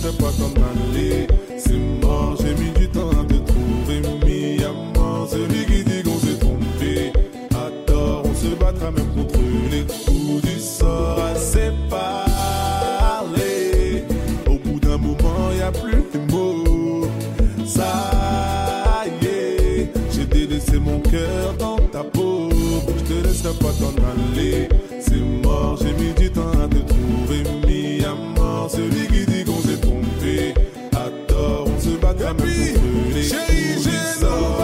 laisserai pas t'en aller. C'est mort, j'ai mis du temps à te trouver. Mis à mort, celui qui dit qu'on s'est trompé. À tort, on se battra même contre les coups du sort à séparer. Au bout d'un moment, y a plus de mots. Ça y est, j'ai délaissé mon cœur dans ta peau. Je te laisserai pas t'en aller. C'est mort, j'ai mis du temps à te trouver. Mis à mort, celui qui dit qu'on s'est trompé. À tort, on se battra même contre les coups du sort.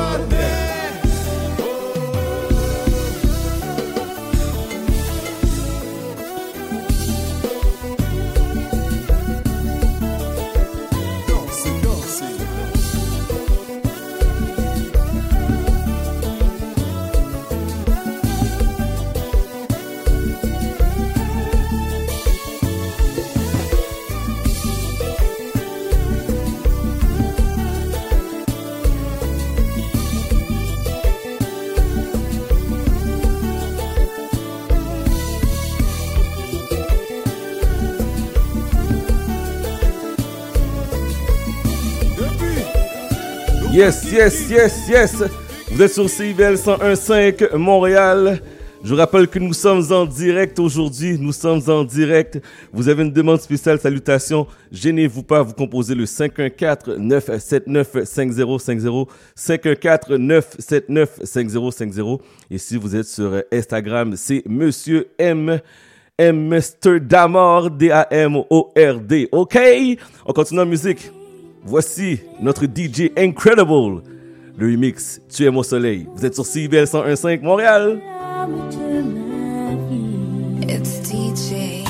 Yes. Vous êtes sur CIBL 101.5 Montréal. Je vous rappelle que nous sommes en direct aujourd'hui. Nous sommes en direct. Vous avez une demande spéciale, salutations. Gênez-vous pas, vous composez le 514-979-5050. 514-979-5050. Et si vous êtes sur Instagram, c'est Monsieur M. Mr. Damord, D-A-M-O-R-D. OK? On continue en musique. Voici notre DJ Incredible, le remix Tu aimes au soleil. Vous êtes sur CIBL 101.5 Montréal. It's DJ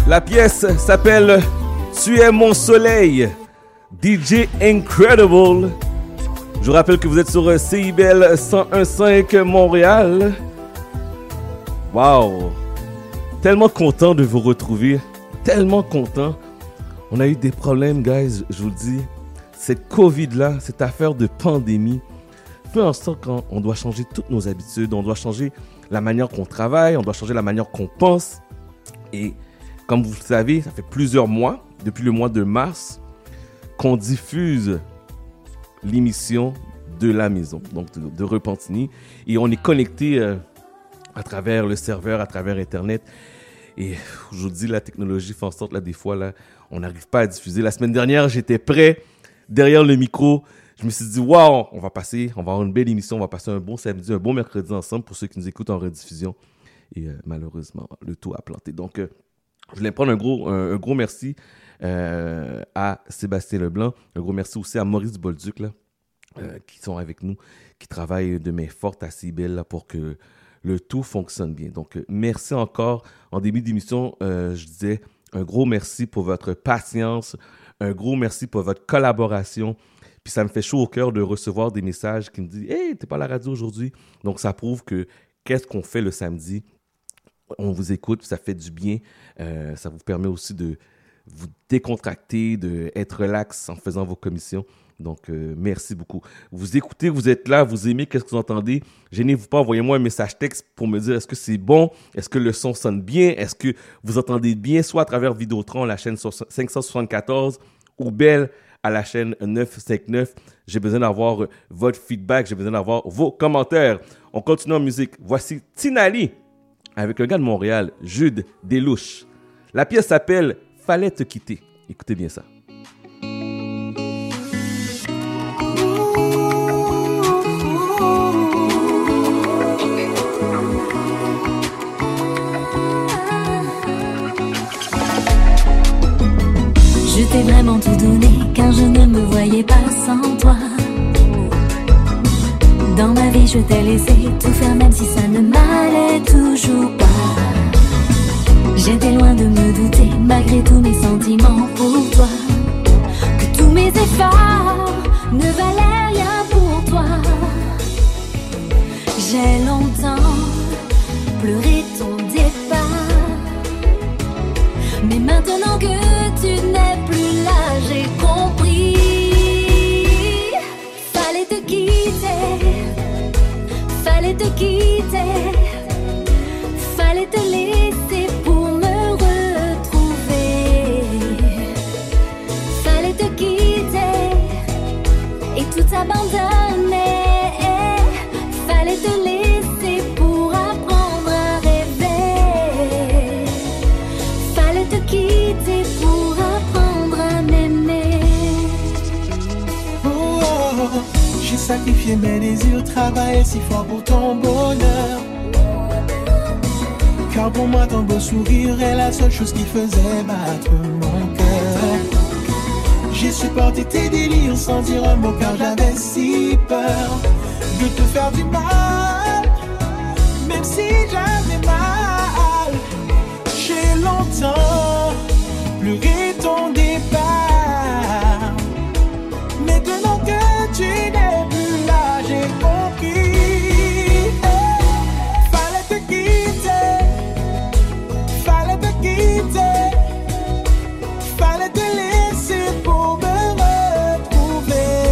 La pièce s'appelle Tu es mon soleil, DJ Incredible. Je vous rappelle que vous êtes sur CIBL 101.5 Montréal. Wow! Tellement content de vous retrouver. Tellement content. On a eu des problèmes, guys, je vous le dis. Cette COVID-là, cette affaire de pandémie, fait en sorte qu'on doit changer toutes nos habitudes. On doit changer la manière qu'on travaille. On doit changer la manière qu'on pense. Et comme vous le savez, ça fait plusieurs mois, depuis le mois de mars, qu'on diffuse l'émission de la maison, donc de Repentigny. Et on est connecté à travers le serveur, à travers Internet. Et je vous dis, la technologie fait en sorte, là, des fois, là, on n'arrive pas à diffuser. La semaine dernière, j'étais prêt derrière le micro. Je me suis dit, waouh, on va avoir une belle émission, on va passer un bon samedi, un bon mercredi ensemble pour ceux qui nous écoutent en rediffusion. Et malheureusement, le tout a planté. Donc, je voulais prendre un gros merci à Sébastien Leblanc. Un gros merci aussi à Maurice Bolduc, là, qui sont avec nous, qui travaillent de main forte à CIBL là, pour que le tout fonctionne bien. Donc, merci encore. En début d'émission, je disais un gros merci pour votre patience, un gros merci pour votre collaboration. Puis ça me fait chaud au cœur de recevoir des messages qui me disent « Hey, t'es pas à la radio aujourd'hui? » Donc, ça prouve que qu'est-ce qu'on fait le samedi? On vous écoute, ça fait du bien. Ça vous permet aussi de vous décontracter, d'être relax en faisant vos commissions. Donc, merci beaucoup. Vous écoutez, vous êtes là, vous aimez, qu'est-ce que vous entendez? Gênez-vous pas, envoyez-moi un message texte pour me dire est-ce que c'est bon? Est-ce que le son sonne bien? Est-ce que vous entendez bien, soit à travers Vidéotron, la chaîne 574, ou Bell à la chaîne 959? J'ai besoin d'avoir votre feedback, j'ai besoin d'avoir vos commentaires. On continue en musique. Voici Tinali avec un gars de Montréal, Jude Delouche. La pièce s'appelle « Fallait te quitter ». Écoutez bien ça. Je t'ai vraiment tout donné car je ne me voyais pas sans toi. Dans ma vie je t'ai laissé tout faire même si ça ne m'allait toujours pas. J'étais loin de me douter malgré tous mes sentiments pour toi, que tous mes efforts ne valaient rien pour toi. J'ai longtemps pleuré ton départ, mais maintenant que tu n'es plus là, j'ai compris. Fallait te quitter, fallait te quitter, fallait te laisser pour me retrouver. Fallait te quitter et tout abandonner. Fallait te laisser pour apprendre à rêver. Fallait te quitter pour apprendre à m'aimer. Oh, j'ai sacrifié mes désirs, travaillé si fort pour ton bonheur. Car pour moi ton beau sourire est la seule chose qui faisait battre mon cœur. J'ai supporté tes délires sans dire un mot car j'avais si peur de te faire du mal, même si j'avais mal. J'ai longtemps pleuré ton départ. Maintenant que tu n'es plus là, j'ai compris. Fallait te quitter, fallait te quitter, fallait te laisser pour me retrouver.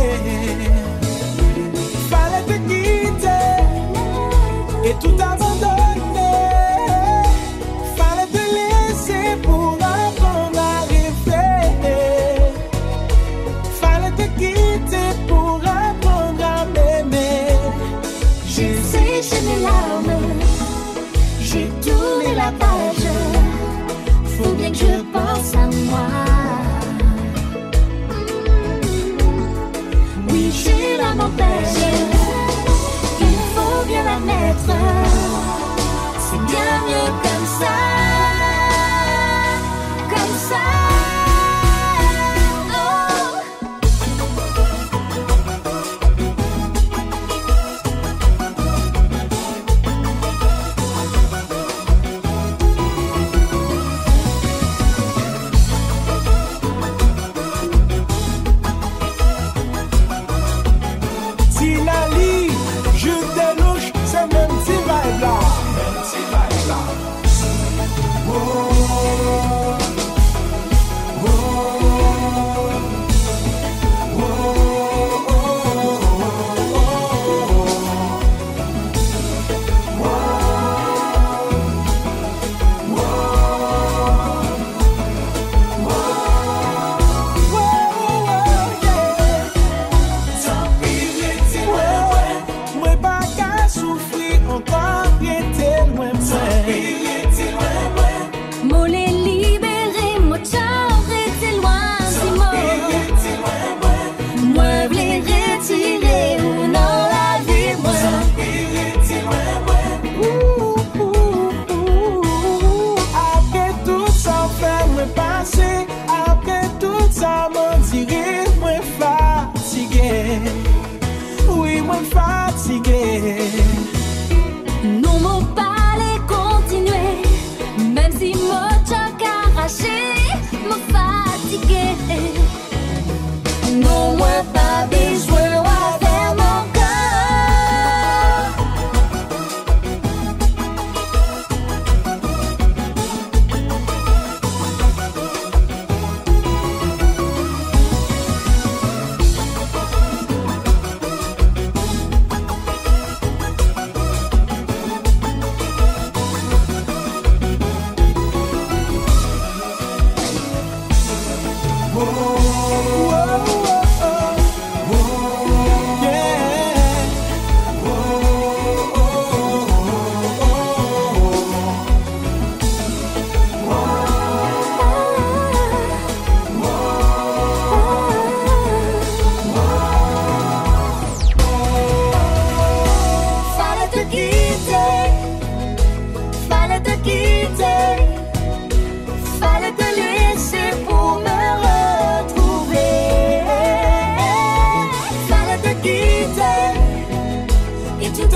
Fallait te quitter et tout abandonner. Fallait te laisser pour apprendre à rêver.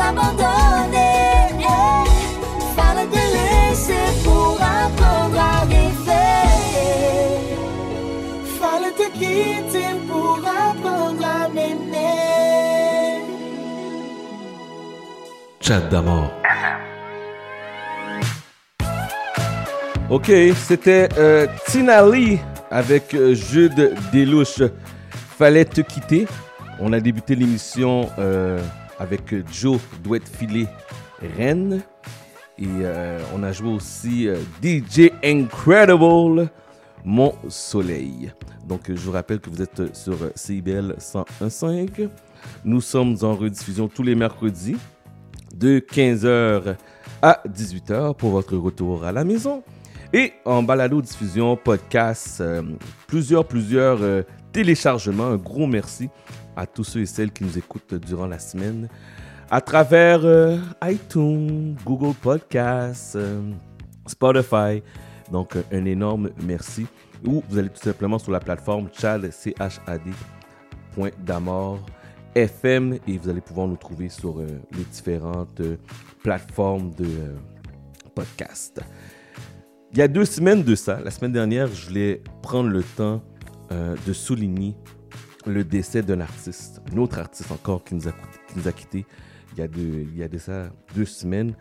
abandonner. Fallait te laisser pour apprendre à rêver. Fallait te quitter pour apprendre à m'aimer. Chat d'amour. Ok, c'était Tina Lee avec Jude Delouche. Fallait te quitter. On a débuté l'émission avec Joe Douette Filet Rennes. Et on a joué aussi DJ Incredible Mon Soleil. Donc je vous rappelle que vous êtes sur CIBL 101.5. Nous sommes en rediffusion tous les mercredis de 15h à 18h pour votre retour à la maison. Et en balado-diffusion, podcast, plusieurs téléchargements. Un gros merci à tous ceux et celles qui nous écoutent durant la semaine à travers iTunes, Google Podcasts, Spotify. Donc, un énorme merci. Ou vous allez tout simplement sur la plateforme chad.damor.fm et vous allez pouvoir nous trouver sur les différentes plateformes de podcast. Il y a 2 semaines de ça, la semaine dernière, je voulais prendre le temps de souligner le décès d'un artiste, un autre artiste encore qui nous a quittés il y a de ça 2 semaines.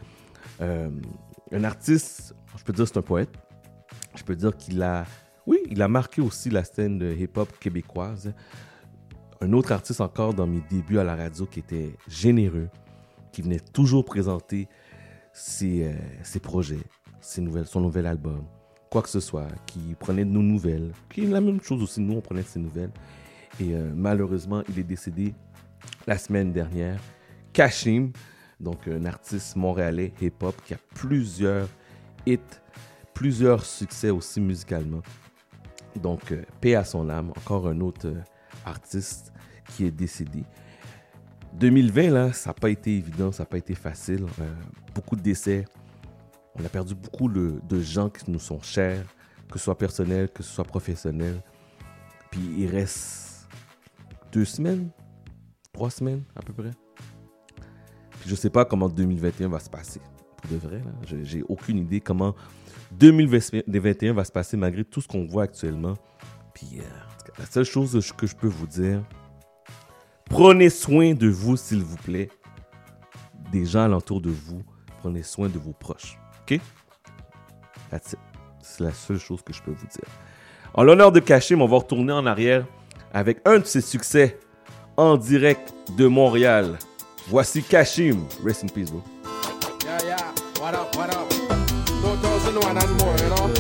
Un artiste, je peux dire c'est un poète, je peux dire qu'il a marqué aussi la scène de hip-hop québécoise. Un autre artiste encore dans mes débuts à la radio qui était généreux, qui venait toujours présenter ses projets, son nouvel album, quoi que ce soit, qui prenait de nos nouvelles, qui est la même chose aussi, nous on prenait de ses nouvelles. Et malheureusement, il est décédé la semaine dernière. Kashim, donc un artiste montréalais hip-hop qui a plusieurs hits, plusieurs succès aussi musicalement. Donc, paix à son âme, encore un autre artiste qui est décédé. 2020, là, ça n'a pas été évident, ça n'a pas été facile. Beaucoup de décès. On a perdu beaucoup de gens qui nous sont chers, que ce soit personnel, que ce soit professionnel. Puis il reste 2 semaines, 3 semaines à peu près. Puis je ne sais pas comment 2021 va se passer. Pour de vrai, là. J'ai aucune idée comment 2021 va se passer malgré tout ce qu'on voit actuellement. Puis la seule chose que je peux vous dire, prenez soin de vous, s'il vous plaît. Des gens alentour de vous. Prenez soin de vos proches. OK? That's it. C'est la seule chose que je peux vous dire. En l'honneur de Kashim, on va retourner en arrière avec un de ses succès en direct de Montréal. Voici Kashim. Rest in peace, bro. Yeah. What up? 2001 and more, you know?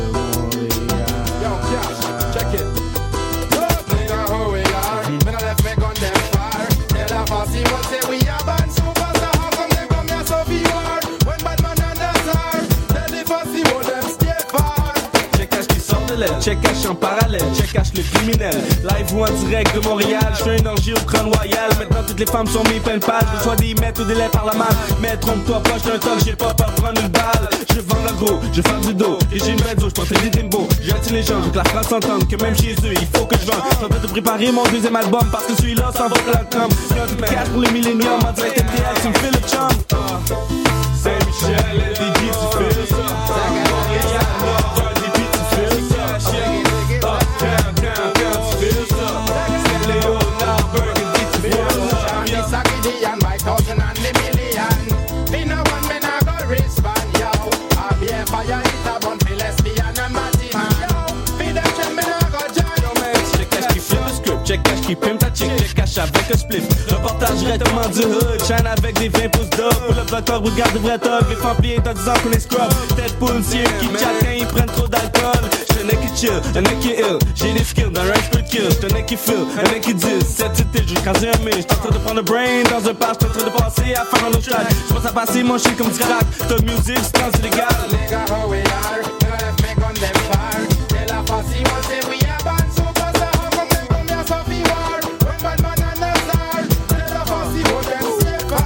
Yo, Cash, check it. Look, nigga, who we are. Me no left me gun them far. Tell a fussy one say we a band superstar. How come they come here so far? When bad man under star. Tell the fussy one them stay far. Check Cash qui sort de l'aile, check Cash en parallèle, check Cash le criminel. Live ou en direct de Montréal, je fais une orgie au Crown Royal. Maintenant toutes les femmes sont mis pleines pages. Je reçois des mètres ou des laits par la malle. Mais trompe-toi pas, j'suis un talk, j'ai pas peur de prendre une balle. Je vends le gros, je fais du dos. Et j'ai une radio, j'porte des timbos. J'attire les gens, je veux que la France s'entende. Que même chez eux, il faut que je vende. J'suis en train de préparer mon 2e album. Parce que celui-là s'en va pour la com. Y'a du 4 pour les milléniums. En direct MTL, tu me fais le chum. Saint-Michel, LDG, tu fais ça. Montréal, Nord, RDP, tu fais ça. Uptown, tu fais ça. Saint-Léonard, Burgundy, tu fais ça. This a Gideon by thousand and the million. Me no one, me no go respond, yo. I be a fire, it a bun for lesbian and Martin, yo. Feed them shit, me no go join. Yo man, check Cash qui filme le script, check Cash qui pime ta chick, check Cash avec un split. Reportage directement du hood, chaîne avec des 20 pouces d'op. Pour le docteur, regarde de vrai top, les femmes pliées en disant qu'on est scrub. Tête poulsier qui chatte quand ils prennent trop d'alcool. J'suis un mec qui chill, un mec qui ill. J'ai des skills dans range per kill. J'suis un mec qui feel, un mec qui dit. Cette titre, j'ai crasé un mille. J'suis en train de prendre un brain dans un patch. J'suis en train de passer à faire un autre track. J'pense à passer mon shit comme du crack. T'as musique, c'est trans illégal. Nigga, who we are. Me no left me gun them far. Tell a fussy one say we a band superstar. How come they come here so far? When bad man under star. Tell a fussy one them stay far.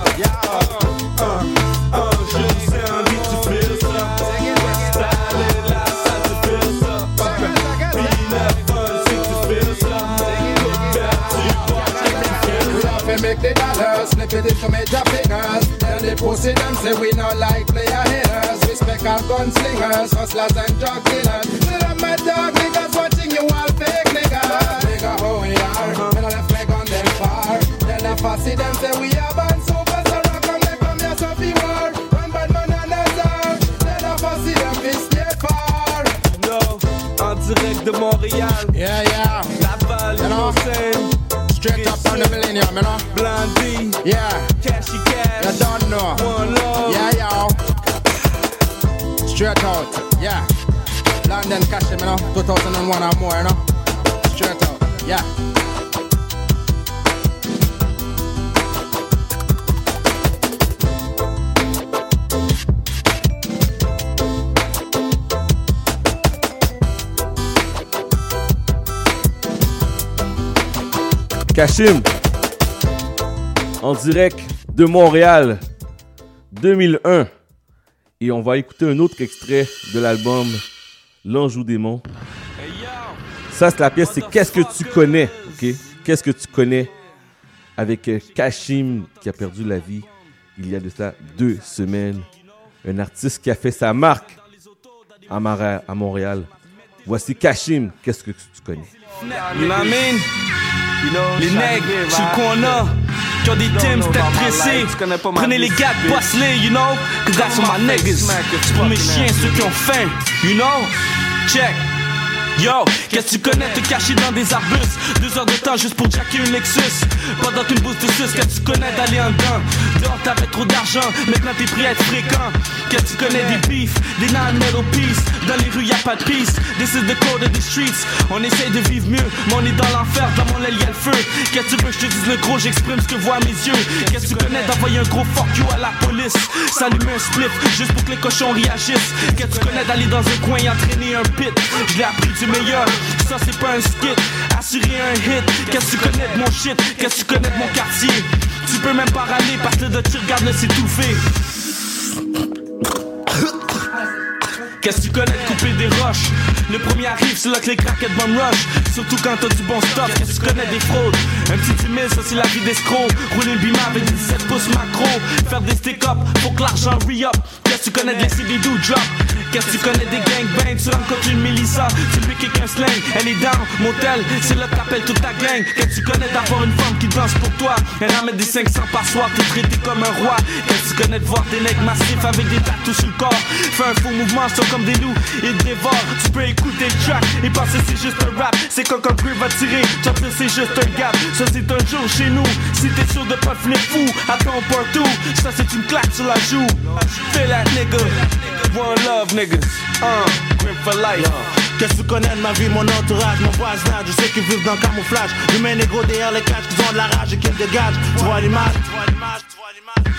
Je sais un beat, tu fais ça. Style et la salle, tu fais ça. Puis la fun, c'est que tu fais ça. We have to make the dollars, flip it into major figures. pussy them say we not like player hitters. Respect our gunslingers, hustlers and drug dealers. Let up my dog niggas watching you all fake niggas. Nigga how we are, me not left leg on them far. Then the fussy them say we are band super, so rock and make them here so be war. One bad man and a star. Then the fussy them be stay far. No, en direct de Montréal. Yeah, yeah. Laval, You know? Innocent. Straight up from the millennium, you know. Blondie. Yeah. Cashy Cash. You don't know. One love. Yeah, yeah. Straight out, yeah. London Cash, you know. 2001 or more, you know. Straight out, yeah. Kashim, en direct de Montréal, 2001. Et on va écouter un autre extrait de l'album L'Anjou Démon. Ça, c'est la pièce, c'est Qu'est-ce que tu connais, ok? Qu'est-ce que tu connais avec Kashim qui a perdu la vie il y a de ça 2 semaines. Un artiste qui a fait sa marque à Montréal. Voici Kashim, Qu'est-ce que tu connais? You know what I mean? Les nègres, sur le qu'on a, qui ont des teams tête pressée. Prenez les gars, boss-les, you know? Cause that's for my niggas. C'est pour mes chiens, ceux qui ont faim, you know? Check. Yo, qu'est-ce que tu connais te cacher dans des arbustes? 2 heures de temps juste pour jacker une Lexus. Pendant qu'une bourse de sus, qu'est-ce que tu connais d'aller en dedans? Dehors t'avais trop d'argent, maintenant t'es prêt à être fréquent. Qu'est-ce que tu connais des beefs, des non-metal peace? Dans les rues y'a pas de peace, this is the code of the streets. On essaye de vivre mieux, mais on est dans l'enfer, dans mon aile y'a le feu. Qu'est-ce que tu veux que je te dise le gros, j'exprime ce que voient mes yeux. Qu'est-ce que tu connais d'envoyer un gros fuck you à la police? S'allumer un spliff, juste pour que les cochons réagissent. Qu'est-ce que tu connais d'aller dans un coin et entraîner un pit? Je l'ai appris du meilleur, ça c'est pas un skit. Assurer un hit, qu'est-ce que tu connais de mon shit? Qu'est-ce que tu connais de mon quartier? Tu peux même pas râler parce que le tu regardes le s'étouffer. Qu'est-ce que tu connais de couper des roches? Le premier arrive, c'est là que les craquettes bomb rush. Surtout quand t'as du bon stuff. Qu'est-ce que tu connais des fraudes? Un petit 10 000, ça c'est la vie d'escroc. Rouler le bima avec des 17 pouces macro. Faire des stick-up pour que l'argent re-up. Qu'est-ce que tu connais de laisser des do drop? Qu'est-ce que tu connais des gangbangs? Tu rencontres une Mélissa, tu lui kick un slang. Elle est down, motel, c'est là que t'appelles toute ta gang. Qu'est-ce que tu connais d'avoir une femme qui danse pour toi? Elle ramène des 500 par soir, t'es traité comme un roi. Qu'est-ce que tu connais de voir des nègres massifs avec des tatous sur le corps? Fais un faux mouvement, sont comme des loups, ils te dévorent. Tu peux écouter le track et penser c'est juste un rap. C'est quand un bruit va tirer, toi c'est juste un gap. Ça c'est un jour chez nous, si t'es sûr de pas finir fou, attends partout. Ça c'est une claque sur la joue. Fais la nigga, one love niggas, grip for life. Qu'est-ce que tu connais de ma vie, mon entourage, mon voisinage? Je sais qu'ils vivent dans le camouflage. Humains négros derrière les cages, qu'ils ont de la rage et qu'ils dégagent. Tu vois l'image, tu vois l'image, tu vois l'image.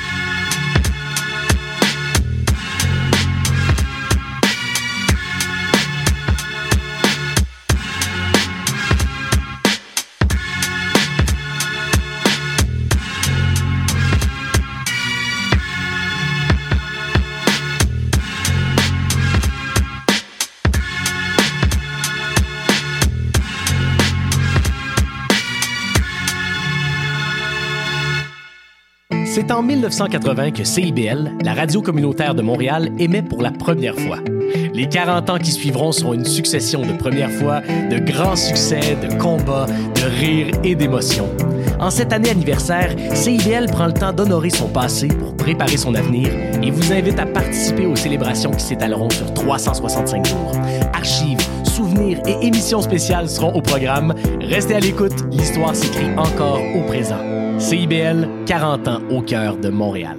C'est en 1980 que CIBL, la radio communautaire de Montréal, émet pour la première fois. Les 40 ans qui suivront seront une succession de premières fois, de grands succès, de combats, de rires et d'émotions. En cette année anniversaire, CIBL prend le temps d'honorer son passé pour préparer son avenir et vous invite à participer aux célébrations qui s'étaleront sur 365 jours. Archives, souvenirs et émissions spéciales seront au programme. Restez à l'écoute, l'histoire s'écrit encore au présent. CIBL, 40 ans au cœur de Montréal.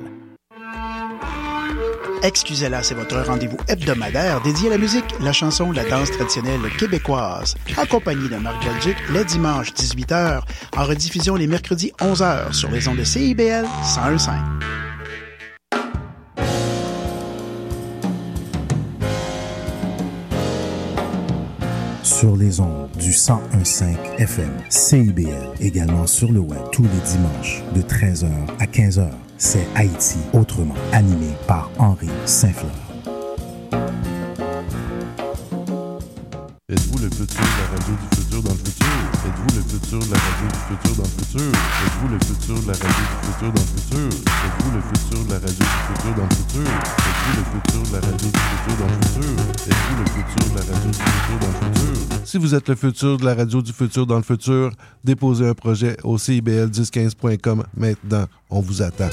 Excusez-la, c'est votre rendez-vous hebdomadaire dédié à la musique, la chanson, la danse traditionnelle québécoise. Accompagné de Marc Belgique, les dimanches 18h, en rediffusion les mercredis 11h sur les ondes de CIBL 101.5. Sur les ondes du 101.5 FM, CIBL, également sur le web tous les dimanches de 13h à 15h. C'est Haïti autrement, animé par Henri Saint-Fleur. Êtes-vous le futur de la radio du futur dans le futur? Êtes-vous le futur de la radio du futur dans le futur? Êtes-vous le futur de la radio du futur dans le futur? Êtes-vous le futur de la radio du futur dans le futur? Êtes-vous le futur de la radio du futur dans le futur? Êtes-vous le futur de la radio du futur dans le futur? Si vous êtes le futur de la radio du futur dans le futur, déposez un projet au CIBL1015.com maintenant. On vous attend.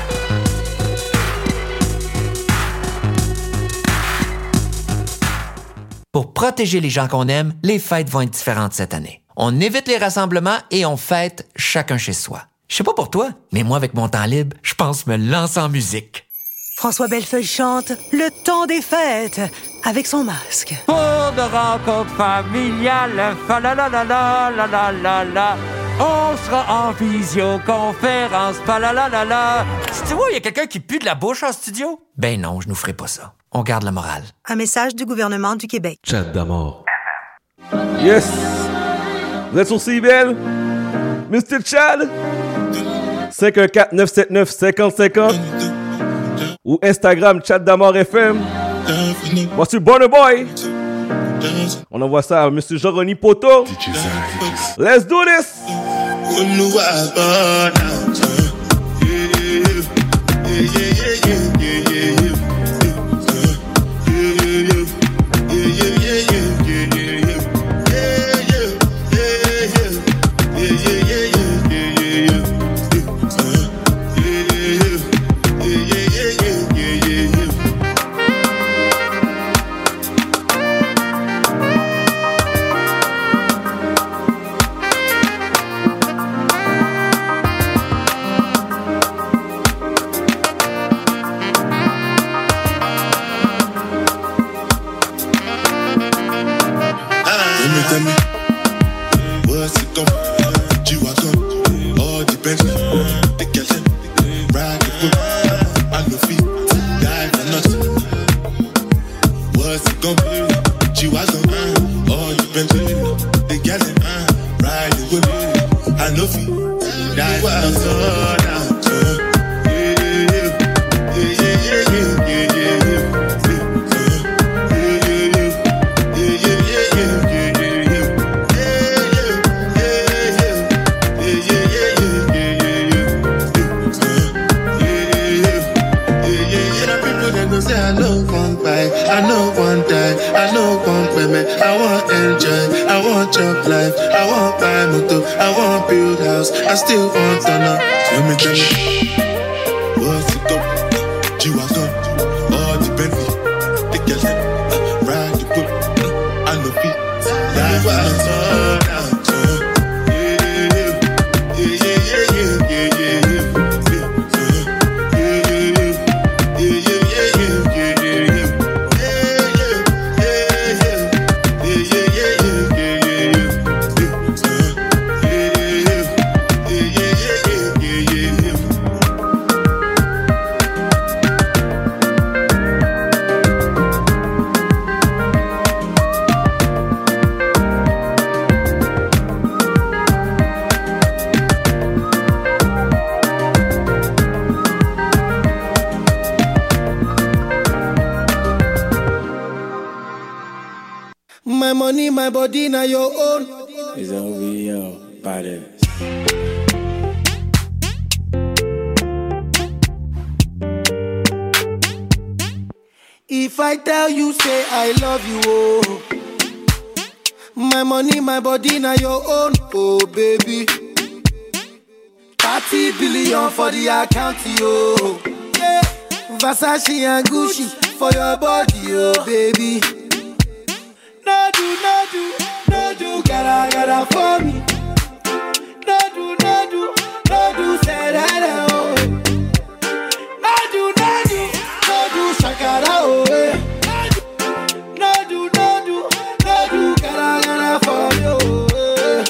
Pour protéger les gens qu'on aime, les fêtes vont être différentes cette année. On évite les rassemblements et on fête chacun chez soi. Je sais pas pour toi, mais moi, avec mon temps libre, je pense me lancer en musique. François Bellefeuille chante « Le temps des fêtes » avec son masque. Pour de rencontres familiales, fa la la la la la la la la. On sera en visioconférence, fa la la la la. Tu vois, il y a quelqu'un qui pue de la bouche en studio? Ben non, je nous ferai pas ça. On garde la morale. Un message du gouvernement du Québec. Chat d'amour. Yes! Vous êtes sur CIBL? Mr. Chad? 514-979-5050 ou Instagram Chat d'amour FM. Voici Burna Boy. On envoie ça à Mr. Joroni Poto. Let's do this! My money, my body, now your own. It's OVO, body. If I tell you, say I love you, oh. My money, my body, now your own, oh baby. 30 billion for the account, oh. Yeah. Versace and Gucci for your body, oh baby. No do, gotta for me. No do, say that, oh. No do, shakara, oh. No do, gotta for me, oh.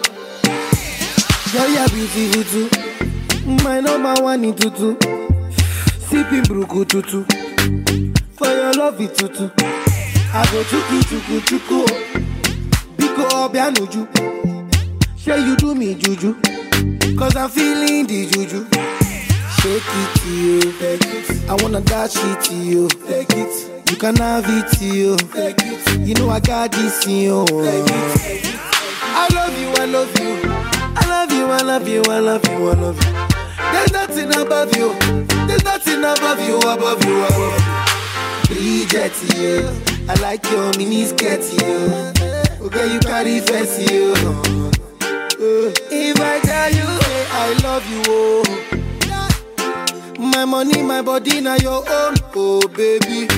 Girl, you're beautiful too. My number one in tutu. Sipping bruku tutu. For your love it tutu. I go chuku Biko obianuju. Say you do me juju. Cause I'm feeling the juju. Shake it to you, take it. I wanna dash it to you, take it. You can have it, you. You know I got this, you. I love you, I love you. I love you, I love you, I love you, I love you. There's nothing above you. There's nothing above you, above you, above you. Bridget, you. I like your mini skirt, you. Okay, you carry fancy, you. If I tell you, hey, I love you, oh. My money, my body, now your own, oh baby.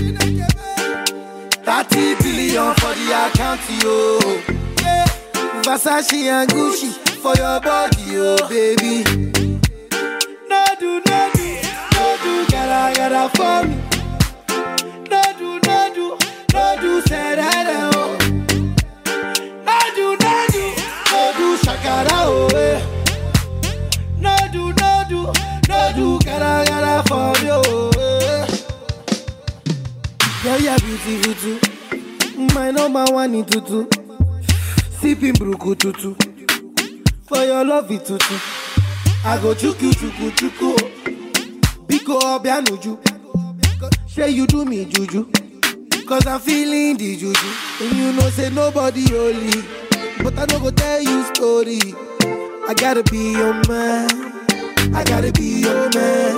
30 billion for the account, yo. Yeah. Versace and Gucci for your body, oh baby. No do, gotta for me. No do, say that, oh. No do, shakara, oh, eh. No do, gotta for you, eh. Girl, you're beautiful too. My number one in tutu. Sipping bruku tutu. For your love it tutu. I go chuku. Biko obianuju. Say you do me juju. Cause I'm feeling the juju. And you know say nobody holy. But I don't go tell you story. I gotta be your man. I gotta be your man.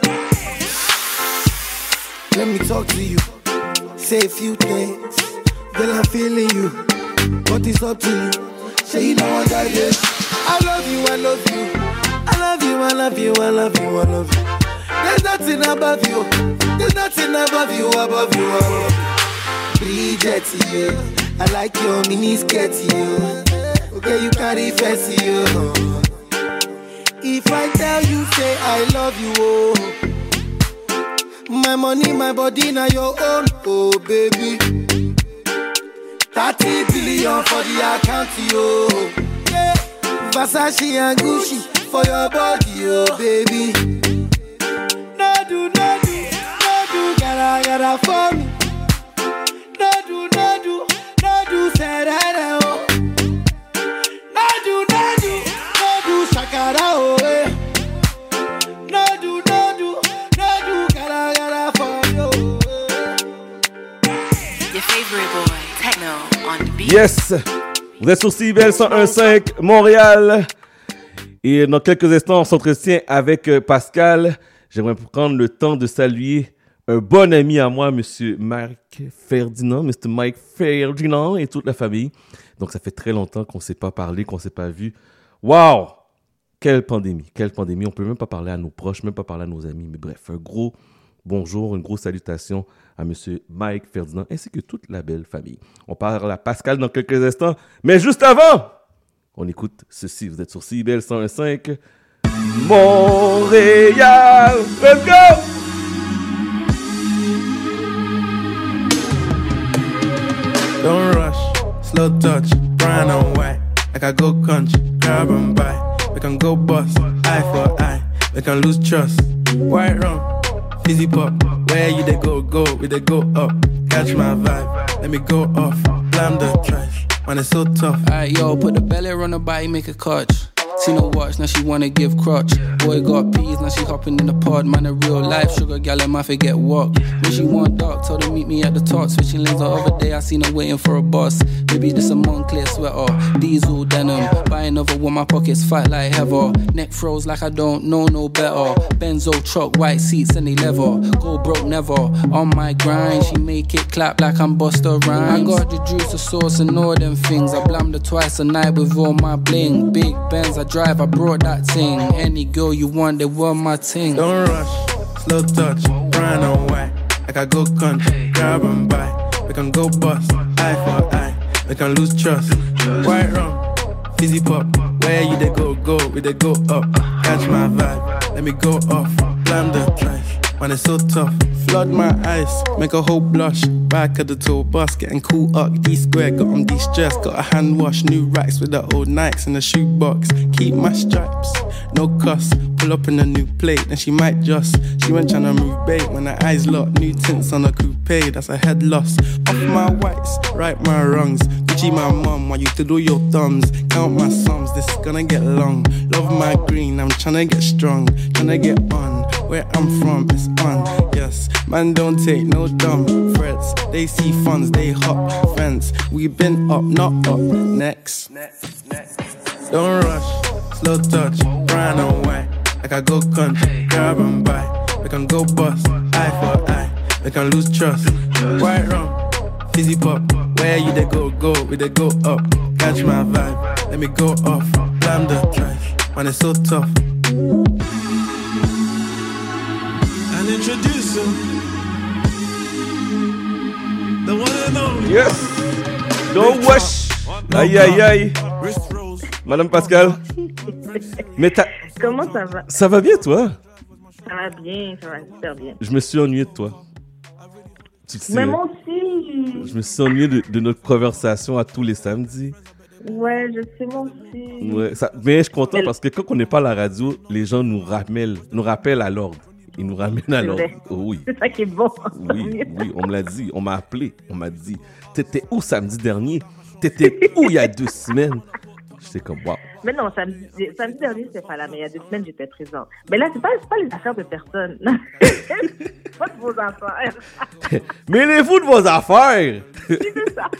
Let me talk to you. Say a few things. Girl, I'm feeling you. But it's up to you. Say you know what I did. I love you, I love you. I love you, I love you, I love you, I love you. There's nothing above you. There's nothing above you, above you, above you. Bridget, you. I like your mini skirt, you. Okay, you carry fancy, you. If I tell you, say I love you, oh. My money, my body, now your own, oh baby. 30 billion for the account, yo. Yeah. Versace and Gucci for your body, oh baby. No do, gotta for me. No do, say that, oh. No do, shakara, oh, eh. No do, gotta for you. Your favorite boy, Techno on the beat. Yes, vous êtes sur CIBL 101.5 Montréal. Et dans quelques instants, on s'entretient avec Pascal. J'aimerais prendre le temps de saluer un bon ami à moi, Monsieur Mike Ferdinand et toute la famille. Donc, ça fait très longtemps qu'on ne s'est pas parlé, qu'on ne s'est pas vu. Waouh! Quelle pandémie. On ne peut même pas parler à nos proches, même pas parler à nos amis. Mais bref, un gros bonjour, une grosse salutation à Monsieur Mike Ferdinand ainsi que toute la belle famille. On parle à Pascal dans quelques instants. Mais juste avant, on écoute ceci. Vous êtes sur CIBL 101.5 Montréal. Let's go! Don't rush, slow touch, brown and white. Like I go country, grab and buy. We can go bust, eye for eye. We can lose trust. White rum, fizzy pop. Where you they go, we they go up. Catch my vibe, let me go off. Blam the trash, man it's so tough. Alright yo, put the belly on the body, make a catch. See no watch, now she wanna give crutch. Boy got peas, now she hopping in the pod. Man, a real life sugar gal, I might forget walk. When she want dark, told her meet me at the top. Switching lanes the other day, I seen her waiting for a bus. Baby, this a Moncler sweater, diesel denim. Buy another one, my pockets fight like heather. Neck froze like I don't know no better. Benzo truck, white seats and they leather. Go broke never, on my grind. She make it clap like I'm Busta Rhymes. I got the juice, the sauce and all them things. I blammed her twice a night with all my bling. Big Benz, I drive, I brought that thing. Any girl you want, they want my ting. Don't rush, slow touch, brown and white. Like I go country, grab and buy. We can go bust, eye for eye. We can lose trust. White rum, fizzy pop. Where you they go, we they go up. Catch my vibe, let me go off. Blam the trash, man it's so tough. Flood my eyes, make a whole blush. Back of the tour bus, getting cool up. D-square, got on de-stress. Got a hand wash, new racks with the old Nikes in the shoebox. Keep my stripes, no cuss. Pull up in a new plate, then she might just. She went tryna move bait when her eyes locked. New tints on a coupe, that's a head loss. Off my whites, right my wrongs. Gucci my mum, while you to do your thumbs. Count my sums, this is gonna get long. Love my green, I'm tryna get strong. Tryna get on. Where I'm from, it's on. Yes, man, don't take no dumb threats. They see funds, they hop fence. We been up, not up. Next. Don't rush, slow touch, brown and white. Like I go country, grab and buy. We can go bust, eye for eye. We can lose trust. White rum, fizzy pop. Where you they go, we they go up. Catch my vibe, let me go off. Blam the track, man, it's so tough. And introduce him, the one and only. Yes. Don't wash. Aïe aïe aïe. Madame Pascal. Mais comment ça va? Ça va bien, toi? Ça va bien, ça va super bien. Je me suis ennuyé de toi. Tu sais, mais moi aussi. Je me suis ennuyé de notre conversation à tous les samedis. Ouais, je sais, moi aussi. Ouais, mais je suis content parce que quand on n'est pas à la radio, les gens nous rappellent à l'ordre. Ils nous ramènent à l'ordre. Oh, oui. C'est ça qui est bon. Oui, on me l'a dit. On m'a appelé. On m'a dit, t'étais où samedi dernier? T'étais où il y a 2 semaines? J'étais comme, waouh. Mais non, samedi dernier, c'était pas là, mais il y a 2 semaines, j'étais présent. Mais là, c'est pas les affaires de personne. C'est pas de vos affaires. Mêlez-vous de vos affaires! C'est ça.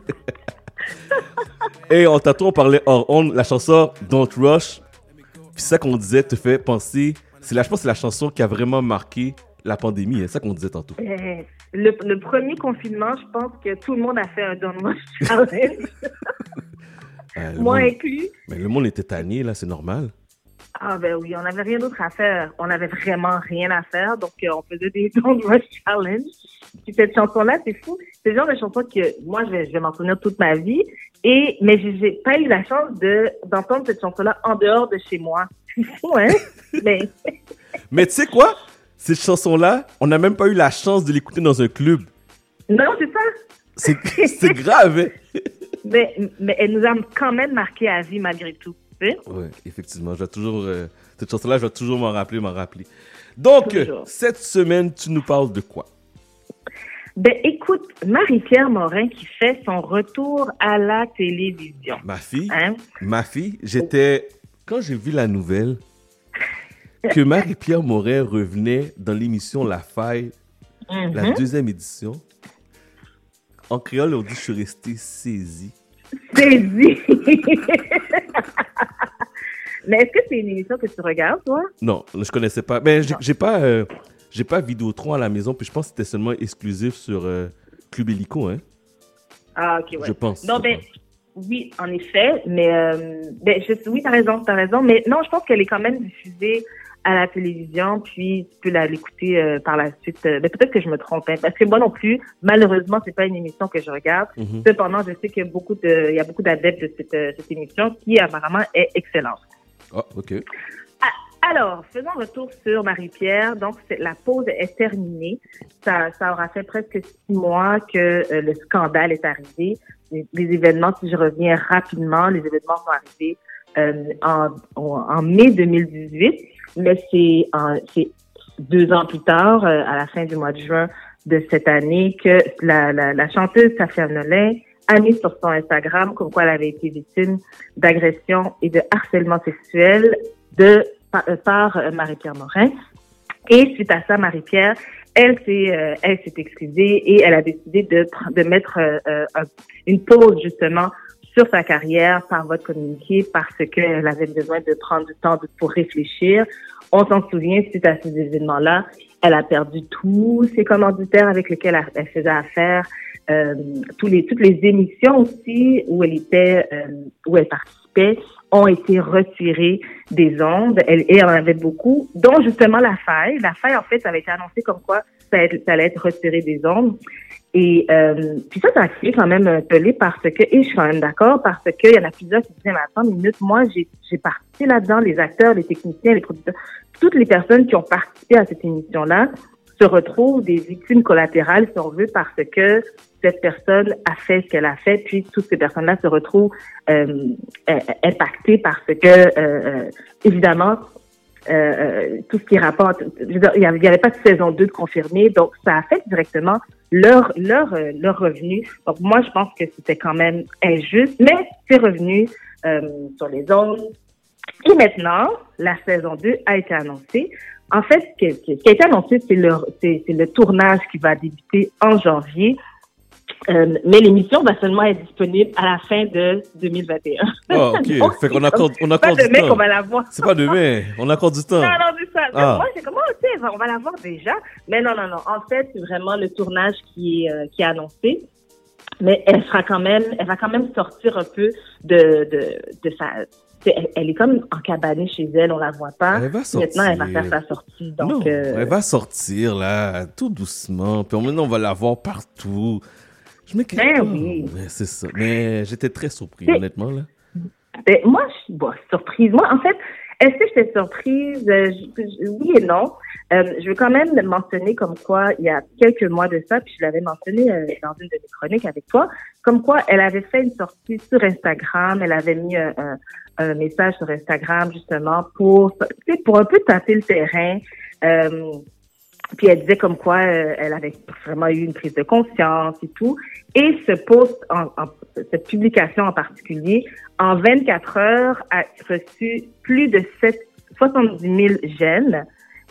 Et tantôt, on parlait hors onde, la chanson Don't Rush. Puis ça qu'on disait te fait penser. Je pense que c'est la chanson qui a vraiment marqué la pandémie. C'est ça qu'on disait tantôt. Le premier confinement, je pense que tout le monde a fait un Don't Rush challenge. Moi inclus. Mais le monde était tanné, là, c'est normal. Ah ben oui, on n'avait rien d'autre à faire. On n'avait vraiment rien à faire, donc on faisait des Don't Rush Challenge. Puis cette chanson-là, c'est fou. C'est le genre de chanson que moi, je vais m'en souvenir toute ma vie. Mais j'ai pas eu la chance d'entendre cette chanson-là en dehors de chez moi. C'est fou, hein? Mais tu sais quoi? Cette chanson-là, on n'a même pas eu la chance de l'écouter dans un club. Non, c'est ça. C'est grave, hein? Mais elle nous a quand même marqué à vie malgré tout. Oui, effectivement. Cette chanson-là, je vais toujours m'en rappeler. Donc, cette semaine, tu nous parles de quoi? Ben, écoute, Marie-Pierre Morin qui fait son retour à la télévision. Ma fille, quand j'ai vu la nouvelle que Marie-Pierre Morin revenait dans l'émission La Faille, la 2e édition, en créole, on dit je suis resté saisi. Saisi! Mais est-ce que c'est une émission que tu regardes, toi? Non, je connaissais pas. Mais j'ai pas Vidéotron à la maison, puis je pense que c'était seulement exclusif sur Club Illico, hein? Ah, ok, ouais. Je pense. Non, oui, en effet, mais oui, t'as raison, mais non, je pense qu'elle est quand même diffusée à la télévision, puis tu peux l'écouter par la suite. Mais peut-être que je me trompe, hein, parce que moi non plus, malheureusement, c'est pas une émission que je regarde. Cependant, je sais qu'il y a beaucoup d'adeptes de cette émission qui apparemment est excellente. Ah, ok. Alors, faisons retour sur Marie-Pierre. Donc, la pause est terminée. Ça aura fait presque 6 mois que le scandale est arrivé. Les événements, si je reviens rapidement, les événements sont arrivés en mai 2018. Mais c'est 2 ans plus tard, à la fin du mois de juin de cette année, que la chanteuse Safia Nolin a mis sur son Instagram comme quoi elle avait été victime d'agression et de harcèlement sexuel par Marie-Pierre Morin. Et suite à ça, Marie-Pierre, elle s'est excusée et elle a décidé de mettre une pause justement sur sa carrière par voie de communiqué parce qu'elle avait besoin de prendre du temps pour réfléchir. On s'en souvient, suite à ces événements-là, elle a perdu tous ses commanditaires avec lesquels elle faisait affaire. Toutes les émissions aussi où elle participait ont été retirées des ondes. Et elle en avait beaucoup, dont justement La Faille. La Faille, en fait, ça avait été annoncé comme quoi ça allait être retiré des ondes. Et puis ça a créé quand même un tollé parce que, et je suis quand même d'accord, parce qu'il y en a plusieurs qui disaient, mais attends une minute, moi, j'ai participé là-dedans, les acteurs, les techniciens, les producteurs, toutes les personnes qui ont participé à cette émission-là se retrouvent des victimes collatérales, si on veut, parce que cette personne a fait ce qu'elle a fait, puis toutes ces personnes-là se retrouvent impactées parce que, évidemment, tout ce qui rapporte, je veux dire, il y avait pas de saison 2 de confirmée, donc ça affecte directement leur revenu. Donc moi, je pense que c'était quand même injuste, mais c'est revenu sur les ondes. Et maintenant, la saison 2 a été annoncée. En fait, ce qui a été annoncé, c'est le tournage qui va débuter en janvier. Mais l'émission va seulement être disponible à la fin de 2021. Ah, ok. Donc, fait qu'on accorde du pas demain temps. qu'on va la voir. C'est pas demain. On accorde du temps. Non, c'est ça. Ah. Moi, c'est comment, tu sais, on va la voir déjà. Mais non. En fait, c'est vraiment le tournage qui est annoncé. Mais elle va quand même sortir un peu de sa... Elle est comme encabanée chez elle, on la voit pas. Elle va sortir. Maintenant, elle va faire sa sortie. Donc, Non, elle va sortir, là, tout doucement. Puis maintenant, on va la voir partout. Je m'inquiète pas. Oui. Mais c'est ça. Mais j'étais très surpris, honnêtement, là. Moi, je suis surprise. Moi, en fait, est-ce que j'étais surprise? Oui et non. Je veux quand même le mentionner comme quoi, il y a quelques mois de ça, puis je l'avais mentionné dans une de mes chroniques avec toi, comme quoi elle avait fait une sortie sur Instagram, elle avait mis un message sur Instagram justement pour un peu tâter le terrain. Puis elle disait comme quoi elle avait vraiment eu une prise de conscience et tout. Et ce post, cette publication en particulier, en 24 heures, a reçu plus de 70 000 j'aime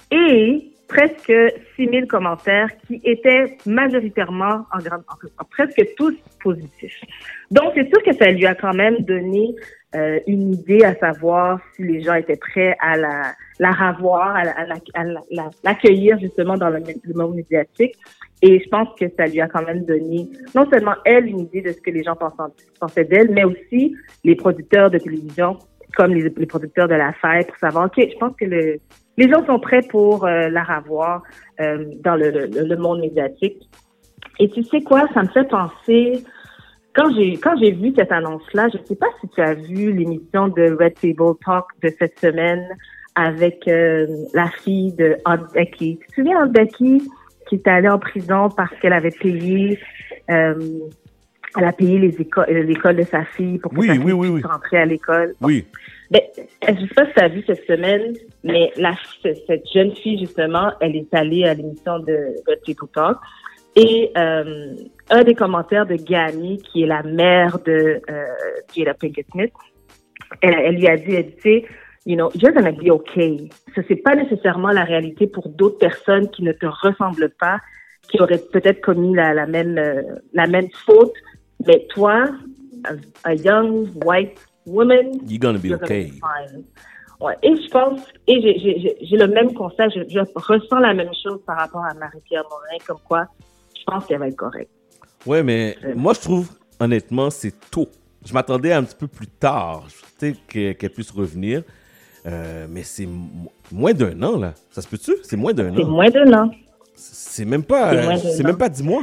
et presque 6 000 commentaires qui étaient majoritairement, presque tous positifs. Donc, c'est sûr que ça lui a quand même donné une idée à savoir si les gens étaient prêts à la revoir, à l'accueillir justement dans le monde médiatique. Et je pense que ça lui a quand même donné non seulement elle une idée de ce que les gens pensaient d'elle, mais aussi les producteurs de télévision, comme les producteurs de la fête, pour savoir, OK, je pense que les gens sont prêts pour la revoir dans le monde médiatique. Et tu sais quoi, ça me fait penser... Quand j'ai vu cette annonce-là, je ne sais pas si tu as vu l'émission de Red Table Talk de cette semaine avec la fille de Aunt Becky. Tu te souviens Aunt Becky qui est allée en prison parce qu'elle avait payé, elle a payé l'école de sa fille pour que sa fille puisse rentrer à l'école. Oui. Ben, je ne sais pas si tu as vu cette semaine, mais cette jeune fille, justement, elle est allée à l'émission de Red Table Talk. Et un des commentaires de Gani, qui est la mère de Jada Pinkett Smith, elle lui a dit, tu sais, you're gonna be okay. Ça, c'est pas nécessairement la réalité pour d'autres personnes qui ne te ressemblent pas, qui auraient peut-être commis la même faute. Mais toi, a young white woman, you're gonna be okay. Fine. Ouais. Et je pense, j'ai le même constat, je ressens la même chose par rapport à Marie-Pierre Morin, comme quoi je pense qu'elle va être correcte. Ouais, mais moi, je trouve, honnêtement, c'est tôt. Je m'attendais un petit peu plus tard, tu sais, qu'elle puisse revenir. Mais c'est moins d'un an, là. Ça se peut-tu? C'est moins d'un an. C'est moins d'un an. C'est même pas 10 mois.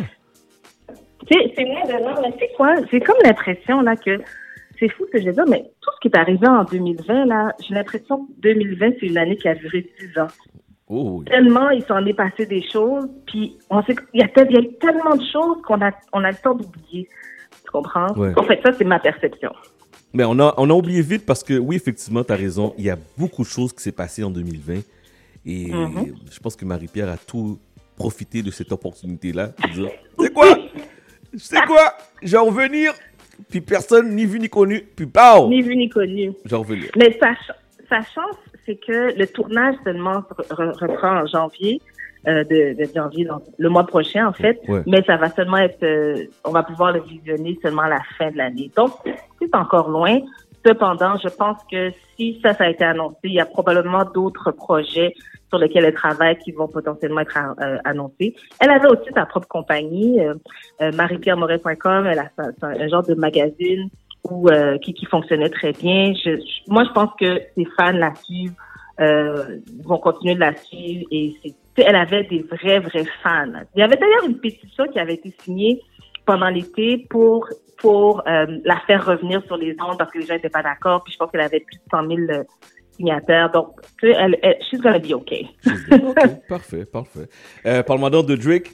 C'est moins d'un an, mais c'est quoi? J'ai comme l'impression, là, que c'est fou ce que je veux dire, mais tout ce qui est arrivé en 2020, là, j'ai l'impression que 2020, c'est une année qui a duré 10 ans. Oh, oui. Tellement il s'en est passé des choses, puis on sait qu'il y a tellement de choses qu'on a le temps d'oublier. Tu comprends? Ouais. En fait, ça, c'est ma perception. Mais on a oublié vite parce que, oui, effectivement, tu as raison. Il y a beaucoup de choses qui s'est passé en 2020. Et je pense que Marie-Pierre a tout profité de cette opportunité-là pour dire, c'est quoi? Je vais revenir, puis personne, ni vu ni connu, puis pow! Ni vu ni connu. Je vais revenir. Mais sa chance, c'est que le tournage seulement reprend en janvier, de janvier, donc le mois prochain en fait, mais ça va seulement être, on va pouvoir le visionner seulement à la fin de l'année. Donc, c'est encore loin. Cependant, je pense que si ça a été annoncé, il y a probablement d'autres projets sur lesquels elle travaille qui vont potentiellement être annoncés. Elle avait aussi sa propre compagnie, mariepierremoret.com, elle a un genre de magazine qui fonctionnait très bien. Moi, je pense que ses fans la suivent, vont continuer de la suivre et elle avait des vrais fans. Il y avait d'ailleurs une pétition qui avait été signée pendant l'été pour la faire revenir sur les ondes parce que les gens n'étaient pas d'accord. Puis je pense qu'elle avait plus de 100 000 signataires. Donc, tu sais, she's gonna be okay. OK, parfait. Parle-moi donc de Drake.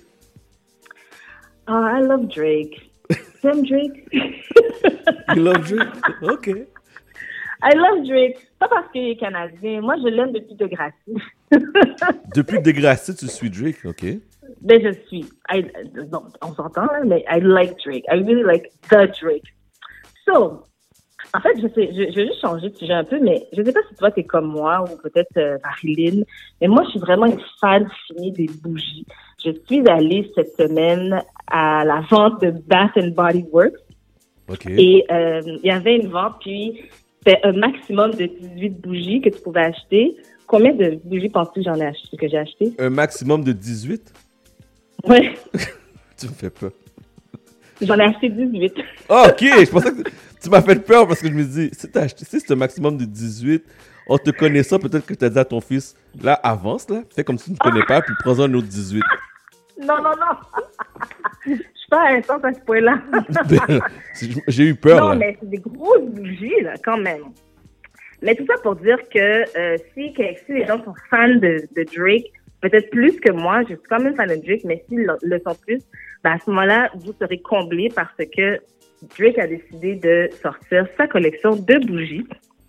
Oh, I love Drake. T'aimes Drake? You love Drake? OK. I love Drake. Pas parce qu'il est canadien. Moi, je l'aime depuis Degrassi. Depuis Degrassi, tu suis Drake, OK. Ben, je suis. On s'entend, là, mais I like Drake. I really like the Drake. So, En fait, je vais juste changer de sujet un peu, mais je sais pas si toi, t'es comme moi ou peut-être Marilyn, mais moi, je suis vraiment une fan finie des bougies. Je suis allée cette semaine à la vente de Bath & Body Works. Okay. Et il y avait une vente, puis c'était un maximum de 18 bougies que tu pouvais acheter. Combien de bougies penses-tu que j'ai acheté? Un maximum de 18? Ouais. Tu me fais peur. J'en ai acheté 18. Ah, ok, je pensais que tu m'as fait peur parce que je me dis, si c'est un maximum de 18, en te connaissant, peut-être que tu as dit à ton fils, là, avance, là, fais comme si tu ne connais pas, puis prends-en un autre 18. Non. Je suis pas intense à ce point-là. J'ai eu peur, non, là. mais c'est des grosses bougies, là, quand même. Mais tout ça pour dire que si les gens sont fans de Drake, peut-être plus que moi, je suis quand même fan de Drake, mais s'ils le sont plus, ben à ce moment-là, vous serez comblés parce que Drake a décidé de sortir sa collection de bougies.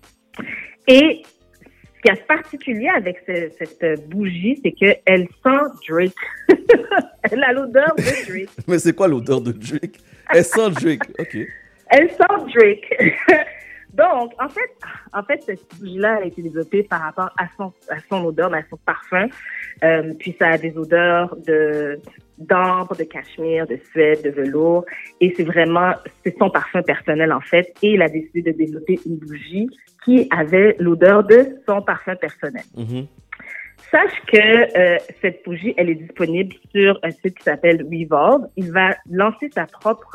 Et ce qui est particulier avec cette bougie, c'est qu'elle sent Drake. Elle a l'odeur de Drake. Mais c'est quoi l'odeur de Drake? Elle sent Drake, ok. Elle sent Drake. Donc, en fait, cette bougie-là a été développée par rapport à son odeur, à son parfum. Puis ça a des odeurs d'ambre, de cachemire, de suède, de velours. Et c'est son parfum personnel, en fait. Et il a décidé de développer une bougie qui avait l'odeur de son parfum personnel. Mm-hmm. Sache que cette bougie, elle est disponible sur un site qui s'appelle Revolve. Il va lancer sa propre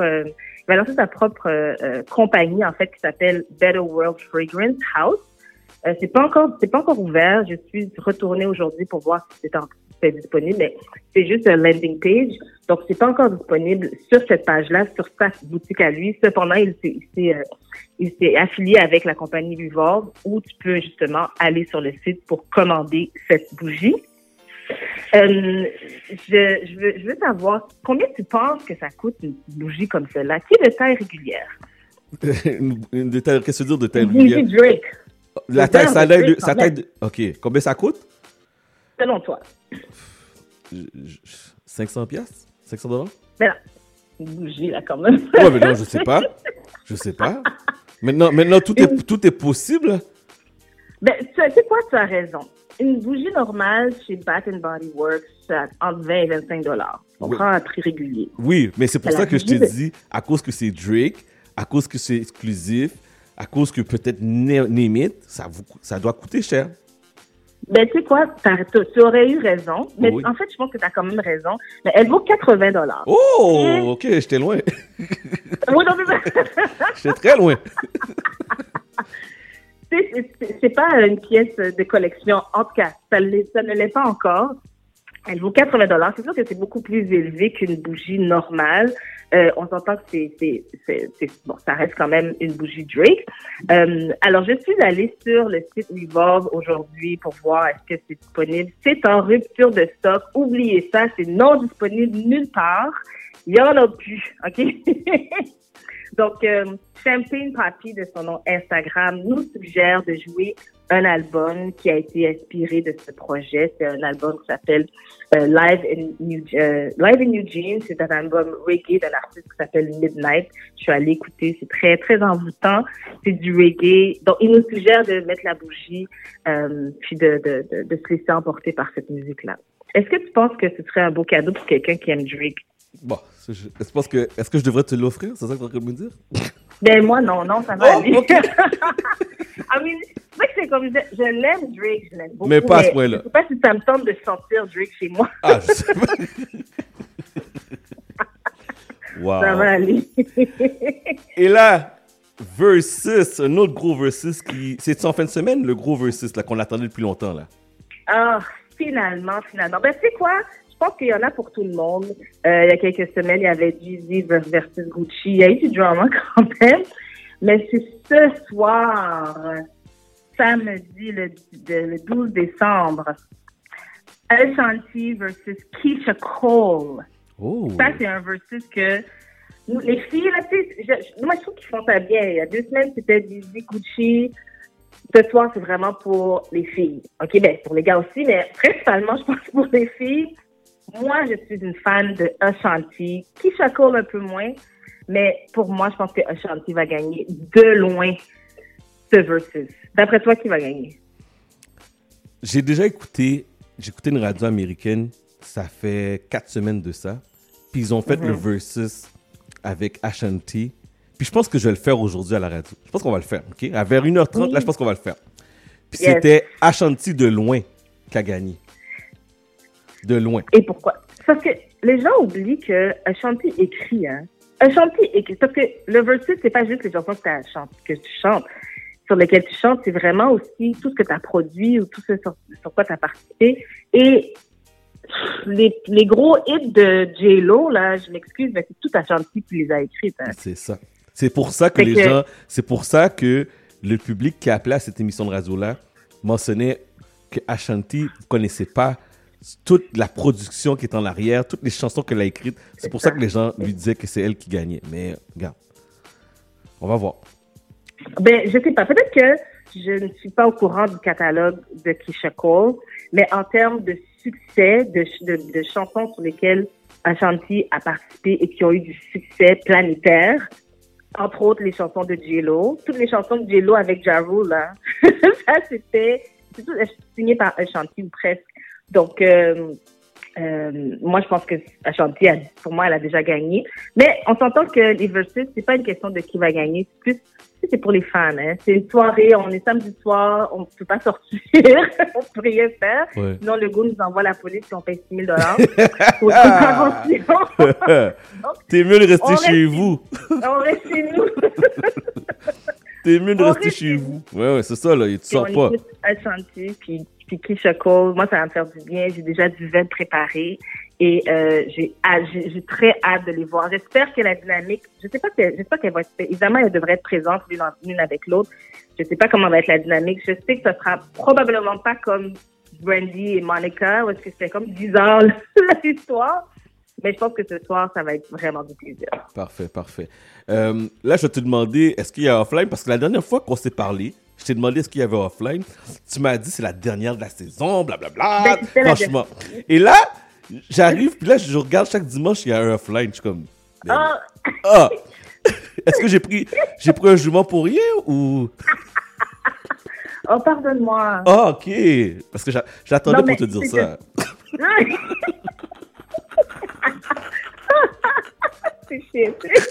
compagnie, en fait, qui s'appelle Better World Fragrance House. C'est pas encore ouvert. Je suis retournée aujourd'hui pour voir si c'est disponible, mais c'est juste un landing page. Donc, c'est pas encore disponible sur cette page-là, sur sa boutique à lui. Cependant, il s'est affilié avec la compagnie Revolve, où tu peux justement aller sur le site pour commander cette bougie. Je veux savoir combien tu penses que ça coûte une bougie comme celle-là, qui est de taille régulière. Une de taille, qu'est-ce que tu veux dire de taille régulière? Bougie Drake. La taille, sa taille, ok. Combien ça coûte? Selon toi. 500 piastres? 500 $? Mais non, une bougie là quand même. Ouais, mais non, je sais pas. Maintenant, tout est possible. Ben, tu sais quoi, tu as raison. Une bougie normale chez Bath & Body Works, c'est entre 20 et 25 $. On prend un prix régulier. Oui, mais c'est pour ça que je t'ai dit, à cause que c'est Drake, à cause que c'est exclusif, à cause que peut-être name it, ça doit coûter cher. Ben, tu sais quoi, tu aurais eu raison, mais en fait, je pense que tu as quand même raison. Mais elle vaut 80 $. Oh, ok, j'étais loin. Oui, non, j'étais très loin. C'est pas une pièce de collection. En tout cas, ça ne l'est pas encore. Elle vaut 80 $. C'est sûr que c'est beaucoup plus élevé qu'une bougie normale. On s'entend que bon, ça reste quand même une bougie Drake. Alors, je suis allée sur le site Revolve aujourd'hui pour voir est-ce que c'est disponible. C'est en rupture de stock. Oubliez ça, c'est non disponible nulle part. Il y en a plus, OK? Donc, Champagne Papi, de son nom Instagram, nous suggère de jouer un album qui a été inspiré de ce projet. C'est un album qui s'appelle Live in Eugene. C'est un album reggae d'un artiste qui s'appelle Midnight. Je suis allée écouter. C'est très, très envoûtant. C'est du reggae. Donc, il nous suggère de mettre la bougie puis de se laisser emporter par cette musique-là. Est-ce que tu penses que ce serait un beau cadeau pour quelqu'un qui aime Drake? Bon, est-ce que je devrais te l'offrir? C'est ça que tu es en train de me dire? Ben moi, non, ça va aller. Okay. I mean, c'est vrai que c'est comme, je l'aime Drake, je l'aime beaucoup. Mais pas à ce point-là. Je sais pas si ça me tente de sentir Drake chez moi. Ah, je sais pas. Wow. Ça va aller. Et là, Versus, un autre gros Versus c'est en fin de semaine, le gros Versus là, qu'on attendait depuis longtemps, là. Ah, finalement. Ben, tu sais quoi? Je pense qu'il y en a pour tout le monde. Il y a quelques semaines, il y avait Jeezy versus Gucci. Il y a eu du drama quand même. Mais c'est ce soir, samedi, le 12 décembre, Ashanti versus Keisha Cole. Oh. Ça, c'est un versus que nous, les filles, là, tu sais, moi, je trouve qu'ils font ça bien. Il y a 2 semaines, c'était Jeezy, Gucci. Ce soir, c'est vraiment pour les filles. OK, ben, pour les gars aussi, mais principalement, je pense pour les filles. Moi, je suis une fan de Ashanti. Keisha Cole un peu moins. Mais pour moi, je pense que Ashanti va gagner de loin ce versus. D'après toi, qui va gagner? J'ai écouté une radio américaine, ça fait 4 semaines de ça. Puis ils ont fait le versus avec Ashanti. Puis je pense que je vais le faire aujourd'hui à la radio. Je pense qu'on va le faire, OK? À vers 1h30, là, je pense qu'on va le faire. Puis c'était Ashanti de loin qui a gagné. De loin. Et pourquoi? Parce que les gens oublient que Ashanti écrit, hein. Ashanti écrit. Parce que le versus, c'est pas juste les chansons que tu chantes, sur lesquelles tu chantes, c'est vraiment aussi tout ce que tu as produit ou tout ce sur quoi tu as participé. Et les gros hits de J-Lo, là, je m'excuse, mais c'est tout Ashanti qui les a écrites. Hein. C'est ça. C'est pour ça que c'est pour ça que le public qui a appelé à cette émission de radio-là mentionnait que Ashanti ne connaissait pas toute la production qui est en arrière, toutes les chansons qu'elle a écrites. C'est pour ça que les gens lui disaient que c'est elle qui gagnait. Mais regarde, on va voir. Ben, je sais pas. Peut-être que je ne suis pas au courant du catalogue de Keyshia Cole, mais en termes de succès, de chansons sur lesquelles Ashanti a participé et qui ont eu du succès planétaire, entre autres les chansons de J-Lo, toutes les chansons de J-Lo avec Ja Rule, là, ça c'est tout signé par Ashanti ou presque. Donc, moi, je pense que Ashanti, pour moi, elle a déjà gagné. Mais on s'entend que les versus, c'est pas une question de qui va gagner. C'est plus, c'est pour les fans, hein. C'est une soirée, on est samedi soir, on peut pas sortir, on peut rien faire. Ouais. Sinon, le gars nous envoie la police et on paye $6,000 pour une contravention. T'es mieux de rester chez vous. On reste chez nous. T'es mieux de rester chez vous. Ouais, c'est ça, là. Tu sors pas. Ashanti, puis Keyshia Cole, moi, ça va me faire du bien. J'ai déjà du vin préparé et j'ai très hâte de les voir. J'espère que la dynamique, j'espère qu'elle va être, évidemment, elle devrait être présente l'une avec l'autre. Je sais pas comment va être la dynamique. Je sais que ça sera probablement pas comme Brandy et Monica, où est-ce que c'était comme 10 ans l'histoire. Mais je pense que ce soir, ça va être vraiment du plaisir. Parfait. Là, je vais te demander, est-ce qu'il y a offline? Parce que la dernière fois qu'on s'est parlé, je t'ai demandé est-ce qu'il y avait offline. Tu m'as dit c'est la dernière de la saison, blablabla. Franchement. Et là, j'arrive, puis là, je regarde chaque dimanche, il y a un offline. Je suis comme. Est-ce que j'ai pris un jument pour rien ou. Oh, pardonne-moi. Ah, ok. Parce que j'attendais pour te dire ça. C'est chiant.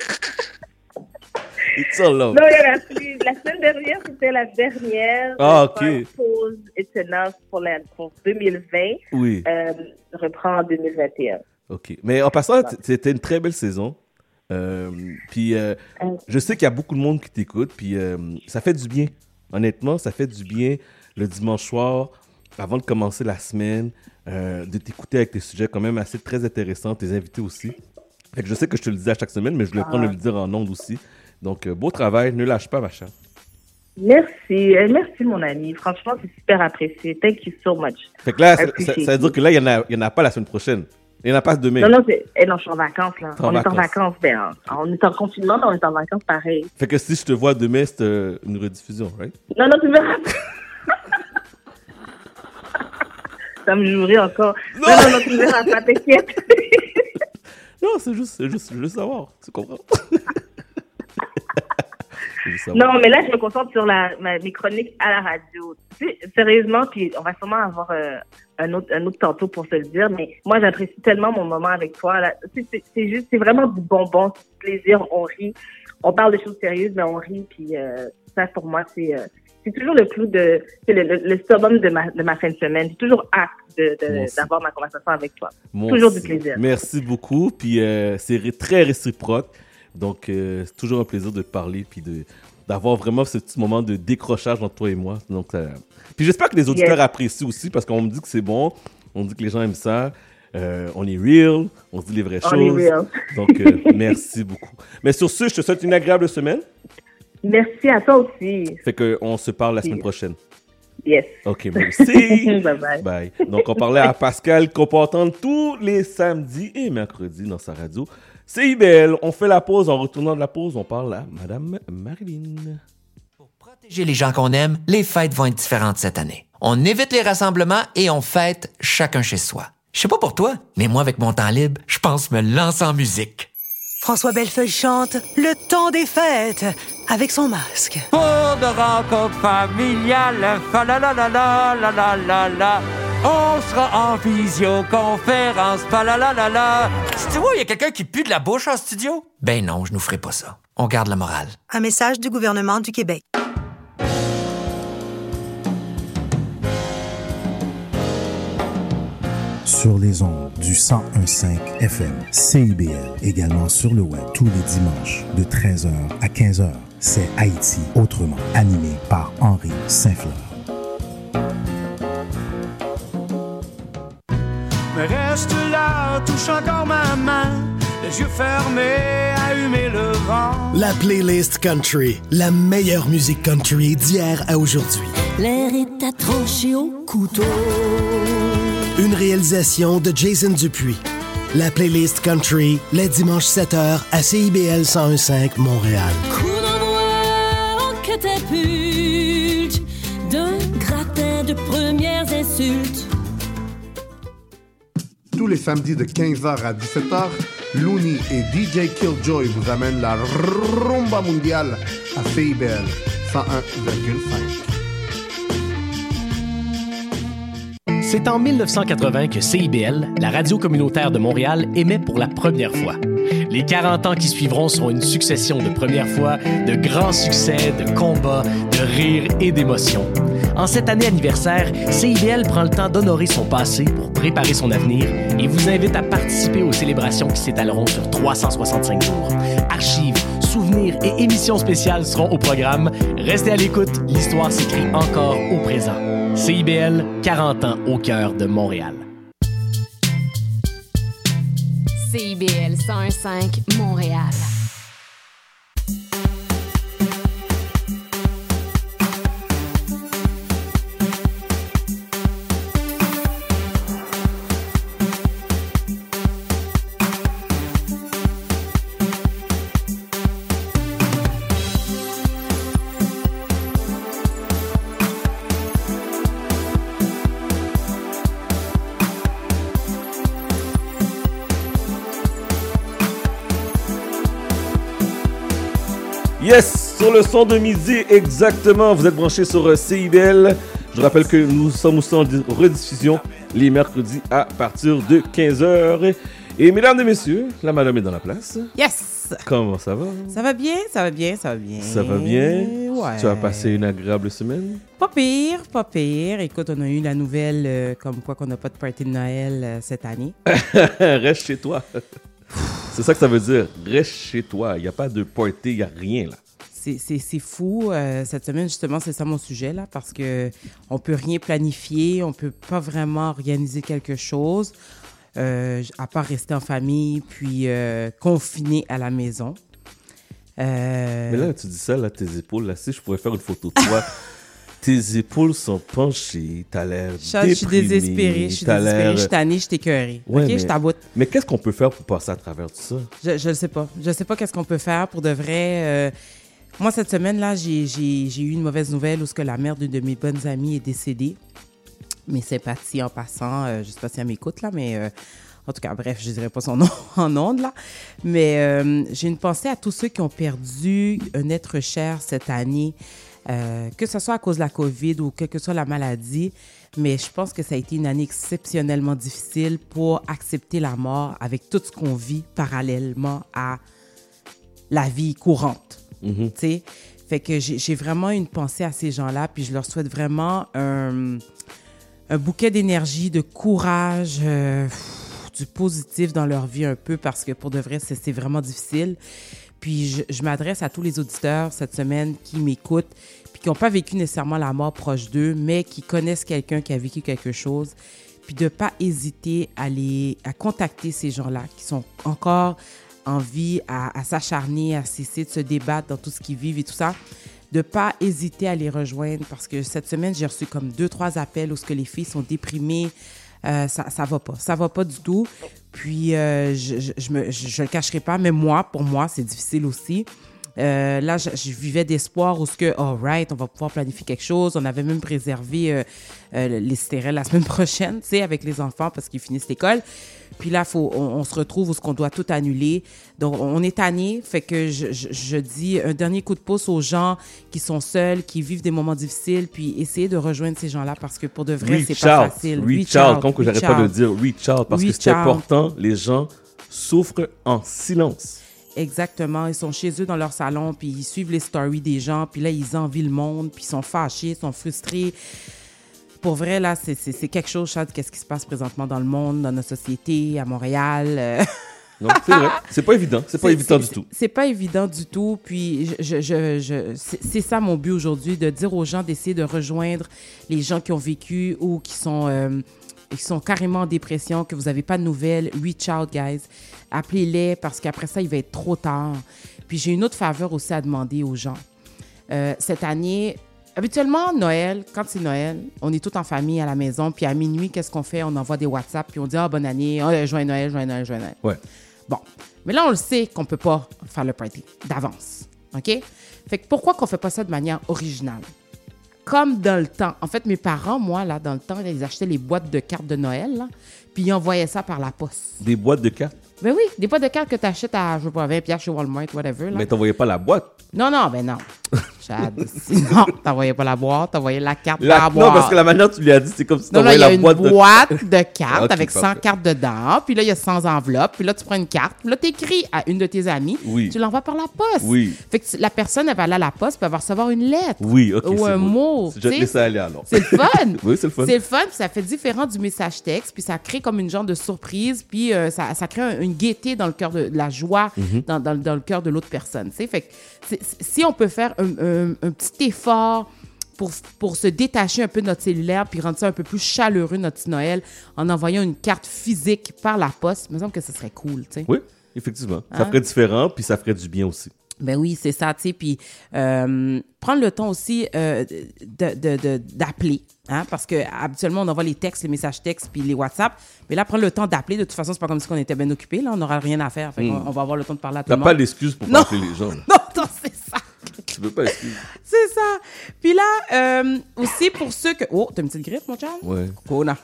It's all love. Non, il y en a plus. La semaine dernière, c'était la dernière. Pause It's Enough pour 2020. Oui. Reprend en 2021. OK. Mais en passant, c'était une très belle saison. Puis, je sais qu'il y a beaucoup de monde qui t'écoute. Puis, ça fait du bien. Honnêtement, ça fait du bien le dimanche soir, avant de commencer la semaine, de t'écouter avec tes sujets quand même assez très intéressants, tes invités aussi. Fait que je sais que je te le disais à chaque semaine, mais je voulais prendre le dire en ondes aussi. Donc, beau travail, ne lâche pas, ma chère. Merci, mon ami. Franchement, c'est super apprécié. Thank you so much. Fait que là, ça veut dire que là, il y en a pas la semaine prochaine. Il n'y en a pas demain. Non, je suis en vacances, là. On est en vacances, ben, on est en confinement, mais on est en vacances pareil. Fait que si je te vois demain, c'est une rediffusion, right? Non, tu verras. Ça me jouerait encore. Non, tu verras pas, t'inquiète. Non, c'est juste savoir. Tu comprends? Non, mais là, je me concentre sur mes chroniques à la radio. Sérieusement, puis on va sûrement avoir un autre tantôt pour se le dire, mais moi, j'apprécie tellement mon moment avec toi. Là. C'est vraiment du bonbon, c'est du plaisir, on rit. On parle de choses sérieuses, mais on rit, puis ça, pour moi, c'est toujours le clou c'est le summum de ma fin de semaine. J'ai toujours hâte d'avoir ma conversation avec toi. Toujours du plaisir. Merci beaucoup, puis c'est très réciproque. Donc, c'est toujours un plaisir de te parler puis d'avoir vraiment ce petit moment de décrochage entre toi et moi. Donc, puis j'espère que les auditeurs apprécient aussi parce qu'on me dit que c'est bon, on dit que les gens aiment ça. On est real, on se dit les vraies choses. Est real. Donc, merci beaucoup. Mais sur ce, je te souhaite une agréable semaine. Merci à toi aussi. Fait qu'on se parle la semaine prochaine. Yes. OK, merci. Bye. Bye. Donc, on parlait à Pascal qu'on peut entendre tous les samedis et mercredis dans sa radio. C'est IBL. On fait la pause. En retournant de la pause, on parle à Madame Marilyn. Pour protéger les gens qu'on aime, les fêtes vont être différentes cette année. On évite les rassemblements et on fête chacun chez soi. Je sais pas pour toi, mais moi, avec mon temps libre, je pense me lancer en musique. François Bellefeuille chante Le temps des fêtes avec son masque. Pour de rencontres familiales, fa la la la la la la la la. On sera en visioconférence, fa la la la la. Tu vois, il y a quelqu'un qui pue de la bouche en studio? Ben non, je nous ferai pas ça. On garde la morale. Un message du gouvernement du Québec. Sur les ondes du 101.5 FM, CIBL, également sur le web tous les dimanches de 13h à 15h. C'est Haïti autrement, animé par Henri Saint-Fleur. Mais reste là, touche encore ma main, les yeux fermés à humer le vent. La playlist country, la meilleure musique country d'hier à aujourd'hui. L'air est à trancher au couteau. Une réalisation de Jason Dupuis. La playlist country, les dimanches 7h à CIBL 101.5 Montréal. Coup d'envoi en catapulte d'un gratin de premières insultes. Tous les samedis de 15h à 17h, Looney et DJ Killjoy vous amènent la rumba mondiale à CIBL 101,5. C'est en 1980 que CIBL, la radio communautaire de Montréal, émet pour la première fois. Les 40 ans qui suivront seront une succession de premières fois, de grands succès, de combats, de rires et d'émotions. En cette année anniversaire, CIBL prend le temps d'honorer son passé pour préparer son avenir et vous invite à participer aux célébrations qui s'étaleront sur 365 jours. Archives, souvenirs et émissions spéciales seront au programme. Restez à l'écoute, l'histoire s'écrit encore au présent. CIBL, 40 ans au cœur de Montréal. CIBL 101.5 Montréal. Yes, sur le son de midi, exactement. Vous êtes branchés sur CIBL. Je rappelle que nous sommes aussi en rediffusion les mercredis à partir de 15h. Et mesdames et messieurs, la madame est dans la place. Yes! Comment ça va? Ça va bien, ça va bien, ça va bien. Ça va bien? Ouais. Tu as passé une agréable semaine? Pas pire, pas pire. Écoute, on a eu la nouvelle comme quoi qu'on n'a pas de party de Noël cette année. Reste chez toi. C'est ça que ça veut dire. Reste chez toi. Il n'y a pas de party, il n'y a rien là. C'est fou. Cette semaine, justement, c'est ça mon sujet, là, parce que on peut rien planifier, on peut pas vraiment organiser quelque chose, à part rester en famille, puis confiné à la maison. Mais là, tu dis ça, là, tes épaules, là, si je pourrais faire une photo de toi, tes épaules sont penchées, t'as l'air déprimé. Je suis désespérée, je suis tannée, je suis écœurée. Ouais, OK, mais, je t'aboute. Mais qu'est-ce qu'on peut faire pour passer à travers tout ça? Je ne sais pas. Je sais pas qu'est-ce qu'on peut faire pour de vrai. Moi, cette semaine-là, j'ai eu une mauvaise nouvelle où la mère d'une de mes bonnes amies est décédée. Mes sympathies en passant, je ne sais pas si elle m'écoute, là, mais en tout cas, bref, je ne dirai pas son nom en ondes, là. Mais j'ai une pensée à tous ceux qui ont perdu un être cher cette année, que ce soit à cause de la COVID ou quelle que soit la maladie. Mais je pense que ça a été une année exceptionnellement difficile pour accepter la mort avec tout ce qu'on vit parallèlement à la vie courante. Tu sais, fait que j'ai vraiment une pensée à ces gens-là, puis je leur souhaite vraiment un bouquet d'énergie, de courage, du positif dans leur vie un peu, parce que pour de vrai, c'est vraiment difficile. Puis je m'adresse à tous les auditeurs cette semaine qui m'écoutent, puis qui n'ont pas vécu nécessairement la mort proche d'eux, mais qui connaissent quelqu'un qui a vécu quelque chose, puis de ne pas hésiter à contacter ces gens-là qui sont encore en vie, à s'acharner, à cesser de se débattre dans tout ce qu'ils vivent et tout ça, de ne pas hésiter à les rejoindre, parce que cette semaine, j'ai reçu comme 2-3 appels où les filles sont déprimées. Ça va pas du tout. Puis, je le cacherai pas, mais pour moi, c'est difficile aussi. Là, je vivais d'espoir où all right, on va pouvoir planifier quelque chose. On avait même préservé les stérelles la semaine prochaine, tu sais, avec les enfants parce qu'ils finissent l'école. Puis là, on se retrouve où ce qu'on doit tout annuler. Donc, on est tanné. Fait que je dis un dernier coup de pouce aux gens qui sont seuls, qui vivent des moments difficiles, puis essayez de rejoindre ces gens-là parce que pour de vrai, c'est pas facile. Reach out, comme que j'arrête pas de dire, reach out, parce que c'est important. Les gens souffrent en silence. Exactement. Ils sont chez eux dans leur salon, puis ils suivent les stories des gens, puis là, ils envient le monde, puis ils sont fâchés, ils sont frustrés. Pour vrai, là, c'est quelque chose, Chad, qu'est-ce qui se passe présentement dans le monde, dans notre société, à Montréal. Non, c'est vrai. C'est pas évident. C'est pas évident du tout. C'est pas évident du tout. Puis, c'est ça mon but aujourd'hui, de dire aux gens d'essayer de rejoindre les gens qui ont vécu ou qui sont carrément en dépression, que vous n'avez pas de nouvelles. Reach out, guys. Appelez-les parce qu'après ça, il va être trop tard. Puis, j'ai une autre faveur aussi à demander aux gens. Cette année, habituellement, Noël, quand c'est Noël, on est tous en famille à la maison. Puis, à minuit, qu'est-ce qu'on fait? On envoie des WhatsApp. Puis, on dit « Ah, bonne année. Joyeux Noël, joyeux Noël, joyeux Noël. » Ouais. Bon. Mais là, on le sait qu'on ne peut pas faire le party d'avance. OK? Fait que pourquoi qu'on ne fait pas ça de manière originale? Comme dans le temps. En fait, mes parents, moi, là, dans le temps, ils achetaient les boîtes de cartes de Noël, là, puis ils envoyaient ça par la poste. Des boîtes de cartes? Ben oui, des boîtes de cartes que tu achètes à, je sais pas, 20$ chez Walmart, whatever. Là. Mais t'envoyais pas la boîte? Non, ben non. Sinon, t'envoyais pas la boîte, t'envoyais la carte dans la boîte. Non, parce que la manière dont tu lui as dit, c'est comme si t'envoyais la boîte. Non, là, il y a une boîte de cartes avec 100 cartes dedans, puis là, il y a 100 enveloppes, puis là, tu prends une carte, puis là, t'écris à une de tes amies, tu l'envoies par la poste. Oui. Fait que la personne, elle va aller à la poste, puis elle va recevoir une lettre. Oui, OK, ou un mot. Je te laisse aller alors. C'est le fun. Oui, c'est le fun. C'est le fun, puis ça fait différent du message texte, puis ça crée comme une genre de surprise, puis ça crée une gaieté dans le cœur de la joie, dans le cœur de l'autre personne. T'sais? Fait que si on peut faire un petit effort pour se détacher un peu de notre cellulaire puis rendre ça un peu plus chaleureux, notre petit Noël, en envoyant une carte physique par la poste, il me semble que ce serait cool. T'sais? Oui, effectivement. Ça ferait différent, puis ça ferait du bien aussi. Ben oui, c'est ça, tu sais, puis prendre le temps aussi d'appeler, hein, parce que habituellement on envoie les textes, les messages textes, puis les WhatsApp, mais là, prendre le temps d'appeler, de toute façon, c'est pas comme si on était bien occupé, là, on n'aura rien à faire, fait on va avoir le temps de parler à tout le monde. T'as pas d'excuses pour appeler les gens. Non, c'est ça. Tu veux pas d'excuses. C'est ça. Puis là, aussi pour ceux que... Oh, t'as une petite griffe, mon chum? Ouais. Kona.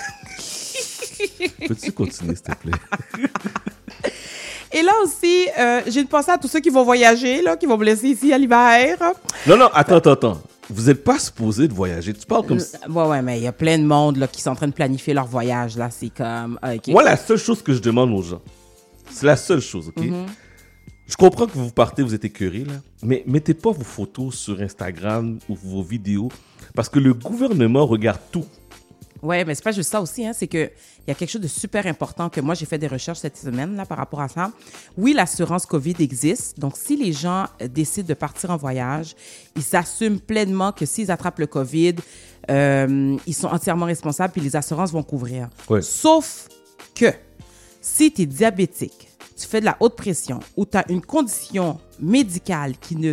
Peux-tu continuer, s'il te plaît? Et là aussi, j'ai une pensée à tous ceux qui vont voyager, là, qui vont me laisser ici à l'hiver. Non, attends. Vous n'êtes pas supposé de voyager. Tu parles comme ça. Ouais, mais il y a plein de monde là, qui sont en train de planifier leur voyage. Là, c'est comme... Okay. Moi, la seule chose que je demande aux gens, c'est la seule chose, OK? Je comprends que vous partez, vous êtes écœurés, là, mais mettez pas vos photos sur Instagram ou vos vidéos, parce que le gouvernement regarde tout. Oui, mais c'est pas juste ça aussi, hein, c'est qu'il y a quelque chose de super important que moi, j'ai fait des recherches cette semaine là, par rapport à ça. Oui, l'assurance COVID existe. Donc, si les gens décident de partir en voyage, ils s'assument pleinement que s'ils attrapent le COVID, ils sont entièrement responsables puis les assurances vont couvrir. Ouais. Sauf que si tu es diabétique, tu fais de la haute pression ou tu as une condition médicale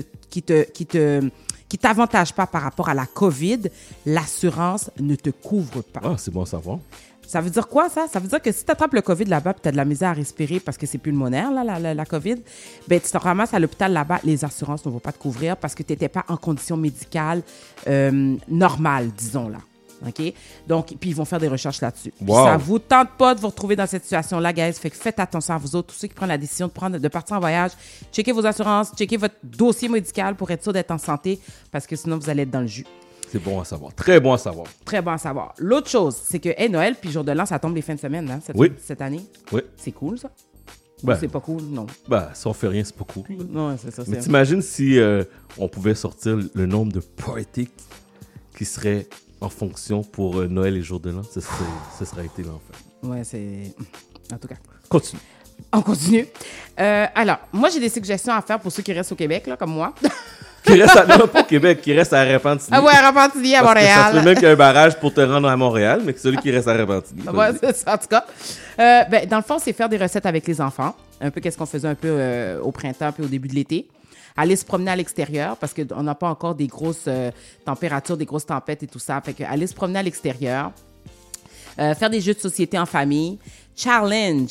qui t'avantage pas par rapport à la COVID, l'assurance ne te couvre pas. Ah, c'est bon à savoir. Ça veut dire quoi, ça? Ça veut dire que si tu attrapes le COVID là-bas et tu as de la misère à respirer parce que c'est pulmonaire, là, la COVID, ben, tu te ramasses à l'hôpital là-bas, les assurances ne vont pas te couvrir parce que tu n'étais pas en condition médicale normale, disons là. OK? Donc, puis ils vont faire des recherches là-dessus. Wow. Ça vous tente pas de vous retrouver dans cette situation-là, guys. Fait que faites attention à vous autres, tous ceux qui prennent la décision de partir en voyage. Checkez vos assurances, checkez votre dossier médical pour être sûr d'être en santé parce que sinon, vous allez être dans le jus. C'est bon à savoir. Très bon à savoir. Très bon à savoir. L'autre chose, c'est que Noël puis jour de l'an, ça tombe les fins de semaine, hein, cette année. Oui. C'est cool, ça? Ben, c'est pas cool, non. Ben, si on fait rien, c'est pas cool. Non, c'est ça. Mais t'imagines si on pouvait sortir le nombre de parties qui seraient en fonction pour Noël et jour de l'an, ce serait été l'enfer. Ouais, c'est... En tout cas. Continue. On continue. Alors, moi, j'ai des suggestions à faire pour ceux qui restent au Québec, là, comme moi. Qui reste non, pas au Québec, qui reste à Repentigny. Ah ouais, à Repentigny, à Montréal. Ça se peut même qu'il y a un barrage pour te rendre à Montréal, mais que celui qui reste à Repentigny. Ouais, c'est ça, en tout cas. Ben, dans le fond, c'est faire des recettes avec les enfants. Un peu qu'est-ce qu'on faisait un peu au printemps puis au début de l'été. Aller se promener à l'extérieur parce qu'on n'a pas encore des grosses températures, des grosses tempêtes et tout ça. Fait que aller se promener à l'extérieur. Faire des jeux de société en famille. Challenge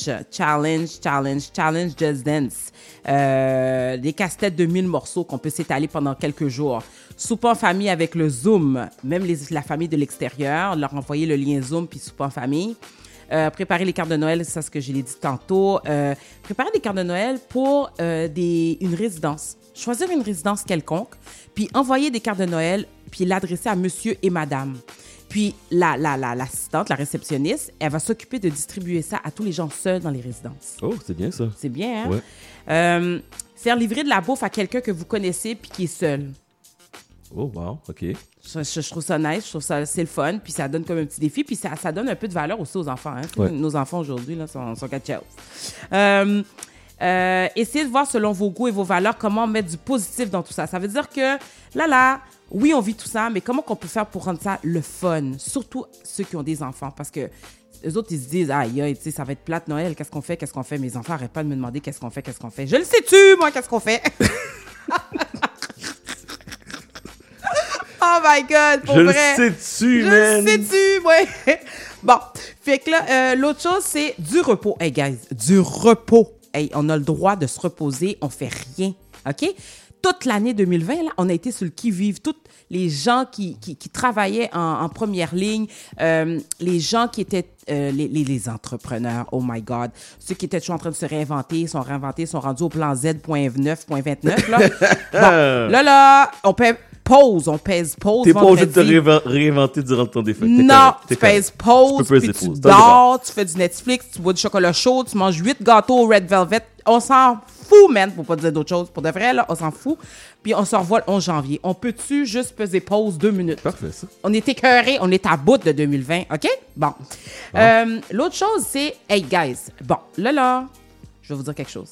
Just Dance. Des casse-têtes de 1000 morceaux qu'on peut s'étaler pendant quelques jours. Souper en famille avec le Zoom. Même la famille de l'extérieur. Leur envoyer le lien Zoom puis souper en famille. préparer les cartes de Noël, c'est ça ce que je l'ai dit tantôt. Préparer des cartes de Noël pour une résidence. Choisir une résidence quelconque, puis envoyer des cartes de Noël, puis l'adresser à monsieur et madame. Puis l'assistante, la réceptionniste, elle va s'occuper de distribuer ça à tous les gens seuls dans les résidences. Oh, c'est bien ça. C'est bien, hein? Ouais. Faire livrer de la bouffe à quelqu'un que vous connaissez puis qui est seul. Oh, wow, OK. Je trouve ça nice, je trouve ça c'est le fun, puis ça donne comme un petit défi, puis ça donne un peu de valeur aussi aux enfants. Hein? Ouais. Nos enfants aujourd'hui là, sont quelque chose. Essayez de voir selon vos goûts et vos valeurs comment mettre du positif dans tout ça. Ça veut dire que oui, on vit tout ça, mais comment qu'on peut faire pour rendre ça le fun? Surtout ceux qui ont des enfants, parce que les autres, ils se disent, aïe, tu sais, ça va être plate Noël, qu'est-ce qu'on fait? Mes enfants n'arrêtent pas de me demander qu'est-ce qu'on fait? Je le sais-tu, moi, qu'est-ce qu'on fait? Oh my God, pour vrai. Je le sais-tu, man. Je le sais-tu, ouais. Bon, fait que là, l'autre chose, c'est du repos. Hey, guys, du repos. Hey, on a le droit de se reposer, on fait rien, OK? Toute l'année 2020, là, on a été sur le qui-vive. Tous les gens qui travaillaient en première ligne, les gens qui étaient les entrepreneurs, oh my God, ceux qui étaient toujours en train de se réinventer, sont rendus au plan Z.9.29. Là. Bon, là, on pèse pause. T'es pas obligé de te réinventer durant ton défaite. Non, tu pèses pause, puis tu dors, tu fais du Netflix, tu bois du chocolat chaud, tu manges 8 gâteaux au Red Velvet. On s'en fout, man, pour pas dire d'autre chose. Pour de vrai, là, on s'en fout. Puis on se revoit le 11 janvier. On peut-tu juste peser pause 2 minutes? Parfait, ça. On est écœurés, on est à bout de 2020, OK? Bon. L'autre chose, c'est, hey, guys, bon, là, je vais vous dire quelque chose.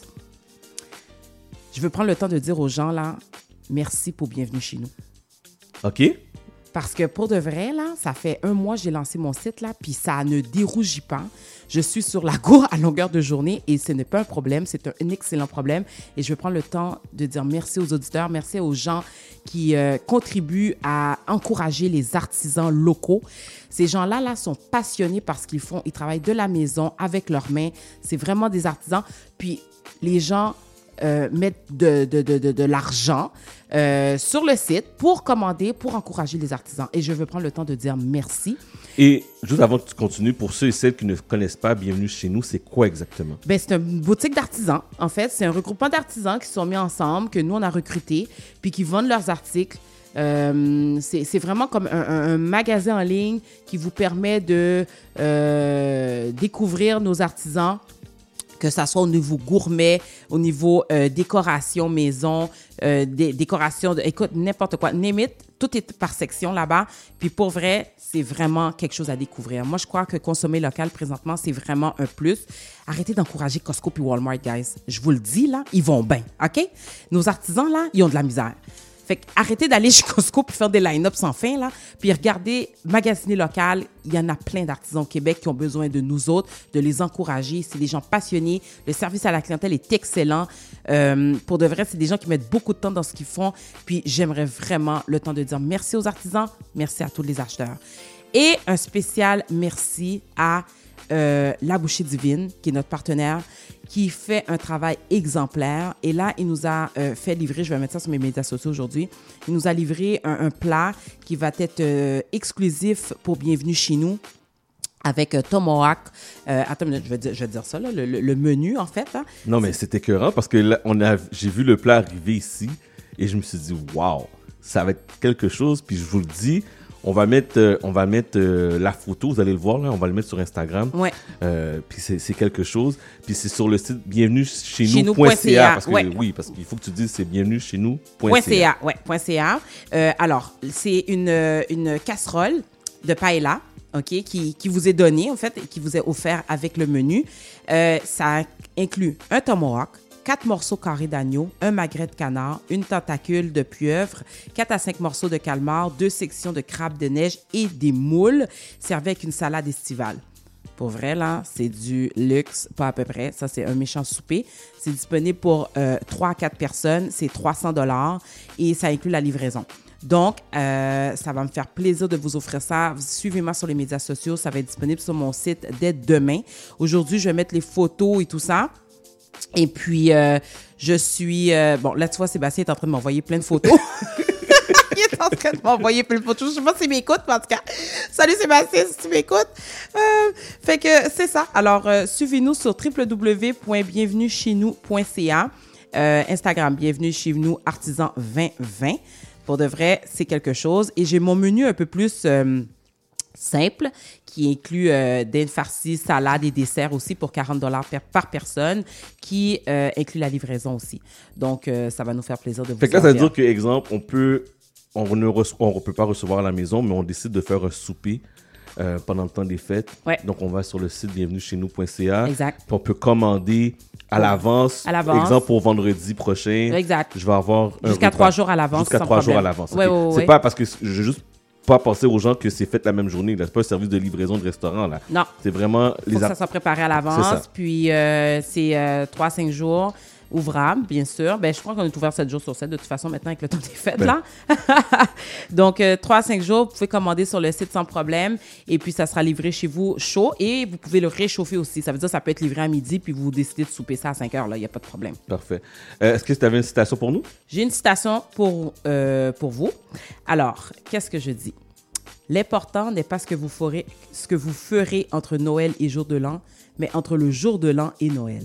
Je veux prendre le temps de dire aux gens, là, merci pour bienvenue chez nous. OK. Parce que pour de vrai, là, ça fait 1 mois que j'ai lancé mon site, là, puis ça ne dérougit pas. Je suis sur la gourde à longueur de journée et ce n'est pas un problème, c'est un excellent problème. Et je vais prendre le temps de dire merci aux auditeurs, merci aux gens qui contribuent à encourager les artisans locaux. Ces gens-là, là, sont passionnés par ce qu'ils font. Ils travaillent de la maison, avec leurs mains. C'est vraiment des artisans. Puis les gens mettre de l'argent sur le site pour commander, pour encourager les artisans. Et je veux prendre le temps de dire merci. Et juste avant que tu continues, pour ceux et celles qui ne connaissent pas Bienvenue chez nous, c'est quoi exactement? Ben, c'est une boutique d'artisans. En fait, c'est un regroupement d'artisans qui se sont mis ensemble, que nous, on a recrutés, puis qui vendent leurs articles. C'est vraiment comme un magasin en ligne qui vous permet de découvrir nos artisans, que ça soit au niveau gourmet, au niveau décoration maison, décoration, écoute, n'importe quoi, name it, tout est par section là-bas. Puis pour vrai, c'est vraiment quelque chose à découvrir. Moi, je crois que consommer local présentement, c'est vraiment un plus. Arrêtez d'encourager Costco puis Walmart, guys. Je vous le dis, là, ils vont bien, OK? Nos artisans, là, ils ont de la misère. Fait que arrêtez d'aller chez Costco puis faire des line-up sans fin, là. Puis regardez, magasiner local, il y en a plein d'artisans au Québec qui ont besoin de nous autres, de les encourager. C'est des gens passionnés. Le service à la clientèle est excellent. Pour de vrai, c'est des gens qui mettent beaucoup de temps dans ce qu'ils font. Puis j'aimerais vraiment le temps de dire merci aux artisans, merci à tous les acheteurs. Et un spécial merci à La Bouchée Divine, qui est notre partenaire, qui fait un travail exemplaire. Et là, il nous a fait livrer, je vais mettre ça sur mes médias sociaux aujourd'hui, il nous a livré un plat qui va être exclusif pour Bienvenue chez nous, avec tomahawk. Attends une minute, je vais dire ça, là, le menu, en fait. Hein. Non, mais c'est écœurant parce que là, j'ai vu le plat arriver ici et je me suis dit, waouh, ça va être quelque chose. Puis je vous le dis, on va mettre la photo, vous allez le voir, là, on va le mettre sur Instagram. Ouais. Puis c'est quelque chose. Puis c'est sur le site bienvenuecheznous.ca. Parce que oui, parce qu'il faut que tu dises c'est bienvenuecheznous.ca. .ca. Alors, c'est une casserole de paella, OK, qui vous est donnée, en fait, et qui vous est offert avec le menu. Ça inclut un tomahawk, 4 morceaux carrés d'agneau, un magret de canard, une tentacule de pieuvre, 4 à 5 morceaux de calmar, 2 sections de crabe de neige et des moules, servis avec une salade estivale. Pour vrai, là, c'est du luxe, pas à peu près. Ça, c'est un méchant souper. C'est disponible pour 3 à 4 personnes. C'est $300 et ça inclut la livraison. Donc, ça va me faire plaisir de vous offrir ça. Suivez-moi sur les médias sociaux. Ça va être disponible sur mon site dès demain. Aujourd'hui, je vais mettre les photos et tout ça. Et puis, je suis... bon, là, tu vois, Sébastien est en train de m'envoyer plein de photos. Il est en en train de m'envoyer plein de photos. Je sais pas s'il m'écoute, mais en tout cas. Salut Sébastien, si tu m'écoutes. Fait que c'est ça. Alors, suivez-nous sur www.bienvenuechez-nous.ca. Instagram, bienvenue chez nous, artisan 2020. Pour de vrai, c'est quelque chose. Et j'ai mon menu un peu plus simple qui inclut des farcis, salades et desserts aussi pour $40 par personne, qui inclut la livraison aussi. Donc, ça va nous faire plaisir de vous Fait que là, ça veut dire que, exemple, on peut pas recevoir à la maison, mais on décide de faire un souper pendant le temps des fêtes. Ouais. Donc, on va sur le site bienvenuechez-nous.ca. Exact. Puis on peut commander à l'avance. Exemple, pour vendredi prochain. Exact. Je vais avoir jusqu'à 3 jours à l'avance. Jusqu'à 3 jours à l'avance. Okay. Ouais, c'est pas parce que je veux juste pas penser aux gens que c'est fait la même journée. Là. C'est pas un service de livraison de restaurant. Là. Non. C'est vraiment... Il faut que ça soit préparé à l'avance. Puis, c'est 3-5 jours ouvrables, bien sûr. Ben, je crois qu'on est ouvert 7 jours sur 7, de toute façon, maintenant, avec le temps des fêtes, là. Donc, 3-5 jours, vous pouvez commander sur le site sans problème. Et puis, ça sera livré chez vous chaud. Et vous pouvez le réchauffer aussi. Ça veut dire que ça peut être livré à midi, puis vous décidez de souper ça à 5 heures, là. Il n'y a pas de problème. Parfait. Est-ce que tu avais une citation pour nous? J'ai une citation pour vous. Alors, qu'est-ce que je dis? L'important n'est pas ce que vous ferez entre Noël et jour de l'an, mais entre le jour de l'an et Noël.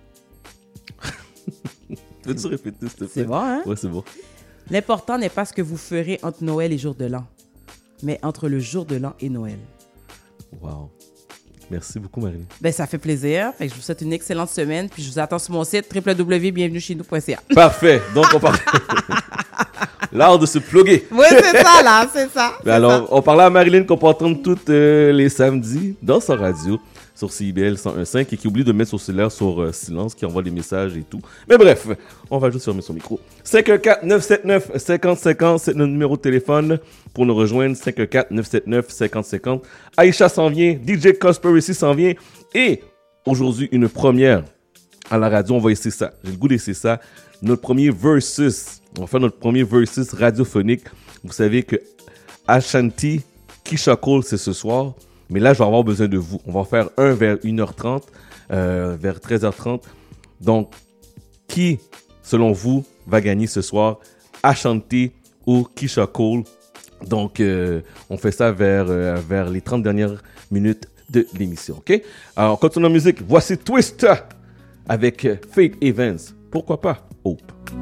Peux-tu répéter, s'il te plaît? C'est bon, hein? Oui, c'est bon. L'important n'est pas ce que vous ferez entre Noël et jour de l'an, mais entre le jour de l'an et Noël. Wow. Merci beaucoup, Marie. Ben, ça fait plaisir. Fait que je vous souhaite une excellente semaine. Puis je vous attends sur mon site www.bienvenuechez-nous.ca. Parfait. Donc, on parle... L'art de se plugger. Oui, c'est ça, là. C'est ça. Ben alors, on parlait à Marilyn qu'on peut entendre tous les samedis dans sa radio sur CIBL 101.5 et qui oublie de mettre son cellulaire sur silence, qui envoie des messages et tout. Mais bref, on va juste fermer son micro. 514-979-5050, c'est notre numéro de téléphone pour nous rejoindre. 514-979-5050. Aïcha s'en vient, DJ Conspiracy s'en vient. Et aujourd'hui, une première à la radio, on va essayer ça. J'ai le goût d'essayer ça. Notre premier versus. On va faire notre premier versus radiophonique. Vous savez que Ashanti, Keisha Cole, c'est ce soir. Mais là, je vais avoir besoin de vous. On va faire un vers 1h30, vers 13h30. Donc, qui, selon vous, va gagner ce soir? Ashanti ou Keisha Cole? Donc, on fait ça vers les 30 dernières minutes de l'émission. OK? Alors, on continue la musique. Voici Twist avec Faith Evans. Pourquoi pas Hope?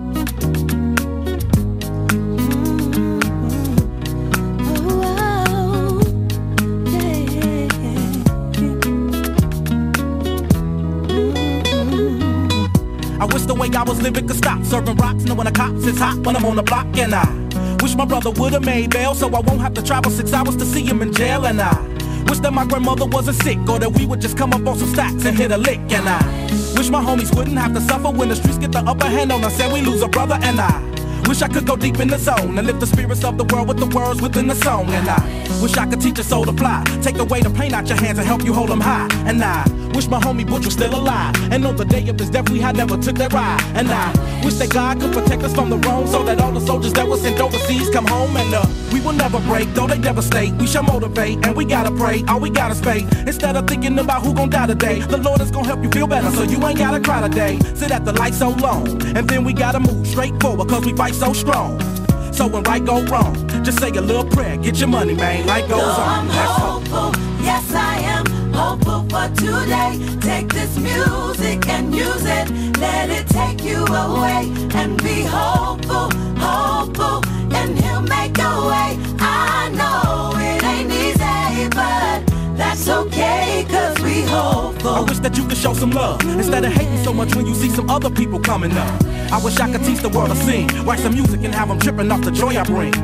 I wish the way I was living could stop serving rocks, knowing the cops is hot when I'm on the block. And I wish my brother would've made bail so I won't have to travel 6 hours to see him in jail. And I wish that my grandmother wasn't sick or that we would just come up on some stacks and hit a lick. And I wish my homies wouldn't have to suffer when the streets get the upper hand on us and we lose a brother. And I wish I could go deep in the zone and lift the spirits of the world with the words within the song. And I wish I could teach a soul to fly, take away the pain out your hands and help you hold them high. And I wish my homie Butch was still alive and on the day of his death we had never took that ride. And I wish that God could protect us from the wrong so that all the soldiers that were sent overseas come home. And we will never break, though they devastate. We shall motivate and we gotta pray, all we gotta spay. Instead of thinking about who gon' die today, the Lord is gon' help you feel better so you ain't gotta cry today. Sit at the light so long and then we gotta move straight forward cause we fight so strong. So when right go wrong, just say a little prayer, get your money, man, life goes on. I'm hopeful, yes I am hopeful for today. Take this music and use it, let it take you away. And be hopeful, hopeful, and he'll make a way. I know it ain't easy, but that's okay, cause we hopeful. I wish that you could show some love instead of hating so much when you see some other people coming up. I wish I could teach the world to sing, write some music and have them tripping off the joy I bring.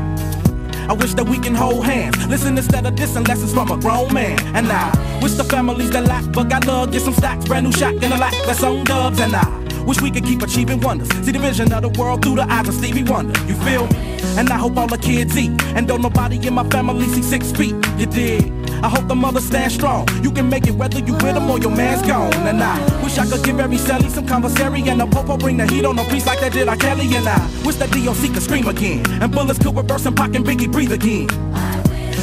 I wish that we can hold hands, listen instead of dissing lessons from a grown man. And I wish the families that lack but got love get some stacks, brand new shack in the lack that's on dubs. And I wish we could keep achieving wonders, see the vision of the world through the eyes of Stevie Wonder. You feel me? And I hope all the kids eat, and don't nobody in my family see 6 feet. You dig? I hope the mothers stand strong. You can make it whether you with them or your man's gone. And I wish I could give every celly some conversary and a popo bring the heat on a piece like that did R. Kelly. And I wish that DOC could scream again and bullets could reverse and Pac and Biggie breathe again.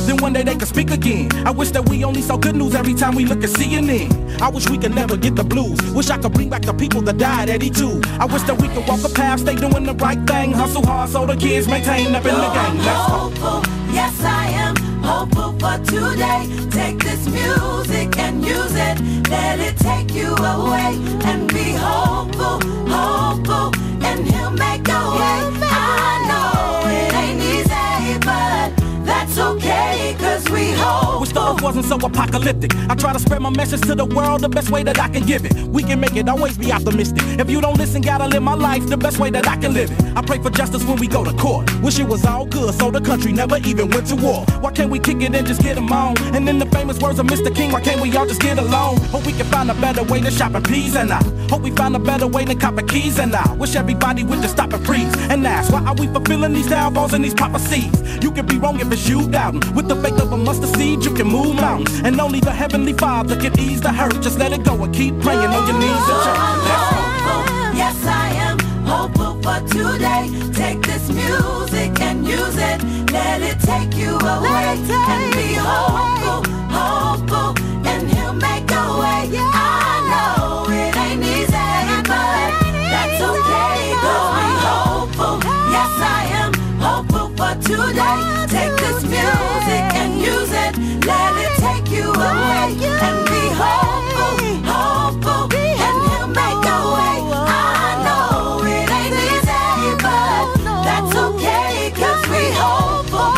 then one day they could speak again. I wish that we only saw good news every time we look at CNN. I wish we could never get the blues. Wish I could bring back the people that died at E2. I wish that we could walk a path, stay doing the right thing, hustle hard so the kids maintain up in the game. Let's go. Hopeful, yes I am hopeful for today. Take this music and use it. Let it take you away and be hopeful, hopeful, and he'll make a way. I know it ain't easy, but that's okay, cause we hope. Wish the earth wasn't so apocalyptic. I try to spread my message to the world the best way that I can give it. We can make it, always be optimistic. If you don't listen, gotta live my life the best way that I can live it. I pray for justice when we go to court. Wish it was all good so the country never even went to war. Why can't we kick it and just get them on? And in the famous words of Mr. King, why can't we all just get along? Hope we can find a better way to shop in peas and I hope we find a better way than copping keys and I wish everybody would just stop and freeze and ask, why are we fulfilling these downfalls and these prophecies? You can be wrong if it's you doubting. With the faith of a mustard seed, you can move mountains. And only the Heavenly Father can ease the hurt. Just let it go and keep praying on your knees and church. Let's go. Yes, I am hopeful for today. Take this music and use it. Let it take you away and be hopeful, hopeful, and he'll make a way. I know it ain't easy, but that's okay, cause we hopeful. Yes, I am hopeful for today. Take this music and use it. Let it take you away and be hopeful, hopeful, and he'll make a way. I know it ain't easy, but that's okay, cause we hopeful.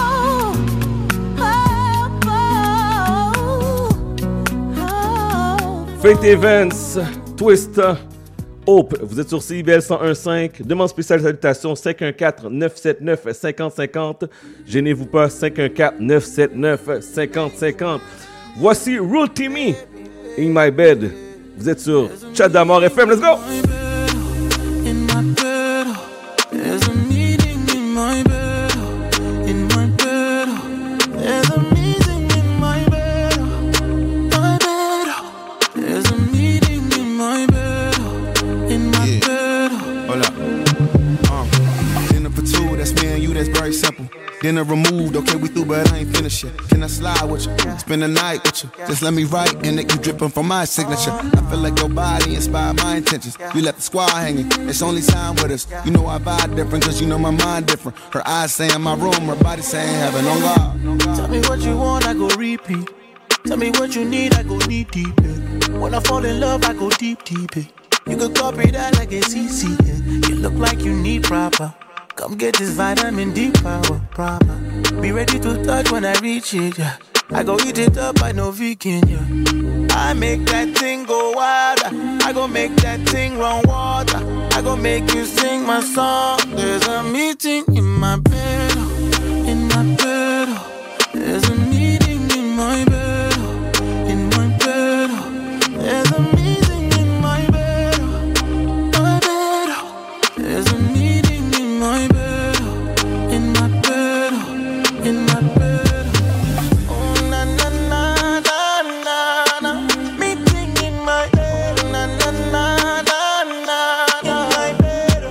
Faith Events, Twist, Hope. Vous êtes sur CIBL 101.5. Demande spéciale salutation 514-979-5050. Gênez-vous pas, 514-979-5050. Voici Rule Timmy, In My Bed. Vous êtes sur Chat d'Amour FM. Let's go! In my bed, there's a meeting in my bed. In my bed, there's a meeting in my bed. My bed, there's a meeting in my bed. In my bed. Hold up. Dinner for two, that's me and you, that's very simple. Dinner removed, okay, we through, but I ain't finished yet. Can I slide with you? Spend the night with you. Just let me write in it, you dripping from my signature. I feel like your body inspired my intentions. You left the squad hanging, it's only time with us. You know I vibe different, cause you know my mind different. Her eyes saying my room, her body saying heaven on God. Tell me what you want, I go repeat. Tell me what you need, I go deep, deep. When I fall in love, I go deep, deep. You could copy that like a CC. You look like you need proper. Come get this vitamin D power, proper. Be ready to touch when I reach it, yeah. I go eat it up, I know vegan, yeah. I make that thing go wild. I go make that thing run water. I go make you sing my song. There's a meeting in my bed. In my bed. There's a meeting in my bed. In my bed. There's a meeting in my bed. My bed. There's a meeting in my bed. In my bed. In my bed. Oh na na na na na na. Meeting in my bed. Na na na na na. In my bed.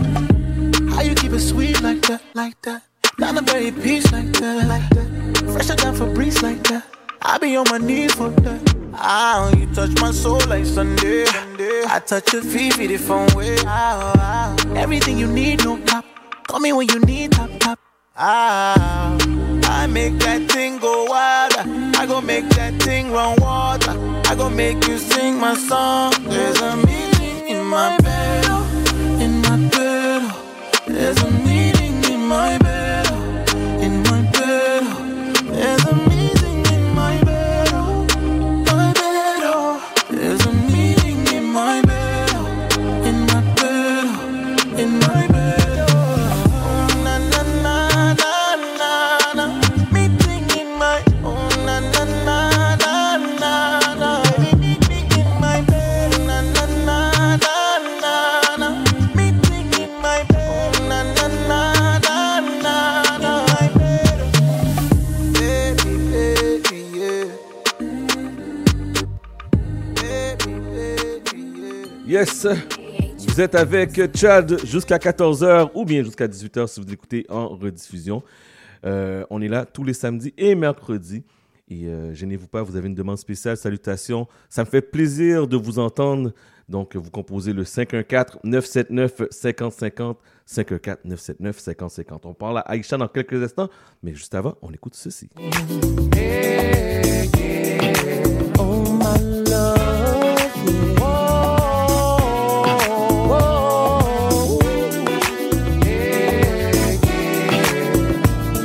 How you keep it sweet like that? Like that. Down the very peace like that. Like that. Fresher than Febreze like that. I be on my knees for that. Ah, you touch my soul like Sunday. I touch your feet the phone way. Everything you need, no cap. Call me when you need top top. Ah, I make that thing go wild. I go make that thing run water. I go make you sing my song. There's a meeting in my bed. In my bed. There's a meeting in my bed. In my bed. There's a meeting in my bed. My bed. There's a meeting in my bed. In my bed. In my bed. Oh na na na na na na. Meeting in my. Oh na na na na na na. Meeting in my bed. Na na na na na na. Meeting in my bed. Oh na na na na na na. My bed. Baby, baby, yeah. Baby, baby, yeah. Yes, vous êtes avec Chad jusqu'à 14h ou bien jusqu'à 18h si vous l'écoutez en rediffusion. On est là tous les samedis et mercredis. Et gênez-vous pas, vous avez une demande spéciale, salutations. Ça me fait plaisir de vous entendre. Donc, vous composez le 514-979-5050, 514-979-5050. On parle à Aïcha dans quelques instants, mais juste avant, on écoute ceci. Yeah, yeah. Oh, my love. Whoa. Yeah, yeah.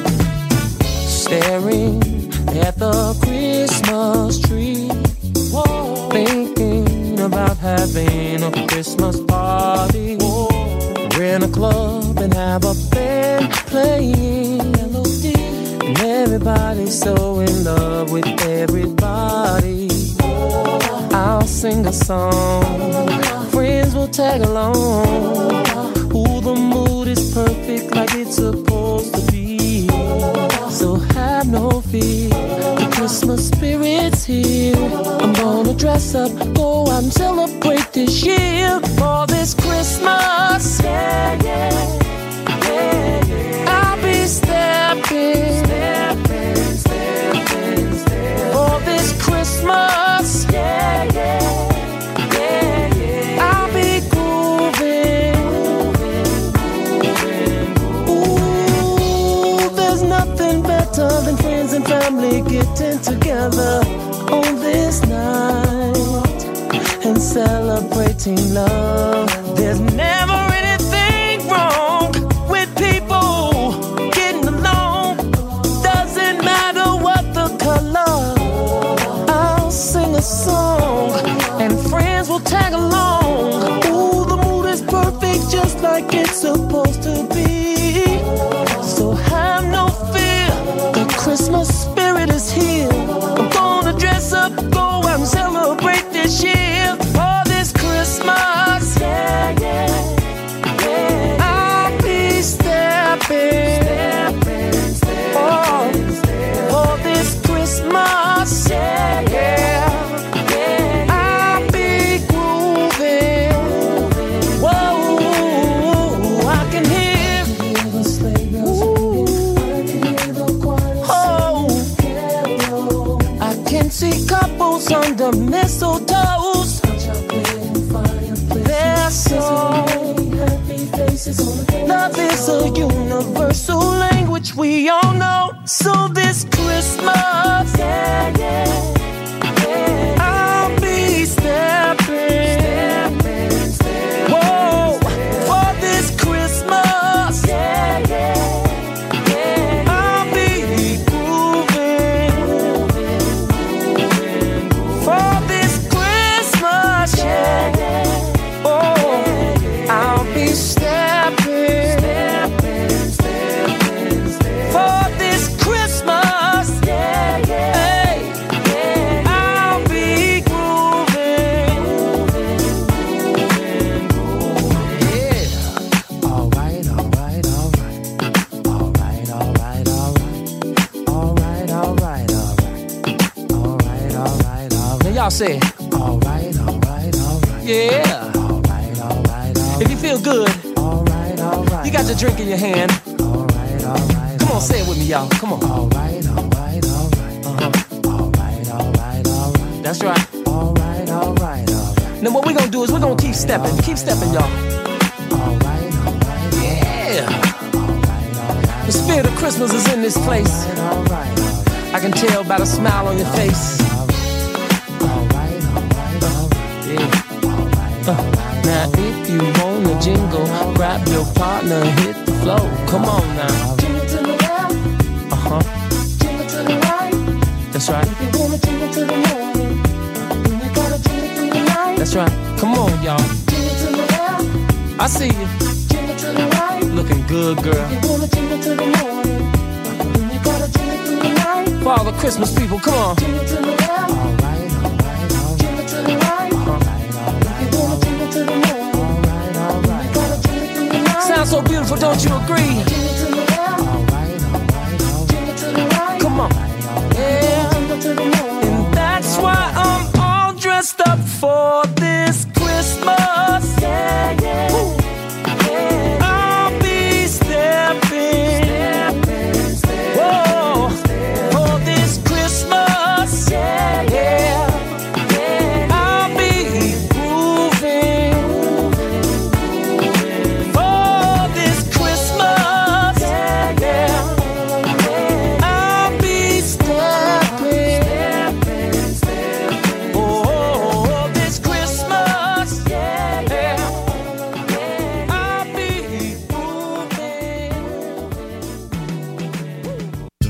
Staring at the Christmas tree. Whoa. Thinking about having a Christmas party. Whoa. We're in a club and have a band playing melody, and everybody's so in love with everybody. Whoa. I'll sing a song, friends will tag along. Ooh, the mood is perfect like it's supposed to be. So have no fear, the Christmas spirit's here. I'm gonna dress up, go out and celebrate this year. For this Christmas, yeah, yeah, yeah, yeah. I'll be stepping, stepping, stepping, stepping. For this Christmas, yeah, yeah, yeah, yeah. I'll be grooving, grooving, grooving. Ooh, there's nothing better than friends and family getting together on this night and celebrating love. There's never anything wrong with people getting along. Doesn't matter what the color. I'll sing a song and friends will tag along. Ooh, the mood is perfect just like it's supposed to be. So have no fear, the Christmas spirit is here. I'm gonna dress up, go out and celebrate this year. For this Christmas, yeah, yeah, yeah. I'll be stepping, stepping, stepping, oh, stepping. For this Christmas, yeah, yeah, yeah. I'll be grooving. Whoa, I can hear the sleigh bells. Oh, I can see couples under mistletoes. They're so love is a universal language we all know. So this Christmas, yeah, yeah, yeah, I'll be stepping, stepping, stepping. Whoa, for this Christmas, yeah, yeah, yeah, I'll be grooving, grooving, grooving. For this Christmas, yeah, yeah. I'll be stepping, stepping, stepping, stepping. For this Christmas, yeah, yeah, hey, yeah. I'll be grooving, grooving, grooving, yeah. All right, all right, all right, all right, all right, all right, all right, all right, all right, all right, all right, all right. Now y'all say, all right, all right, all right, yeah. If you feel good, all right, you got your drink in your hand. All right, come on, say it with me, y'all. Come on. All right, all right, all right. All right, all right, all right. That's right. All right, all right, all right. Now what we're gonna do is we're gonna keep stepping, y'all. All right, yeah. The spirit of Christmas is in this place. All right. I can tell by the smile on your face. All right, yeah. Now if you wanna jingle, grab your partner and hit the flow. Come on now. Jingle to the left. Jingle to the right. That's right. If you wanna jingle to the morning, then you gotta jingle through the night. That's right. Come on, y'all. Jingle to the left. I see you. Jingle to the right. Looking good, girl. If you wanna jingle to the morning, then you gotta jingle through the night. For all the Christmas people, come on. Jingle to the left. All right, all right, all right. Jingle to the right. Sounds so beautiful, don't you agree? Come on, yeah. And that's why I'm all dressed up for this Christmas. Yeah, yeah. I'll be stepping, stepping, stepping.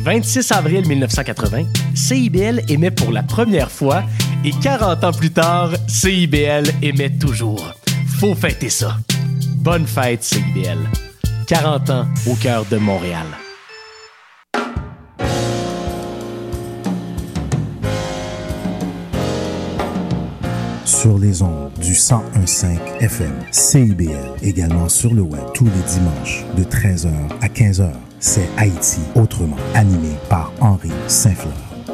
26 avril 1980, CIBL émet pour la première fois et 40 ans plus tard, CIBL émet toujours. Faut fêter ça. Bonne fête, CIBL. 40 ans au cœur de Montréal. Sur les ondes du 101.5 FM, CIBL, également sur le web tous les dimanches de 13h à 15h. C'est Haïti autrement, animé par Henri Saint-Fleur.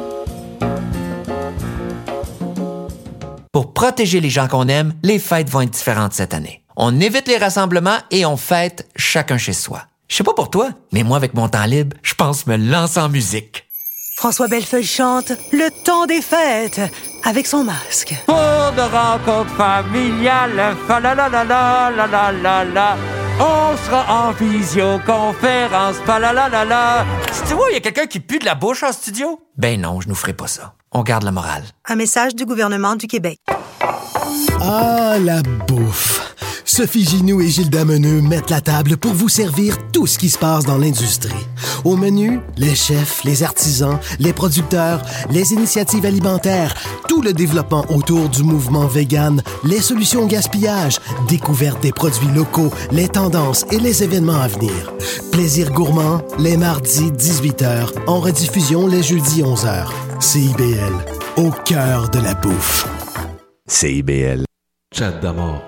Pour protéger les gens qu'on aime, les fêtes vont être différentes cette année. On évite les rassemblements et on fête chacun chez soi. Je sais pas pour toi, mais moi, avec mon temps libre, je pense me lancer en musique. François Bellefeuille chante Le temps des fêtes avec son masque. Pour de rencontres familiales, fa la la la la la la la la. On sera en visioconférence, fa la la la la. Tu vois, il y a quelqu'un qui pue de la bouche en studio? Ben non, je nous ferai pas ça. On garde la morale. Un message du gouvernement du Québec. Ah, la bouffe! Sophie Ginoux et Gilles Dameneux mettent la table pour vous servir tout ce qui se passe dans l'industrie. Au menu, les chefs, les artisans, les producteurs, les initiatives alimentaires, tout le développement autour du mouvement vegan, les solutions au gaspillage, découverte des produits locaux, les tendances et les événements à venir. Plaisir gourmand, les mardis 18h, en rediffusion les jeudis 11h. CIBL, au cœur de la bouffe. CIBL. Chat d'amour.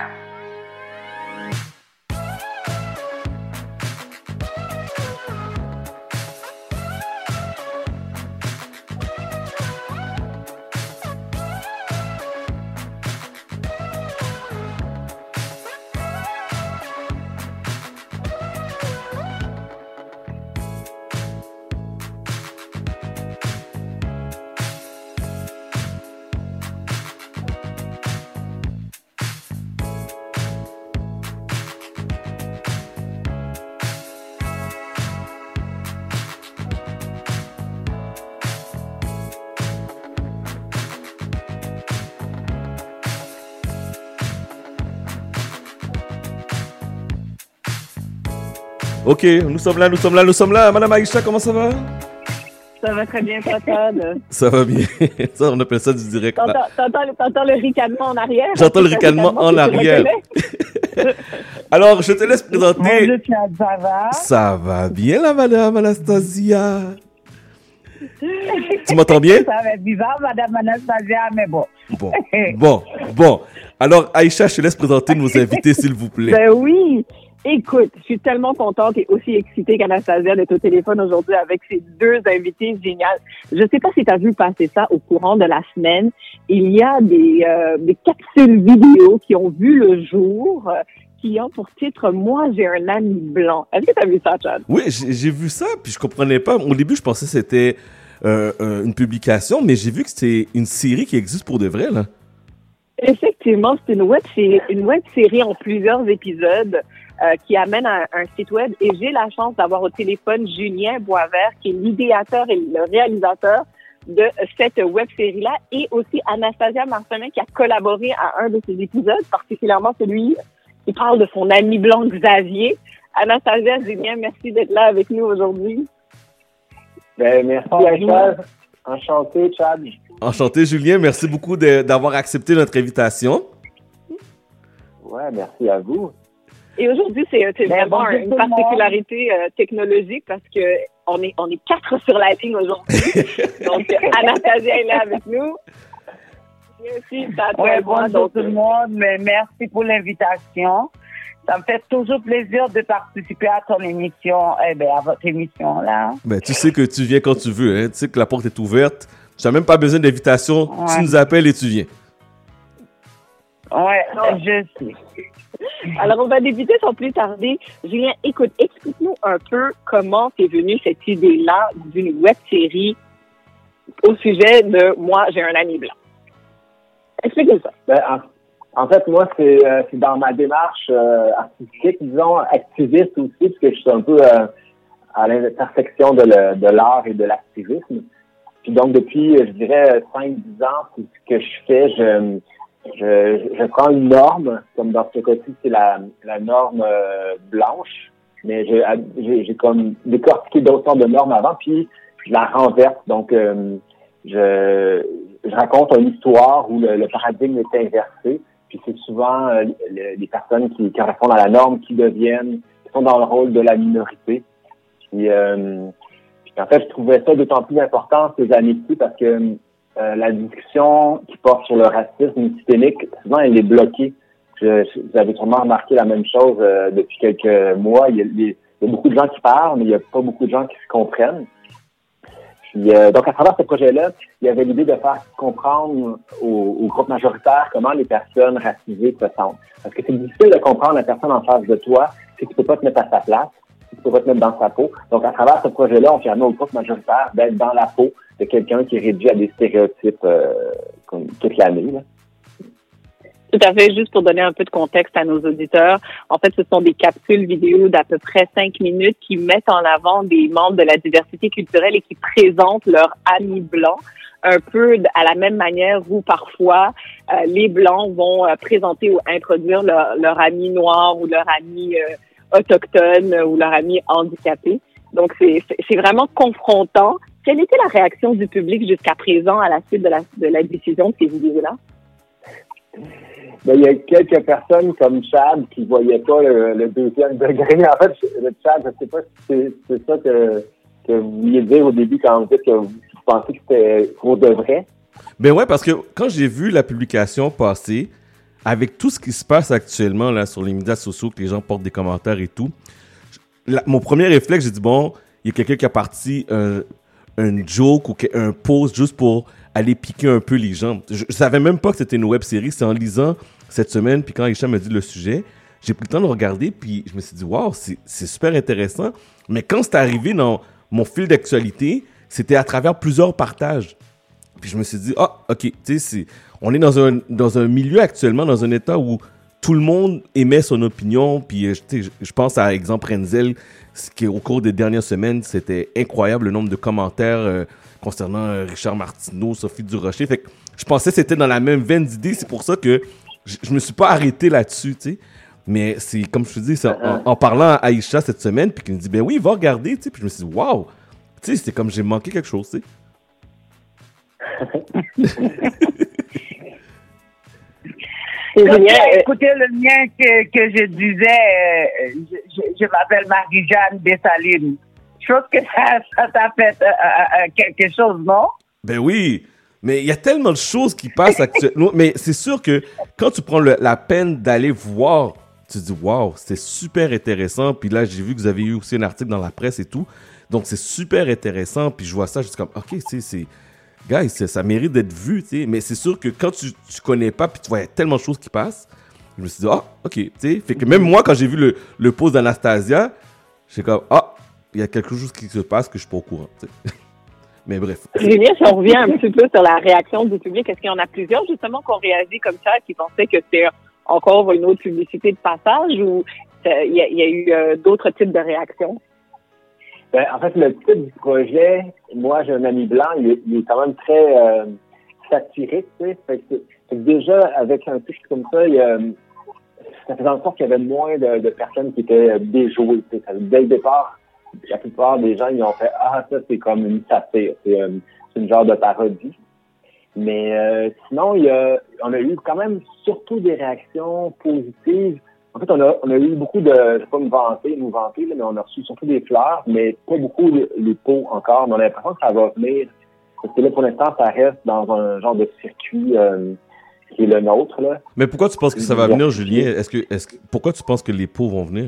Ok, nous sommes là. Madame Aïcha, comment ça va? Ça va très bien, toi, Todd. Ça va bien. Ça, on appelle ça du direct. T'entends le ricanement en arrière? J'entends le ricanement en arrière. Alors, je te laisse présenter. Bonjour, Chad, ça va? Ça va bien, la madame Anastasia. Tu m'entends bien? Ça va être bizarre, madame Anastasia, mais bon. Bon. Alors, Aïcha, je te laisse présenter nos invités, s'il vous plaît. Ben oui. Écoute, je suis tellement contente et aussi excitée qu'Anastasia d'être au téléphone aujourd'hui avec ses deux invités géniales. Je ne sais pas si tu as vu passer ça au courant de la semaine. Il y a des capsules vidéo qui ont vu le jour, qui ont pour titre « Moi, j'ai un ami blanc ». Est-ce que tu as vu ça, Chad? Oui, j'ai vu ça, puis je comprenais pas. Au début, je pensais que c'était une publication, mais j'ai vu que c'était une série qui existe pour de vrai, là. Effectivement, c'est une web série en plusieurs épisodes qui amène à un site web. Et j'ai la chance d'avoir au téléphone Julien Boisvert, qui est l'idéateur et le réalisateur de cette web série-là, et aussi Anastasia Marcelin, qui a collaboré à un de ces épisodes, particulièrement celui qui parle de son ami blanc Xavier. Anastasia, Julien, merci d'être là avec nous aujourd'hui. Ben, merci à toi. Enchanté, Chad. Enchanté, Julien. Merci beaucoup d'avoir accepté notre invitation. Ouais, merci à vous. Et aujourd'hui, c'est vraiment une particularité technologique parce que on est 4 sur la ligne aujourd'hui. Donc, Anastasia est là avec nous. Oui, bonjour tout le monde. Mais merci pour l'invitation. Ça me fait toujours plaisir de participer à ton émission, à votre émission là. Ben, tu sais que tu viens quand tu veux, hein. Tu sais que la porte est ouverte. Tu n'as même pas besoin d'invitation. Ouais. Tu nous appelles et tu viens. Ouais, je sais. Alors, on va débuter sans plus tarder. Julien, écoute, explique-nous un peu comment t'es venue cette idée-là d'une web-série au sujet de « Moi, j'ai un ami blanc ». Explique-nous ça. Ben, en fait, moi, c'est dans ma démarche artistique, disons, activiste aussi, parce que je suis un peu à l'intersection de l'art et de l'activisme. Puis donc, depuis, je dirais, 5-10 ans, c'est ce que je fais. Je prends une norme, comme dans ce cas-ci, c'est la norme blanche, mais j'ai comme décortiqué d'autres sortes de normes avant, puis je la renverse. Donc, je raconte une histoire où le paradigme est inversé. Puis c'est souvent les personnes qui correspondent à la norme qui sont dans le rôle de la minorité. Puis en fait, je trouvais ça d'autant plus important ces années-ci parce que la discussion qui porte sur le racisme systémique, souvent, elle est bloquée. Vous avez sûrement remarqué la même chose depuis quelques mois. Il y a beaucoup de gens qui parlent, mais il n'y a pas beaucoup de gens qui se comprennent. Puis, donc, à travers ce projet-là, il y avait l'idée de faire comprendre au groupe majoritaire comment les personnes racisées se sentent. Parce que c'est difficile de comprendre la personne en face de toi si tu peux pas te mettre à sa place, si tu peux pas te mettre dans sa peau. Donc, à travers ce projet-là, on permet au groupe majoritaire d'être dans la peau de quelqu'un qui est réduit à des stéréotypes comme toute l'année, là. Tout à fait. Juste pour donner un peu de contexte à nos auditeurs, en fait, ce sont des capsules vidéo d'à peu près 5 minutes qui mettent en avant des membres de la diversité culturelle et qui présentent leurs amis blancs, un peu à la même manière où parfois les blancs vont présenter ou introduire leur ami noir ou leur ami autochtone ou leur ami handicapé. Donc, c'est vraiment confrontant. Quelle était la réaction du public jusqu'à présent à la suite de la diffusion de ces vidéos-là? Ben, il y a quelques personnes comme Chad qui voyaient pas le deuxième degré. En fait, le Chad, je sais pas si c'est ça que vous vouliez dire au début quand vous dites que vous pensez que c'était pour de vrai. Ben ouais, parce que quand j'ai vu la publication passer, avec tout ce qui se passe actuellement là sur les médias sociaux, que les gens portent des commentaires et tout, mon premier réflexe, j'ai dit bon, il y a quelqu'un qui a parti un joke ou un post juste pour aller piquer un peu les gens. Je savais même pas que c'était une web-série. C'est en lisant cette semaine, puis quand Aïcha m'a dit le sujet, j'ai pris le temps de regarder, puis je me suis dit, wow, c'est super intéressant. Mais quand c'est arrivé dans mon fil d'actualité, c'était à travers plusieurs partages. Puis je me suis dit, ok, tu sais, on est dans un milieu actuellement, dans un état où tout le monde émet son opinion, puis je pense à exemple Renzel, qui au cours des dernières semaines, c'était incroyable le nombre de commentaires concernant Richard Martineau, Sophie Durocher. Fait que je pensais que c'était dans la même veine d'idées. C'est pour ça que je me suis pas arrêté là-dessus, tu sais. Mais c'est, comme je te dis, en parlant à Aïcha cette semaine, puis qu'il me dit, ben oui, va regarder, tu sais. Puis je me suis dit, waouh! Tu sais, c'est comme j'ai manqué quelque chose, tu sais. Écoutez, le mien que je disais, je m'appelle Marie-Jeanne Dessalines. Je pense que ça t'a fait quelque chose, non? Ben oui, mais il y a tellement de choses qui passent actuellement. Mais c'est sûr que quand tu prends la peine d'aller voir, tu te dis, waouh, c'est super intéressant. Puis là, j'ai vu que vous avez eu aussi un article dans la presse et tout. Donc, c'est super intéressant. Puis je vois ça, je suis comme, ok, tu sais, guys, ça mérite d'être vu, tu sais. Mais c'est sûr que quand tu connais pas, puis tu vois, il y a tellement de choses qui passent, je me suis dit, ok, tu sais. Fait que même moi, quand j'ai vu le post d'Anastasia, j'étais comme, il y a quelque chose qui se passe que je suis pas au courant, tu sais. Mais bref. Julien, si on revient un petit peu sur la réaction du public, est-ce qu'il y en a plusieurs, justement, qui ont réagi comme ça, qui pensaient que c'était encore une autre publicité de passage, ou il y a eu d'autres types de réactions? Ben, en fait, le titre du projet, moi, j'ai un ami blanc, il est quand même très satirique, tu sais. Fait que déjà, avec un titre comme ça, ça faisait en sorte qu'il y avait moins de personnes qui étaient déjouées, tu sais. Dès le départ, la plupart des gens, ils ont fait « Ah, ça, c'est comme une satire. C'est une genre de parodie. » Mais sinon, on a eu quand même surtout des réactions positives. En fait, on a eu beaucoup de... Je vais pas nous vanter, là, mais on a reçu surtout des fleurs, mais pas beaucoup les pots encore. Mais on a l'impression que ça va venir. Parce que là, pour l'instant, ça reste dans un genre de circuit qui est le nôtre, là. Mais pourquoi tu penses que ça va venir, Julien? Pourquoi tu penses que les pots vont venir?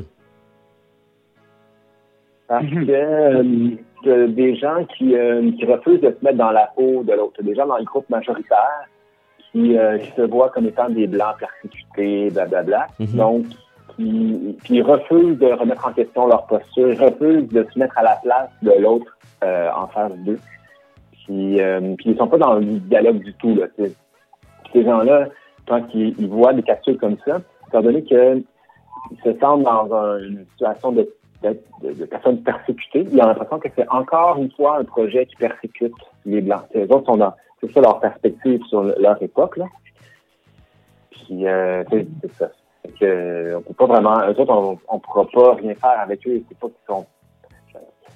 Parce que des gens qui refusent de se mettre dans la peau de l'autre, des gens dans le groupe majoritaire qui se voient comme étant des blancs persécutés, blablabla. Donc, qui refusent de remettre en question leur posture, refusent de se mettre à la place de l'autre en face d'eux. Puis ils sont pas dans le dialogue du tout, là. T'sais. Ces gens-là, quand ils voient des capsules comme ça, étant donné qu'ils se sentent dans une situation de personnes persécutées, ils ont l'impression que c'est encore une fois un projet qui persécute les Blancs. Les autres sont c'est ça leur perspective sur leur époque, là. Puis, c'est ça. Fait que, on peut pas vraiment, eux autres, on pourra pas rien faire avec eux. C'est pas qu'ils sont,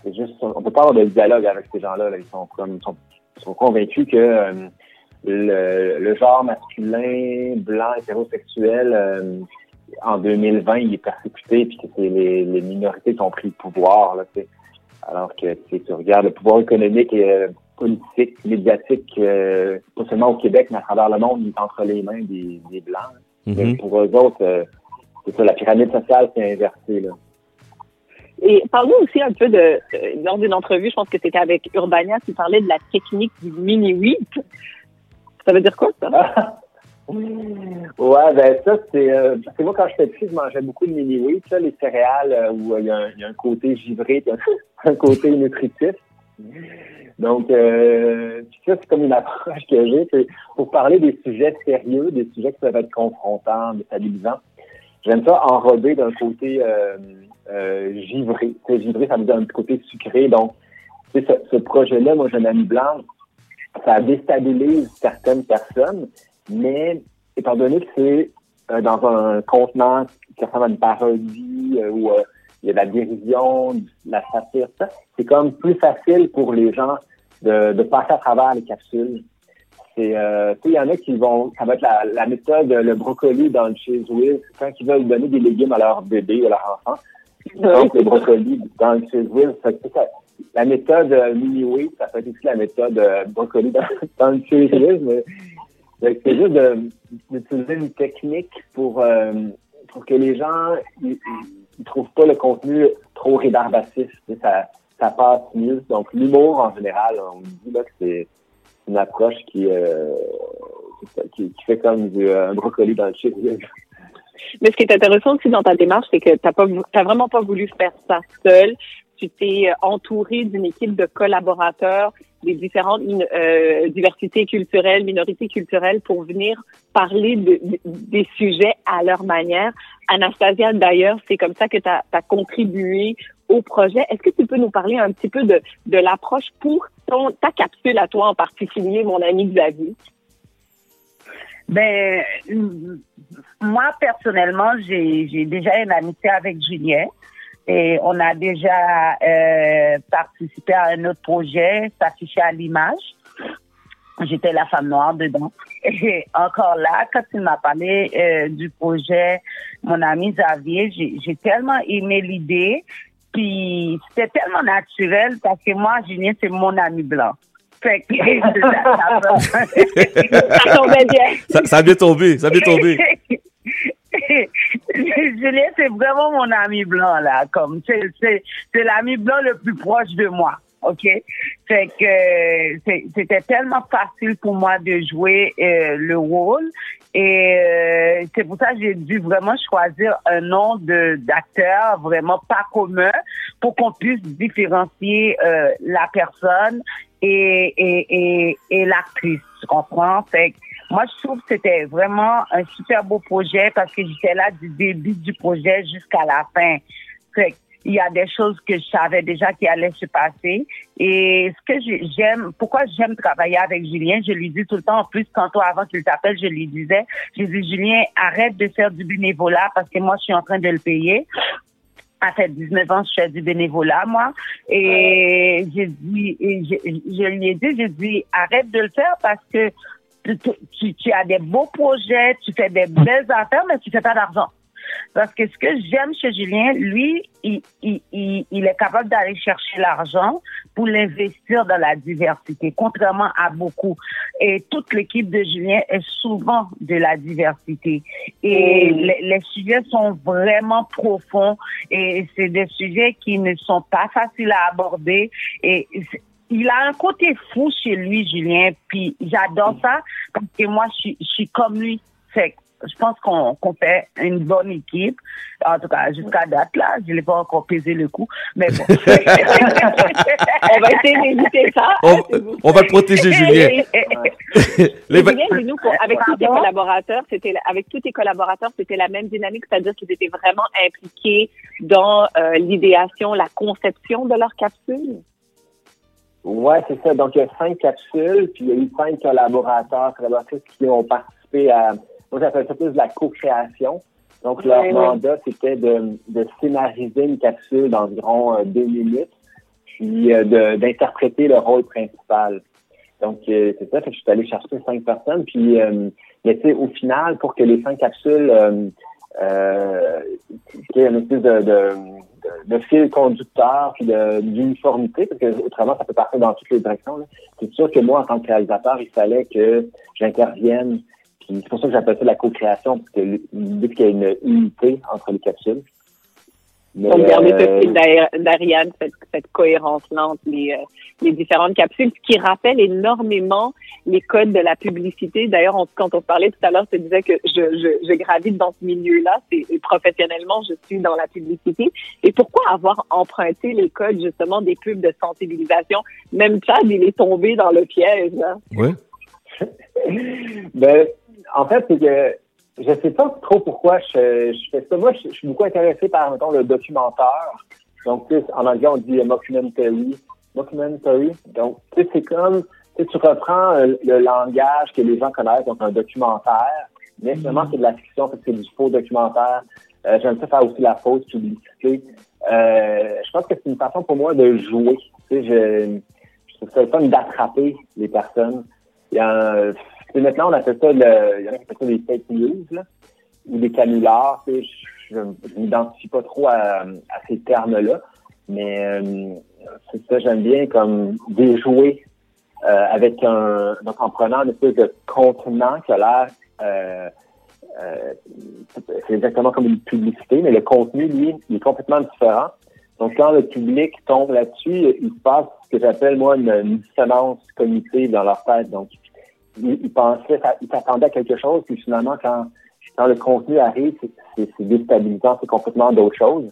c'est juste, on peut pas avoir de dialogue avec ces gens-là. Là. Ils sont convaincus que le genre masculin, blanc, hétérosexuel, en 2020, il est persécuté, puis que c'est les minorités qui ont pris le pouvoir. Là, alors que tu regardes le pouvoir économique et politique, médiatique, pas seulement au Québec, mais à travers le monde, il est entre les mains des Blancs. Mais pour eux autres, c'est ça, la pyramide sociale s'est inversée. Là. Et parle-nous aussi un peu lors d'une entrevue, je pense que c'était avec Urbania, tu parlais de la technique du mini-wheat. Ça veut dire quoi, ça? Ouais, ben ça, c'est moi, quand j'étais petit, je mangeais beaucoup de mini-wheat, ça, les céréales où il y a un côté givré, un côté nutritif. Donc, ça, c'est comme une approche que j'ai. C'est pour parler des sujets sérieux, des sujets qui peuvent être confrontants, déstabilisants. J'aime ça enrober d'un côté givré. Givré, ça veut dire un petit côté sucré. Donc, ce projet-là, moi, j'ai un ami blanc, ça déstabilise certaines personnes, mais étant donné que c'est dans un contenant qui ressemble à une parodie où il y a de la dérision, de la satire, ça, c'est comme plus facile pour les gens de passer à travers les capsules. Il y en a qui ça va être la méthode, le brocoli dans le Cheez Whiz, quand ils veulent donner des légumes à leur bébé ou à leur enfant. Donc, le brocoli dans le Cheez Whiz, la méthode mini-wheat, ça peut être aussi la méthode brocoli dans le Cheez Whiz, mais c'est juste d'utiliser une technique pour que les gens ils trouvent pas le contenu trop rébarbatif. Ça passe mieux. Donc, l'humour, en général, on me dit là que c'est une approche qui fait comme un brocoli dans le Cheez Whiz. Mais ce qui est intéressant aussi dans ta démarche, c'est que t'as vraiment pas voulu faire ça seul. Tu t'es entouré d'une équipe de collaborateurs des différentes diversités culturelles, minorités culturelles pour venir parler des sujets à leur manière. Anastasia, d'ailleurs, c'est comme ça que tu as contribué au projet. Est-ce que tu peux nous parler un petit peu de l'approche pour ta capsule à toi en particulier, mon ami Xavier? Ben, moi, personnellement, j'ai déjà une amitié avec Julien. Et on a déjà participé à un autre projet, s'afficher à l'image. J'étais la femme noire dedans. Et encore là, quand il m'a parlé du projet, mon ami Xavier, j'ai tellement aimé l'idée. Puis c'était tellement naturel parce que moi, Julien, c'est mon ami blanc. Fait que ça tombait bien. Ça a bien tombé, ça a bien tombé. Julien, c'est vraiment mon ami blanc, là. Comme, c'est l'ami blanc le plus proche de moi. OK? Fait que, c'était tellement facile pour moi de jouer, le rôle. Et, c'est pour ça que j'ai dû vraiment choisir un nom d'acteur vraiment pas commun pour qu'on puisse différencier, la personne et l'actrice. Tu comprends? Fait que, moi, je trouve que c'était vraiment un super beau projet parce que j'étais là du début du projet jusqu'à la fin. Fait il y a des choses que je savais déjà qui allaient se passer. Et ce que pourquoi j'aime travailler avec Julien, je lui dis tout le temps, en plus, tantôt avant qu'il t'appelle, je lui disais, Julien, arrête de faire du bénévolat parce que moi, je suis en train de le payer. Ça fait 19 ans que je fais du bénévolat, moi. Et je lui ai dit, arrête de le faire parce que tu as des beaux projets, tu fais des belles affaires, mais tu fais pas d'argent. Parce que ce que j'aime chez Julien, lui, il est capable d'aller chercher l'argent pour l'investir dans la diversité, contrairement à beaucoup. Et toute l'équipe de Julien est souvent de la diversité. Et les sujets sont vraiment profonds et c'est des sujets qui ne sont pas faciles à aborder. Et il a un côté fou chez lui, Julien, puis j'adore ça parce que moi, je suis comme lui. Fait je pense qu'on fait une bonne équipe. En tout cas, jusqu'à date, là, je l'ai pas encore pesé le coup, mais bon. On va essayer d'éviter ça. On va le protéger, Julien. Julien, dis-nous, avec tous tes collaborateurs, c'était la même dynamique, c'est-à-dire qu'ils étaient vraiment impliqués dans l'idéation, la conception de leur capsule? Ouais, c'est ça. Donc, il y a 5 capsules, puis il y a eu 5 collaboratrices qui ont participé à... Moi, j'appelle ça plus de la co-création. Donc, leur mandat, c'était de scénariser une capsule d'environ 2 minutes. puis d'interpréter le rôle principal. Donc, c'est ça, fait que je suis allé chercher 5 personnes, puis mais tu sais, au final, pour que les 5 capsules qu'il y ait une espèce de fil conducteur puis d'uniformité, parce que autrement, ça peut partir dans toutes les directions. Là. C'est sûr que moi, en tant que réalisateur, il fallait que j'intervienne. Puis c'est pour ça que j'appelle ça la co-création, parce que l'idée, c'est qu'il y a une unité entre les capsules. Mais, donc, garder ce fil d'Ariane, cette cohérence-là entre les différentes capsules, ce qui rappelle énormément les codes de la publicité. D'ailleurs, quand on parlait tout à l'heure, tu disais que je gravite dans ce milieu-là. Professionnellement, je suis dans la publicité. Et pourquoi avoir emprunté les codes, justement, des pubs de sensibilisation? Même Chad, il est tombé dans le piège, là. Oui. Ben, en fait, c'est que je sais pas trop pourquoi je fais ça. Moi, je suis beaucoup intéressé par, mettons, le documentaire. Donc, tu sais, en anglais, on dit mockumentary. Donc, tu sais, c'est comme, tu sais, tu reprends le langage que les gens connaissent, donc un documentaire, mais finalement, c'est de la fiction, parce que c'est du faux documentaire. J'aime ça faire aussi la fausse publicité. Je pense que c'est une façon pour moi de jouer. Tu sais, je trouve ça le fun d'attraper les personnes. Maintenant, on appelle ça il y en a qui appellent ça des fake news, là, ou des canulars. Tu sais, je m'identifie pas trop à ces termes-là, mais c'est ça, j'aime bien comme déjouer avec donc en prenant une espèce de contenant qui a l'air c'est exactement comme une publicité, mais le contenu, lui, il est complètement différent. Donc, quand le public tombe là-dessus, il se passe ce que j'appelle, moi, une dissonance cognitive dans leur tête. Donc, ils s'attendaient à quelque chose, puis finalement, quand le contenu arrive, c'est déstabilisant, c'est complètement d'autre chose.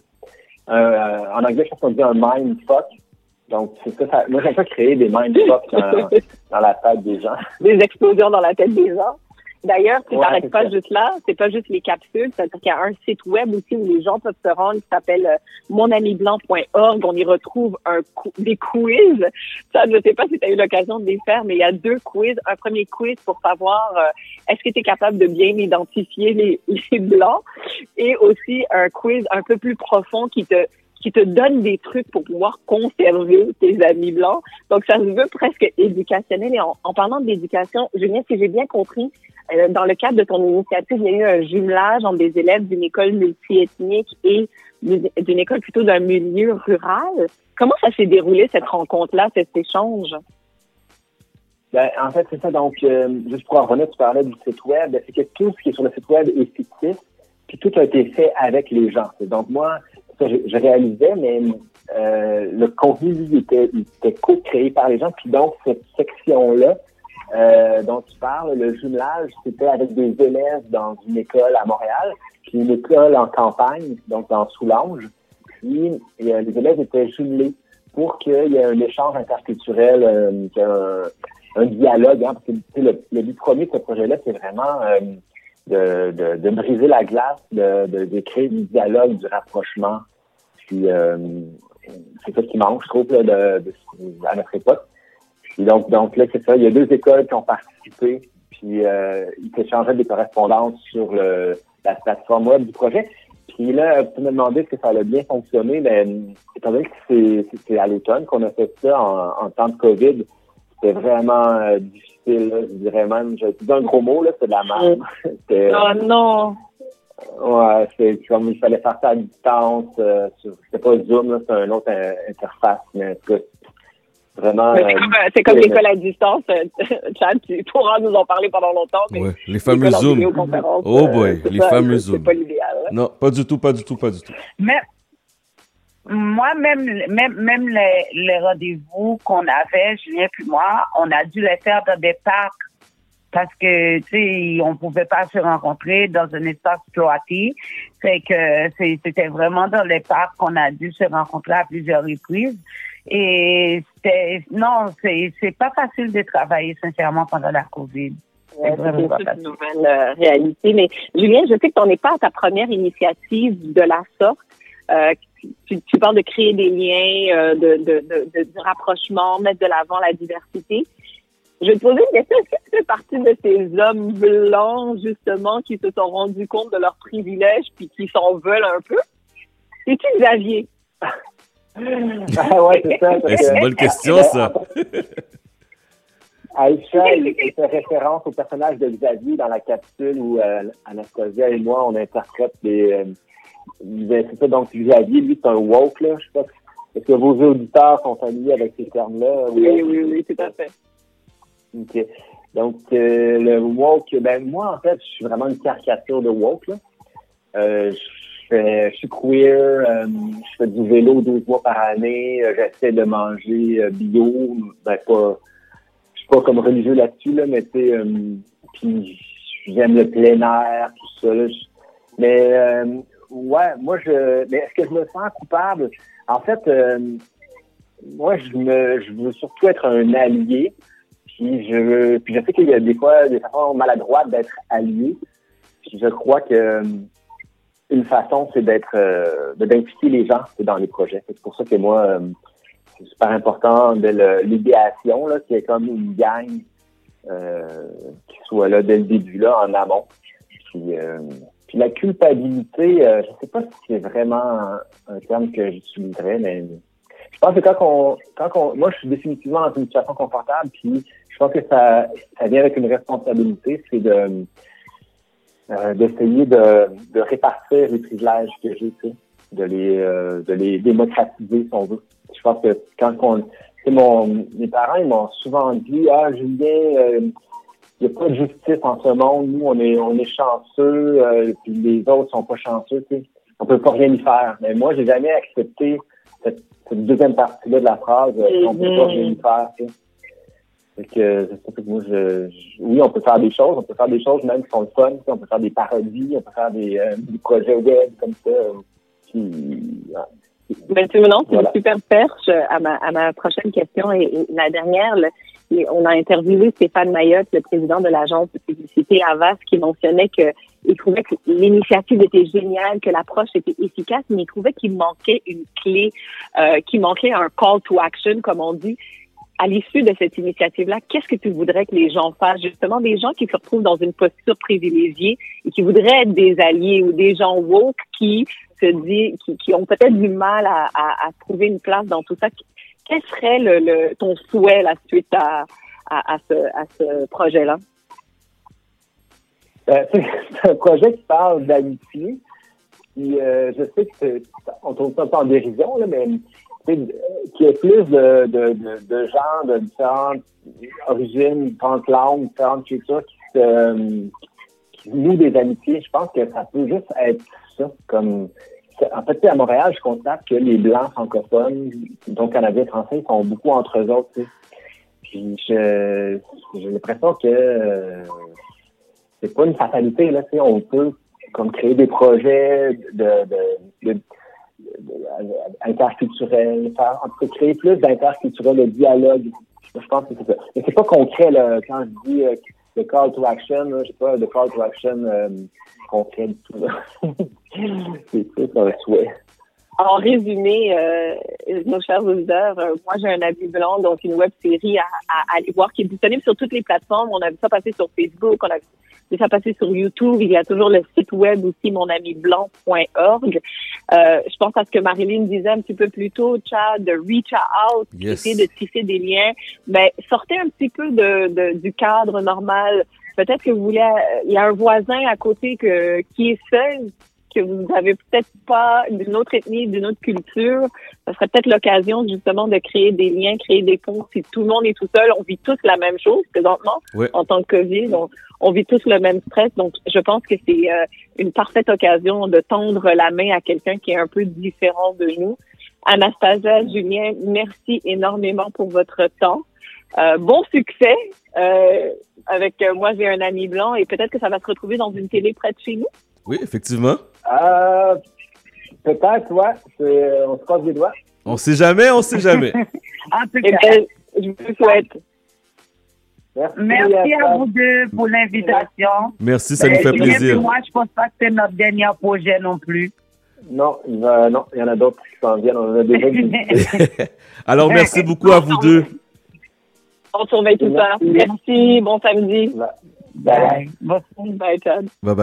En anglais, je pense qu'on dit un mindfuck. Donc, c'est ça, moi, j'aime pas créer des mindfucks dans la tête des gens. Des explosions dans la tête des gens. D'ailleurs, tu t'arrêtes pas juste là, c'est pas juste les capsules, c'est-à-dire qu'il y a un site web aussi où les gens peuvent se rendre qui s'appelle monamiblanc.org. On y retrouve des quiz. Ça, je sais pas si tu as eu l'occasion de les faire, mais il y a 2 quiz. Un premier quiz pour savoir est-ce que tu es capable de bien identifier les blancs, et aussi un quiz un peu plus profond qui te donne des trucs pour pouvoir conserver tes amis blancs. Donc, ça se veut presque éducationnel. Et en parlant de l'éducation, Julien, si j'ai bien compris, dans le cadre de ton initiative, il y a eu un jumelage entre des élèves d'une école multiethnique et d'une école plutôt d'un milieu rural. Comment ça s'est déroulé, cette rencontre-là, cet échange? Ben, en fait, c'est ça. Donc, juste pour en revenir, tu parlais du site web. C'est que tout ce qui est sur le site web est fictif, puis tout a été fait avec les gens. Donc, moi, je réalisais, mais le contenu, lui, était co-créé par les gens. Puis donc, cette section-là dont tu parles, le jumelage, c'était avec des élèves dans une école à Montréal, puis une école en campagne, donc dans Soulanges. Puis les élèves étaient jumelés pour qu'il y ait un échange interculturel, un dialogue. Hein, parce que le but premier de ce projet-là, c'est vraiment de briser la glace, de créer du dialogue, du rapprochement. Puis c'est ça qui manque, je trouve, là, à notre époque. Puis donc là, c'est ça. Il y a 2 écoles qui ont participé, puis ils s'échangeaient des correspondances sur la plateforme web du projet. Puis là, tu me demandais si ça allait bien fonctionner, mais étant donné que c'est à l'automne qu'on a fait ça en temps de COVID, c'était vraiment difficile, là, je dirais même. Je dis un gros mot, là, c'est de la merde. Oh non! Ouais, c'est comme il fallait faire ça à distance. C'était pas Zoom, là, c'est une autre interface, mais vraiment. C'est comme l'école à distance. Chad, tu pourras nous en parler pendant longtemps. Mais ouais, les fameux Zoom. Oh boy, les fameux Zoom. C'est pas l'idéal. Hein? Non, pas du tout. Mais moi, même les rendez-vous qu'on avait, Julien puis moi, on a dû les faire dans des parcs. Parce que, tu sais, on pouvait pas se rencontrer dans un espace cloîtré. Fait que c'était vraiment dans les parcs qu'on a dû se rencontrer à plusieurs reprises. Et c'est pas facile de travailler, sincèrement, pendant la COVID. C'est une nouvelle réalité. Mais, Julien, je sais que tu n'en es pas à ta première initiative de la sorte. Tu parles de créer des liens, de rapprochement, mettre de l'avant la diversité. Je vais te poser une question. Est-ce que tu fais partie de ces hommes blancs, justement, qui se sont rendus compte de leurs privilèges puis qui s'en veulent un peu? C'est-tu Xavier? Ah ouais, c'est ça. C'est une bonne question, ça. Aïcha, il fait référence au personnage de Xavier dans la capsule où Anastasia et moi, on interprète c'est ça, donc Xavier, lui, c'est un woke, là. Je sais pas, est-ce que vos auditeurs sont familiers avec ces termes-là? Oui, tout à fait. OK. Donc, le woke, moi, en fait, je suis vraiment une caricature de woke, là. Je suis queer, je fais du vélo 12 mois par année, j'essaie de manger bio, je suis pas comme religieux là-dessus, là, mais tu sais, puis j'aime le plein air, tout ça, là, mais ouais, moi, mais est-ce que je me sens coupable? En fait, moi, je veux surtout être un allié, puis je sais qu'il y a des fois des façons maladroites d'être allié, puis je crois que une façon, c'est d'impliquer les gens dans les projets. C'est pour ça que moi, c'est super important de l'idéation, là, qui est comme une gang qui soit là dès le début, là, en amont. Puis la culpabilité, je sais pas si c'est vraiment un terme que j'utiliserais, mais je pense que quand moi, je suis définitivement dans une situation confortable, puis je pense que ça vient avec une responsabilité, c'est d'essayer de répartir les privilèges que j'ai, tu sais, de les démocratiser, si on veut. Je pense que mes parents, ils m'ont souvent dit, Julien, il n'y a pas de justice en ce monde. Nous, on est chanceux, puis les autres sont pas chanceux, tu sais. On peut pas rien y faire. Mais moi, j'ai jamais accepté cette deuxième partie-là de la phrase, on peut pas rien y faire, tu sais. Fait que moi, oui, on peut faire des choses même qui sont le fun, on peut faire des parodies, on peut faire des projets web comme ça. Ben, tu me lances une super perche à ma prochaine question et la dernière. On a interviewé Stéphane Mayotte, le président de l'agence de publicité Havas, qui mentionnait qu'il trouvait que l'initiative était géniale, que l'approche était efficace, mais il trouvait qu'il manquait une clé, qu'il manquait un call to action, comme on dit. À l'issue de cette initiative-là, qu'est-ce que tu voudrais que les gens fassent? Justement, des gens qui se retrouvent dans une posture privilégiée et qui voudraient être des alliés ou des gens woke qui ont peut-être du mal à trouver une place dans tout ça. Quel serait ton souhait là, suite à ce projet-là? C'est un projet qui parle d'amitié. Puis, je sais que on trouve ça en dérision, là, mais qu'il y ait plus de gens de différentes origines, différentes langues, différentes cultures qui nouent des amitiés. Je pense que ça peut juste être ça. En fait, à Montréal, je constate que les Blancs francophones, donc Canadiens français, sont beaucoup entre eux autres. Tu sais. Puis j'ai l'impression que c'est pas une fatalité. Là, tu sais, on peut comme créer des projets interculturel, créer plus d'interculturel, de dialogue. Je pense que c'est ça. Mais c'est pas concret, là, quand je dis le call to action, là, je sais pas, le call to action concret du tout, là. C'est ça, un souhait. En résumé, nos chers auditeurs, moi j'ai un habit blanc, donc une web série à aller voir qui est disponible sur toutes les plateformes. On a vu ça passer sur Facebook, on a vu ça passer sur YouTube. Il y a toujours le site web aussi, monamiblanc.org. Je pense à ce que Marilyn disait un petit peu plus tôt, Chad, de reach out, essayer de tisser des liens. Mais sortez un petit peu du cadre normal. Peut-être que vous voulez, il y a un voisin à côté qui est seul, que vous n'avez peut-être pas d'une autre ethnie, d'une autre culture. Ça serait peut-être l'occasion justement de créer des liens, créer des ponts. Si tout le monde est tout seul, on vit tous la même chose présentement en tant que COVID. On vit tous le même stress. Donc, je pense que c'est une parfaite occasion de tendre la main à quelqu'un qui est un peu différent de nous. Anastasia, Julien, merci énormément pour votre temps. Bon succès avec Moi, j'ai un ami blanc et peut-être que ça va se retrouver dans une télé près de chez nous. Oui, effectivement. Peut-être, ouais. On se croise les doigts. On sait jamais. En tout cas, je vous souhaite. Merci à vous deux pour l'invitation. Merci, ça nous fait plaisir. Moi, je pense pas que c'est notre dernier projet non plus. Non, il y en a d'autres qui s'en viennent. On en a déjà Alors, merci beaucoup à vous deux. On surveille tout ça. Merci, bon samedi. Bye. Bye, Chad. Bye bye.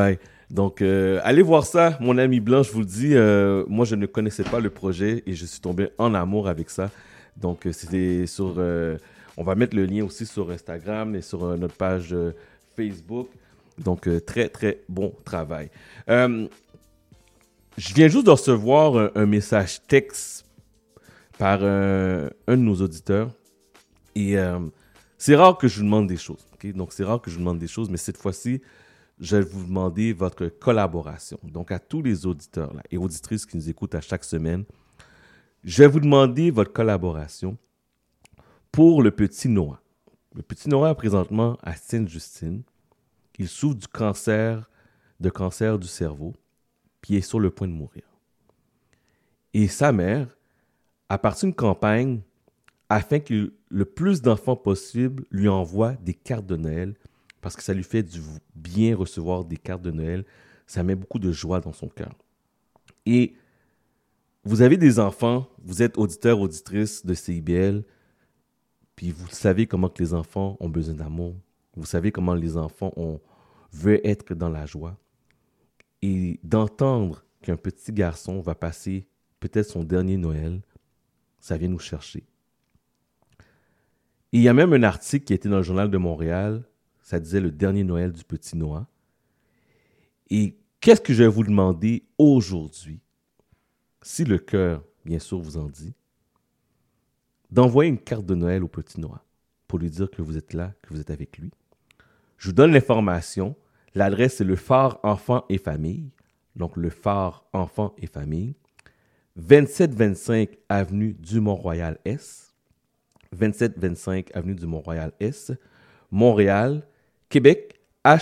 Donc, allez voir ça, mon ami Blanc, je vous le dis. Moi, je ne connaissais pas le projet et je suis tombé en amour avec ça. Donc, c'était sur... on va mettre le lien aussi sur Instagram et sur notre page Facebook. Donc, très, très bon travail. Je viens juste de recevoir un message texte par un de nos auditeurs. Et c'est rare que je vous demande des choses. Okay? Donc, c'est rare que je vous demande des choses, mais cette fois-ci, je vais vous demander votre collaboration. Donc, à tous les auditeurs là, et auditrices qui nous écoutent à chaque semaine, je vais vous demander votre collaboration pour le petit Noah. Le petit Noah, présentement, à Sainte-Justine, il souffre du cancer du cerveau, puis il est sur le point de mourir. Et sa mère a parti une campagne afin que le plus d'enfants possible lui envoient des cartes de Noël, parce que ça lui fait du bien recevoir des cartes de Noël. Ça met beaucoup de joie dans son cœur. Et vous avez des enfants, vous êtes auditeur, auditrice de CIBL, puis vous savez comment que les enfants ont besoin d'amour. Vous savez comment les enfants veulent être dans la joie. Et d'entendre qu'un petit garçon va passer peut-être son dernier Noël, ça vient nous chercher. Et il y a même un article qui était dans le Journal de Montréal. Ça disait le dernier Noël du petit Noah. Et qu'est-ce que je vais vous demander aujourd'hui, si le cœur, bien sûr, vous en dit, d'envoyer une carte de Noël au petit Noah pour lui dire que vous êtes là, que vous êtes avec lui. Je vous donne l'information. L'adresse, c'est le Phare Enfants et Famille. Donc, le Phare Enfants et Famille. 2725 Avenue du Mont-Royal-Est. 2725 Avenue du Mont-Royal-Est. Montréal, Québec,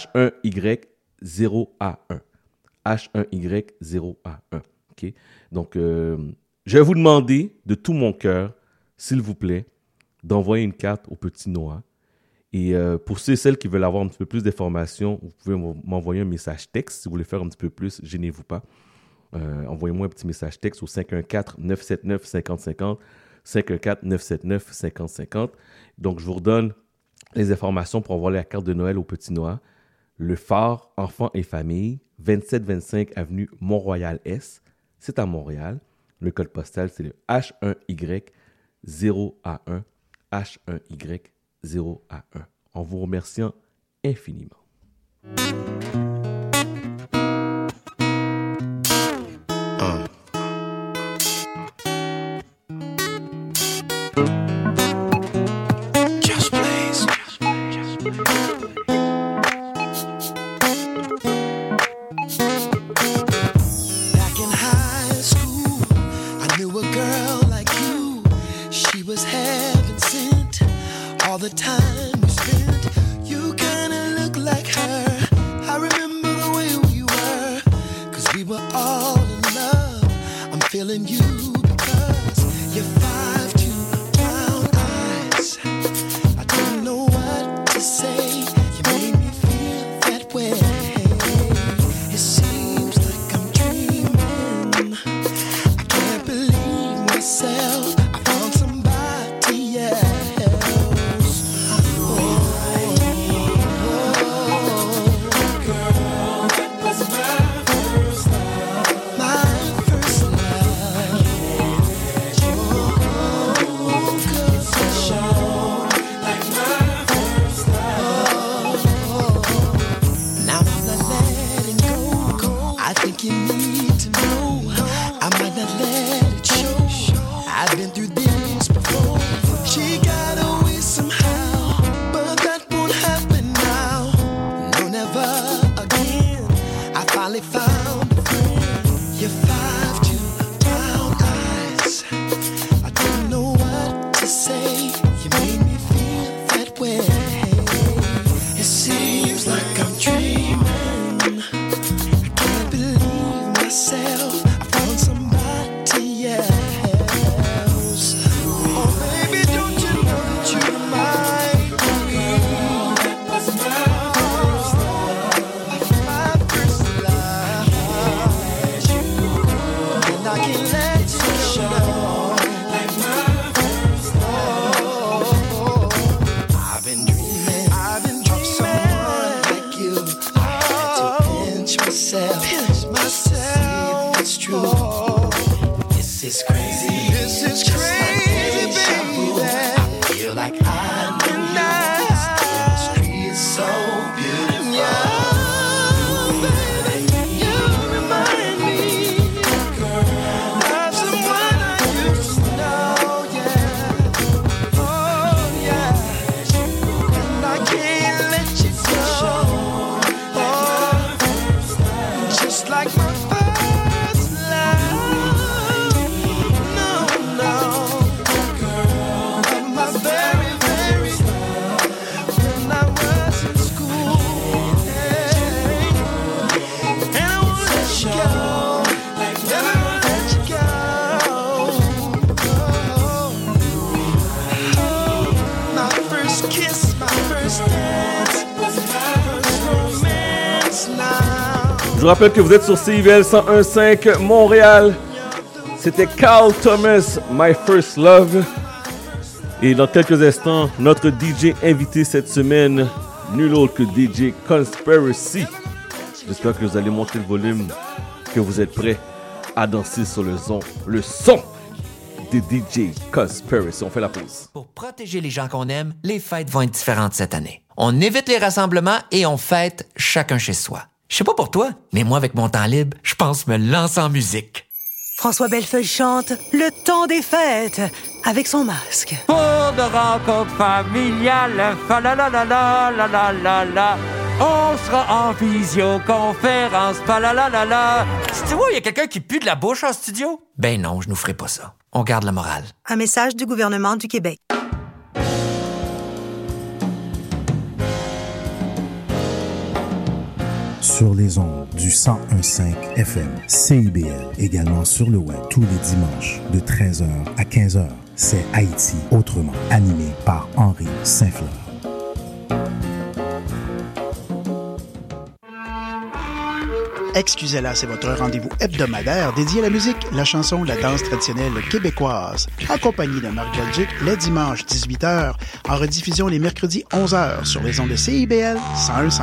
H1Y0A1. H1Y0A1. Okay? Donc, je vais vous demander de tout mon cœur, s'il vous plaît, d'envoyer une carte au petit Noah. Et pour ceux et celles qui veulent avoir un petit peu plus d'informations, vous pouvez m'envoyer un message texte. Si vous voulez faire un petit peu plus, gênez-vous pas. Envoyez-moi un petit message texte au 514-979-5050. 514-979-5050. Donc, je vous redonne les informations pour envoyer la carte de Noël au petit Noah. Le Phare Enfants et Famille, 2725 Avenue Mont-Royal-Est. C'est à Montréal. Le code postal, c'est le H1Y0A1. H1Y0A1. En vous remerciant infiniment. I've been first kiss, my first dance, my first romance now. Je vous rappelle que vous êtes sur CIBL 101.5 Montréal. C'était Carl Thomas, My First Love. Et dans quelques instants, notre DJ invité cette semaine, nul autre que DJ Conspiracy. J'espère que vous allez monter le volume, que vous êtes prêts à danser sur le son de DJ Conspiracy. On fait la pause. Pour protéger les gens qu'on aime, les fêtes vont être différentes cette année. On évite les rassemblements et on fête chacun chez soi. Je sais pas pour toi, mais moi, avec mon temps libre, je pense me lancer en musique. François Bellefeuille chante Le temps des fêtes avec son masque. Pour de rencontres familiales, fa la la la la la la la la. On sera en visioconférence, fa la la la la. Tu vois, il y a quelqu'un qui pue de la bouche en studio? Ben non, je nous ferai pas ça. On garde la morale. Un message du gouvernement du Québec. Sur les ondes du 101.5 FM, CIBL, également sur le web tous les dimanches de 13h à 15h. C'est Haïti autrement, animé par Henri Saint-Fleur. Excusez-la, c'est votre rendez-vous hebdomadaire dédié à la musique, la chanson, la danse traditionnelle québécoise. Accompagné de Marc Belgique, les dimanches 18h, en rediffusion les mercredis 11h sur les ondes de CIBL 101.5.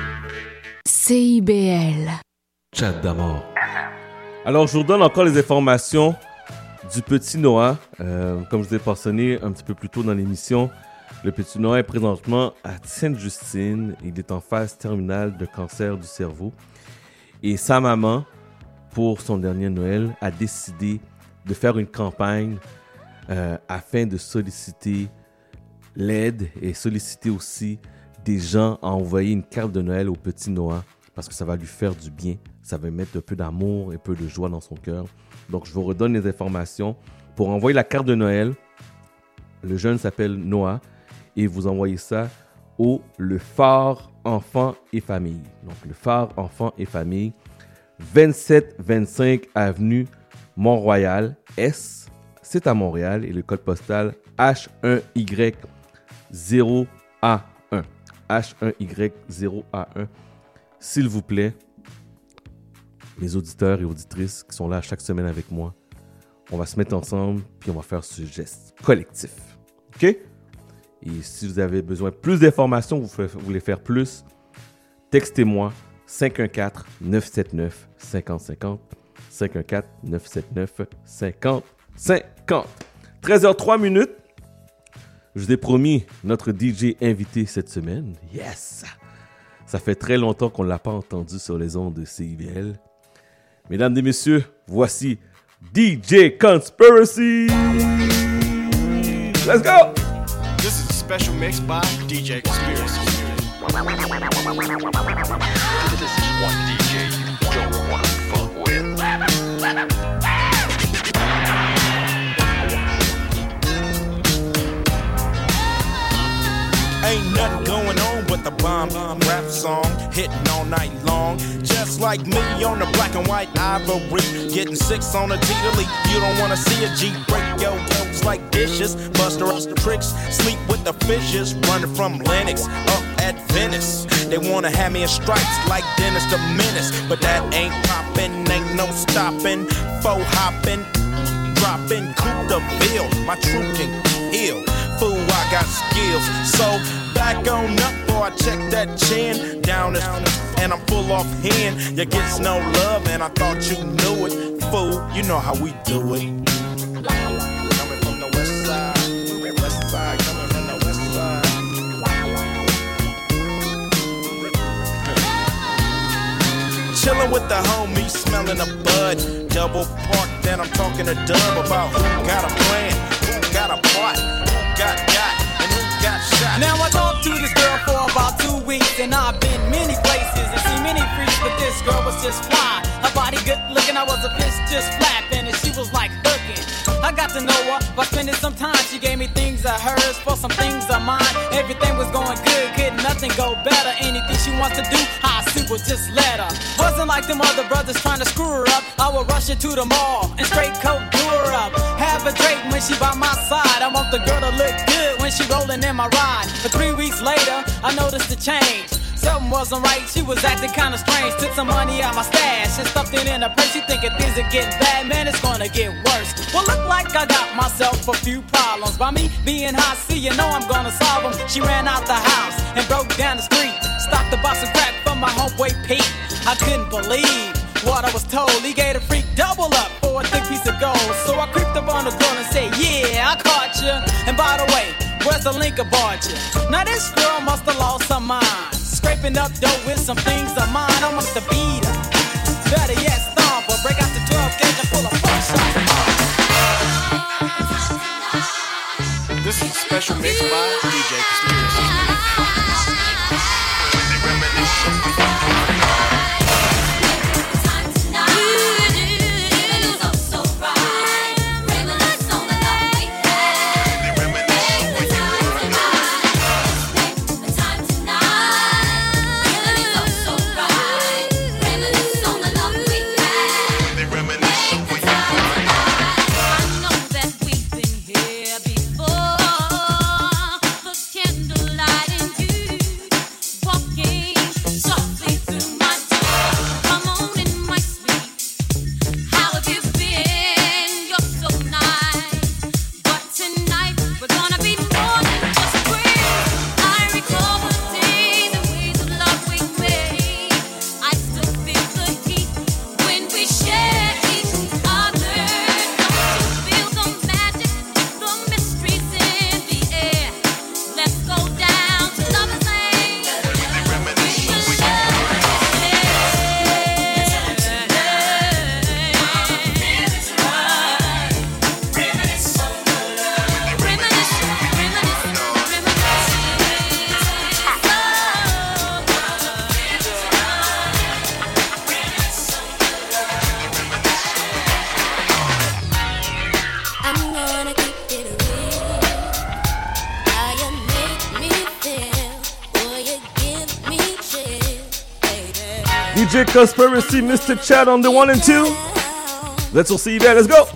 CIBL. Chat d'amour. Alors, je vous donne encore les informations du petit Noah. Comme je vous ai mentionné un petit peu plus tôt dans l'émission, le petit Noah est présentement à Sainte-Justine. Il est en phase terminale de cancer du cerveau. Et sa maman, pour son dernier Noël, a décidé de faire une campagne afin de solliciter l'aide et solliciter aussi des gens à envoyer une carte de Noël au petit Noah parce que ça va lui faire du bien. Ça va mettre un peu d'amour et un peu de joie dans son cœur. Donc, je vous redonne les informations. Pour envoyer la carte de Noël, le jeune s'appelle Noah et vous envoyez ça au Le Phare Enfants et Famille. Donc, Le Phare Enfants et Famille, 2725 avenue Mont-Royal, S. C'est à Montréal et le code postal H1Y0A1. H1Y0A1. S'il vous plaît, mes auditeurs et auditrices qui sont là chaque semaine avec moi, on va se mettre ensemble puis on va faire ce geste collectif. OK? Et si vous avez besoin de plus d'informations, vous voulez faire plus, textez-moi 514-979-5050. 514-979-5050. 13h03. Je vous ai promis notre DJ invité cette semaine. Yes! Ça fait très longtemps qu'on ne l'a pas entendu sur les ondes de CIBL. Mesdames et messieurs, voici DJ Conspiracy! Let's go! This is a special mix by DJ Conspiracy. This is one DJ you don't want to fuck with. Ain't nothing going on but the bomb rap song hitting all night long. Just like me on the black and white ivory, getting 6 on a T-to-leap. You don't wanna see a G break your yokes like dishes. Buster up the tricks, sleep with the fishes. Running from Lennox up at Venice. They wanna have me in stripes like Dennis the Menace, but that ain't poppin', ain't no stopping. Faux hopping, dropping, coupe de ville. My truth can heal. Fool, I got skills. So back on up, boy, I check that chin down and I'm full off hand. You gets no love, and I thought you knew it. Fool, you know how we do it. Coming from the west side, coming from the west side. Chillin' with the homies, smelling a bud. Double park, then I'm talking to Dub about who got a plan, who got a plot. Got, and who got shot. Now I talked to this girl for about 2 weeks, and I've been many places and seen many freaks, but this girl was just fly. Her body good looking, I was a fish just flapping, and she was like hooking. I got to know her by spending some time. She gave me things of hers for some things of mine. Everything was going good, couldn't nothing nothing go better. Anything she wants to do, I super just let her. Wasn't like them other brothers trying to screw her up. I would rush her to the mall and straight coat do her up. Have a drink when she by my side. I want the girl to look good when she rolling in my ride. But 3 weeks later, I noticed a change. Something wasn't right, she was acting kinda strange. Took some money out my stash and stuffed it in her purse. She thinking things are getting bad, man, it's gonna get worse. Well, look like I got myself a few problems. By me being high C, you know I'm gonna solve them. She ran out the house and broke down the street. Stopped the box of crack from my homeboy Pete. I couldn't believe what I was told. He gave a freak double up for a thick piece of gold. So I creeped up on the girl and said, yeah, I caught you. And by the way, where's the link aboard you? Now this girl must have lost her mind. Scraping up dough with some things of mine. I must have beat her. Better yet, stomp her. Break out the 12 gauge and pull a 4 shot. This is a special mix by DJ Conspiracy. DJ Conspiracy, Mr. Chad on the 1 and 2. Let's all see you there. Let's go.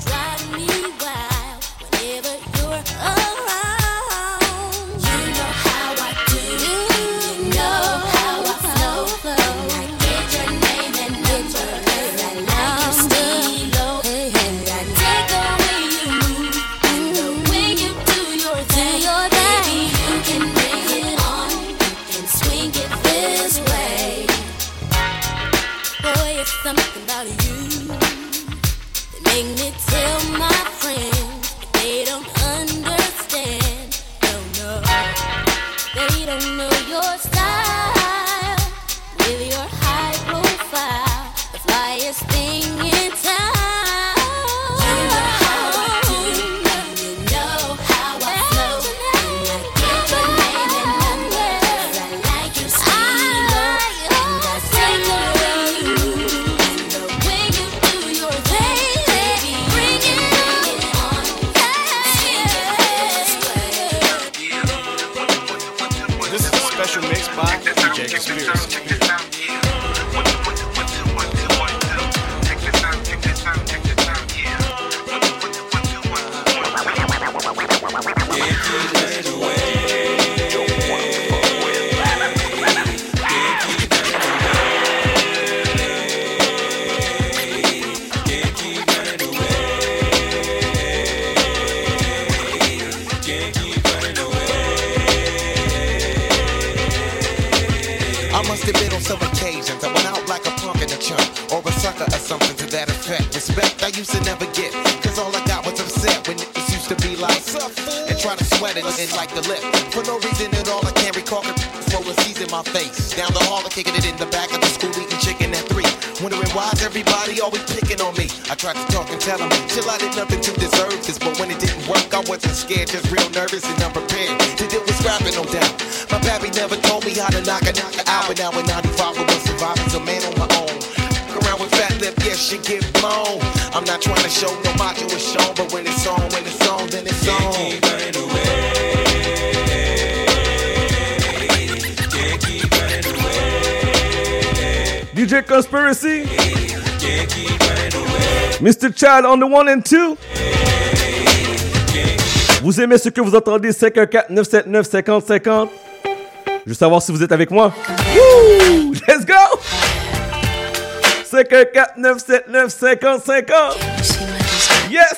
Something about you that make me tell my friends but they don't understand. No, they don't know your style with your high profile, the flyest thing in town. You know how I do, you know how I flow, and I get your name and number. I like your style, and I take away you. Special mix by DJ Conspiracy. Respect I used to never get, cause all I got was upset when niggas used to be like, and try to sweat it and like the lip. For no reason at all, I can't recall it. Rolling C's in my face. Down the hall, kicking it in the back of the school, eating chicken at 3. Wondering why's everybody always picking on me. I tried to talk and tell them, chill, I did nothing to deserve this. But when it didn't work, I wasn't scared, just real nervous and unprepared to deal with scrapping, no doubt. My pappy never told me how to knock a knocker out. But now in 95, I was surviving, a man on my own. Around with fat lip, yes, she get blown. I'm not trying to show no macho is shown, but when it's on, then it's on. Can't keep running away. Can't DJ Conspiracy. Mr. Chad on the 1 and 2. Vous aimez ce que vous entendez? 514-979-5050. Je veux savoir si vous êtes avec moi. Woo! Let's go! 514-979-5050. Yes!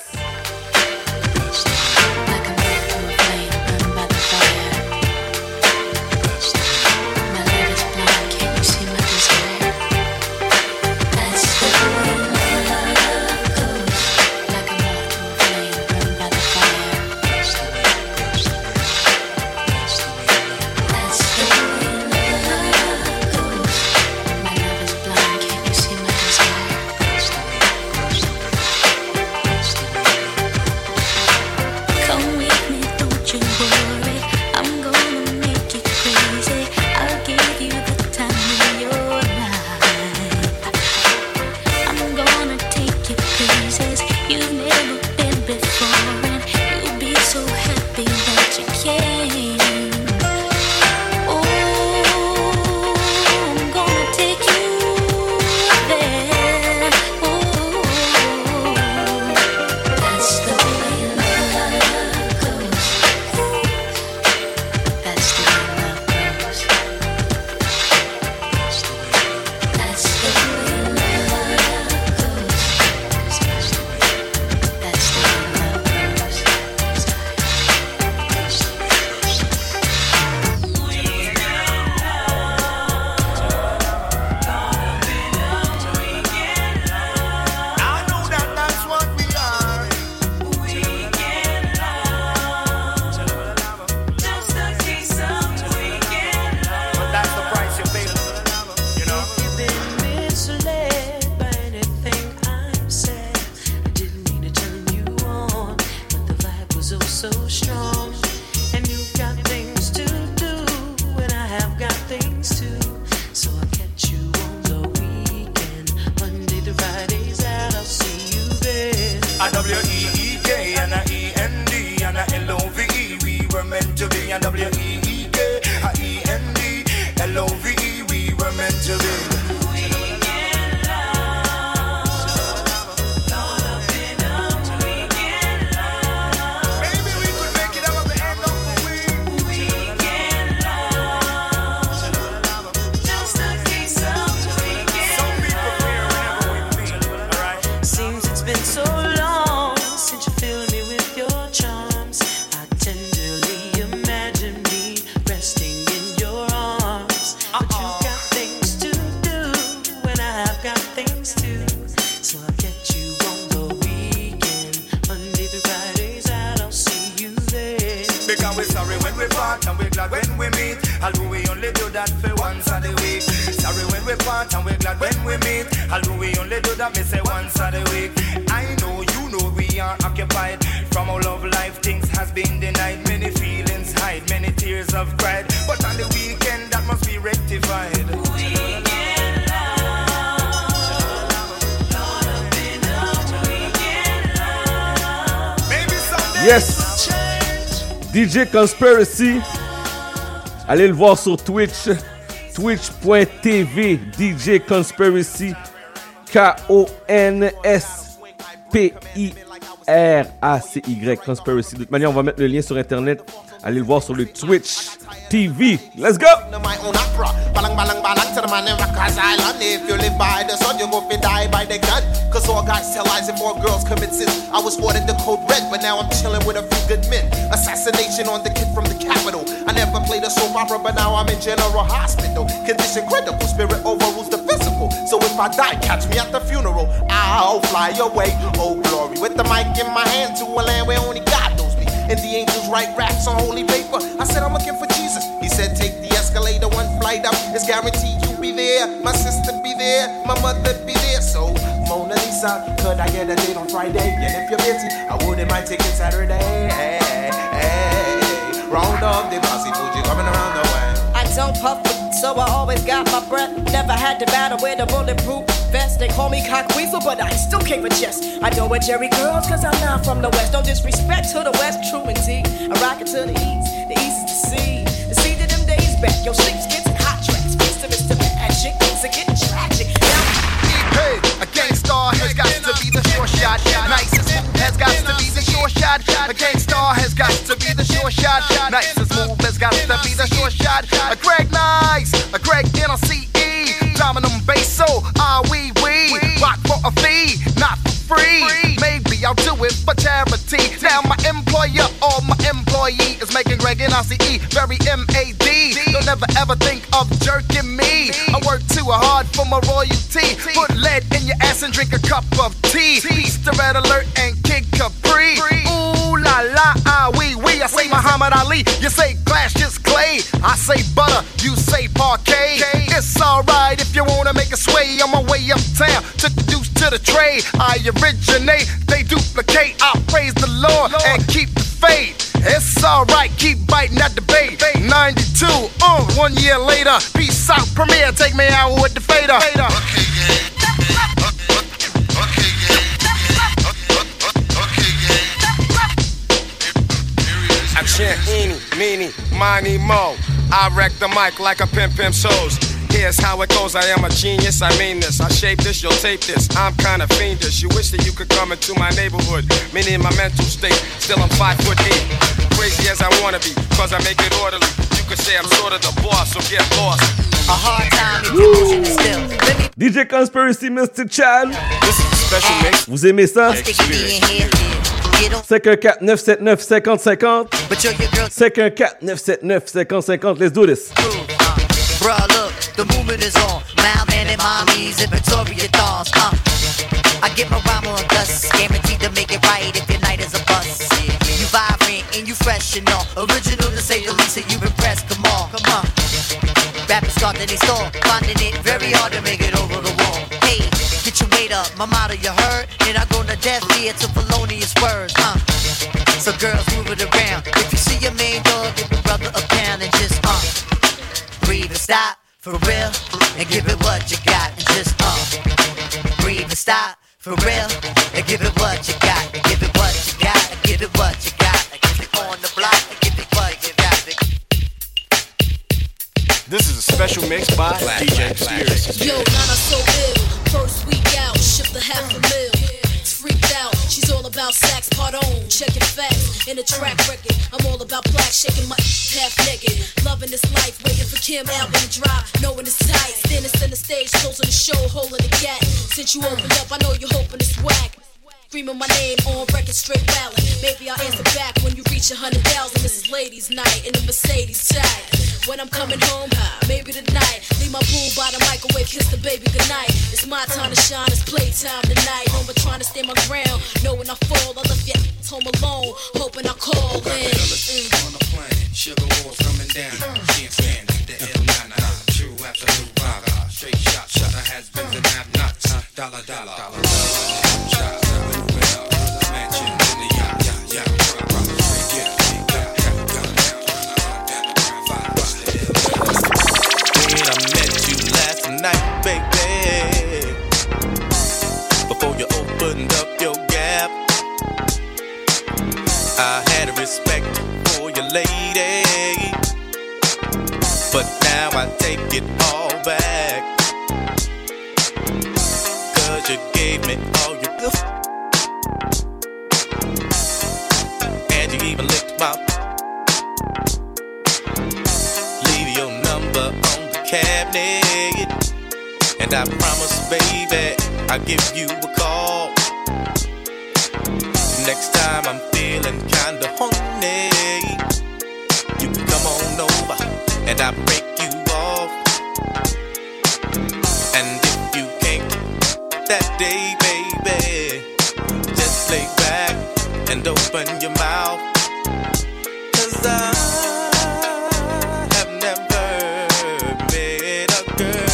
Yes! DJ Conspiracy. Allez le voir sur Twitch. Twitch.tv DJ Conspiracy. K-O-N-S-P-I-R-A-C-Y Conspiracy. De toute manière, on va mettre le lien sur Internet. Allez le voir sur le Twitch TV. Let's go! If you live by the sun, you go fi die by the gun. Cause all guys tell lies and more girls commit sins. I was ordered the code red, but now I'm chilling with a few good men. Assassination on the kid from the capital. I never played a soap opera, but now I'm in general hospital. Condition critical, spirit overrules the physical. So if I die, catch me at the funeral. I'll fly away, oh glory. With the mic in my hand to a land where only God knows me. And the angels write raps on holy paper. I said I'm looking for Jesus. He said take the escalator, one flight up. It's guaranteed you'll be there. My sister be there, my mother be there. So Mona Lisa, could I get a date on Friday? And if you're busy, I wouldn't mind taking Saturday. Hey, hey, round up the bossy Fuji coming around the way. I don't puff, so I always got my breath. Never had to battle with a bulletproof vest. They call me cockweasel, but I still came a chest. I know where Jerry girls, cause I'm not from the west. No disrespect to the west, true indeed. I rock it to the east is the sea. The sea to them days back. Yo, sleep skits and hot tracks. Face to Mr. Magic, things are getting tragic. shot. A gangstar has got to be the sure shot. Nice as move has got to be the sure shot. A Greg Nice, a Greg NLCE, Dominum Basso, we rock for a fee, not for free. Maybe I'll do it for charity. Now my employer or my employee is making Greg NLCE very MAD. Don't ever ever think of jerking me. I work too hard for my royalty. Put lead in your ass and drink a cup of tea. Peace to Red Alert and Kid Capri. Ooh la la, we. I say Muhammad Ali, you say Clash is clay. I say butter, you say parquet. It's alright if you wanna make a sway. On my way uptown, took the deuce to the trade. I originate, they duplicate. I praise the Lord and keep the faith. It's alright, keep biting at the bait. 92, 1 year later. Peace out, Premier, take me out with the fader. I chant eeny, meeny, miny, mo. I wreck the mic like a pimp shows. Here's how it goes, I am a genius, I mean this. I shape this, you'll tape this, I'm kinda fiendish. You wish that you could come into my neighborhood. Meaning my mental state, still I'm 5'8". Crazy as I wanna be, cause I make it orderly. You could say I'm sort of the boss, so get lost. A hard time if your vision is still. DJ Conspiracy, Mr. Chan. This is a special mix. Vous aimez ça? 514-979-5050. 514-979-5050. Let's do this. Bruh, look, the movement is on. Malman and mommies and Victoria dolls. I get my rhyme on dust. Guaranteed to make it right if your night is a bust. You vibrant and you fresh and all. Original to say the least, and you impressed. Come on. Rappers start in their store, finding it very hard to make it over the wall. Hey, get your weight up, my motto you heard. And I go to death here to felonious words. So girls move it around. If you see your main dog, give your brother a pound and just breathe and stop for real, and give it what you got, and just breathe and stop for real, and give it what you got, and give it what you got, and give it what you got, and give it on the block, and give it what you got. This is a special mix by DJ Conspiracy. Yo, Nana so ill. First week out, shipped a $500,000. Freaked out, she's all about sax, part on, checking facts in the track record. I'm all about black, shaking my half naked, loving this life, waiting for Kim album to drop, knowing it's tight. Then it's in the stage, closing the show, holding the gap. Since you opened up, I know you're hoping it's whack. Screaming my name on record, straight ballad. Maybe I'll answer back when you reach 100,000. This is ladies' night in the Mercedes tag. When I'm coming home, maybe tonight. Leave my boo by the microwave, kiss the baby goodnight. It's my time to shine, it's playtime tonight. No more trying to stand my ground. Know when I fall, I left your home alone, hoping I call in. Sugar walls coming down. Can't stand it. The L9, true absolute rock. Straight shot, shutter has been and have knots. Dollar. Night, baby, before you opened up your gap, I had a respect for your lady, but now I take it all back, 'cause you gave me all your good, and you even licked my, leave your number on the cabinet. And I promise, baby, I'll give you a call. Next time I'm feeling kinda horny, you can come on over and I'll break you off. And if you can't that day, baby, just lay back and open your mouth. 'Cause I have never met a girl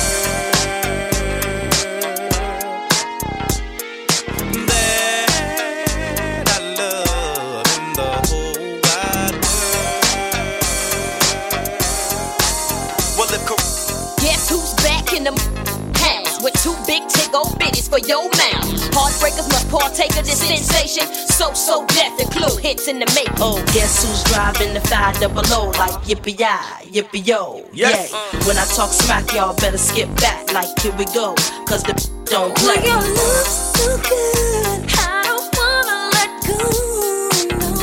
with two big tick-o bitties for your mouth. Heartbreakers must partake of this sensation. So death and clue hits in the make. Oh, guess who's driving the 500 like yippee-yi-yo? Yes. Yeah. When I talk smack, y'all better skip back like here we go, 'cause the don't play. Your love's so good, I don't wanna let go. No.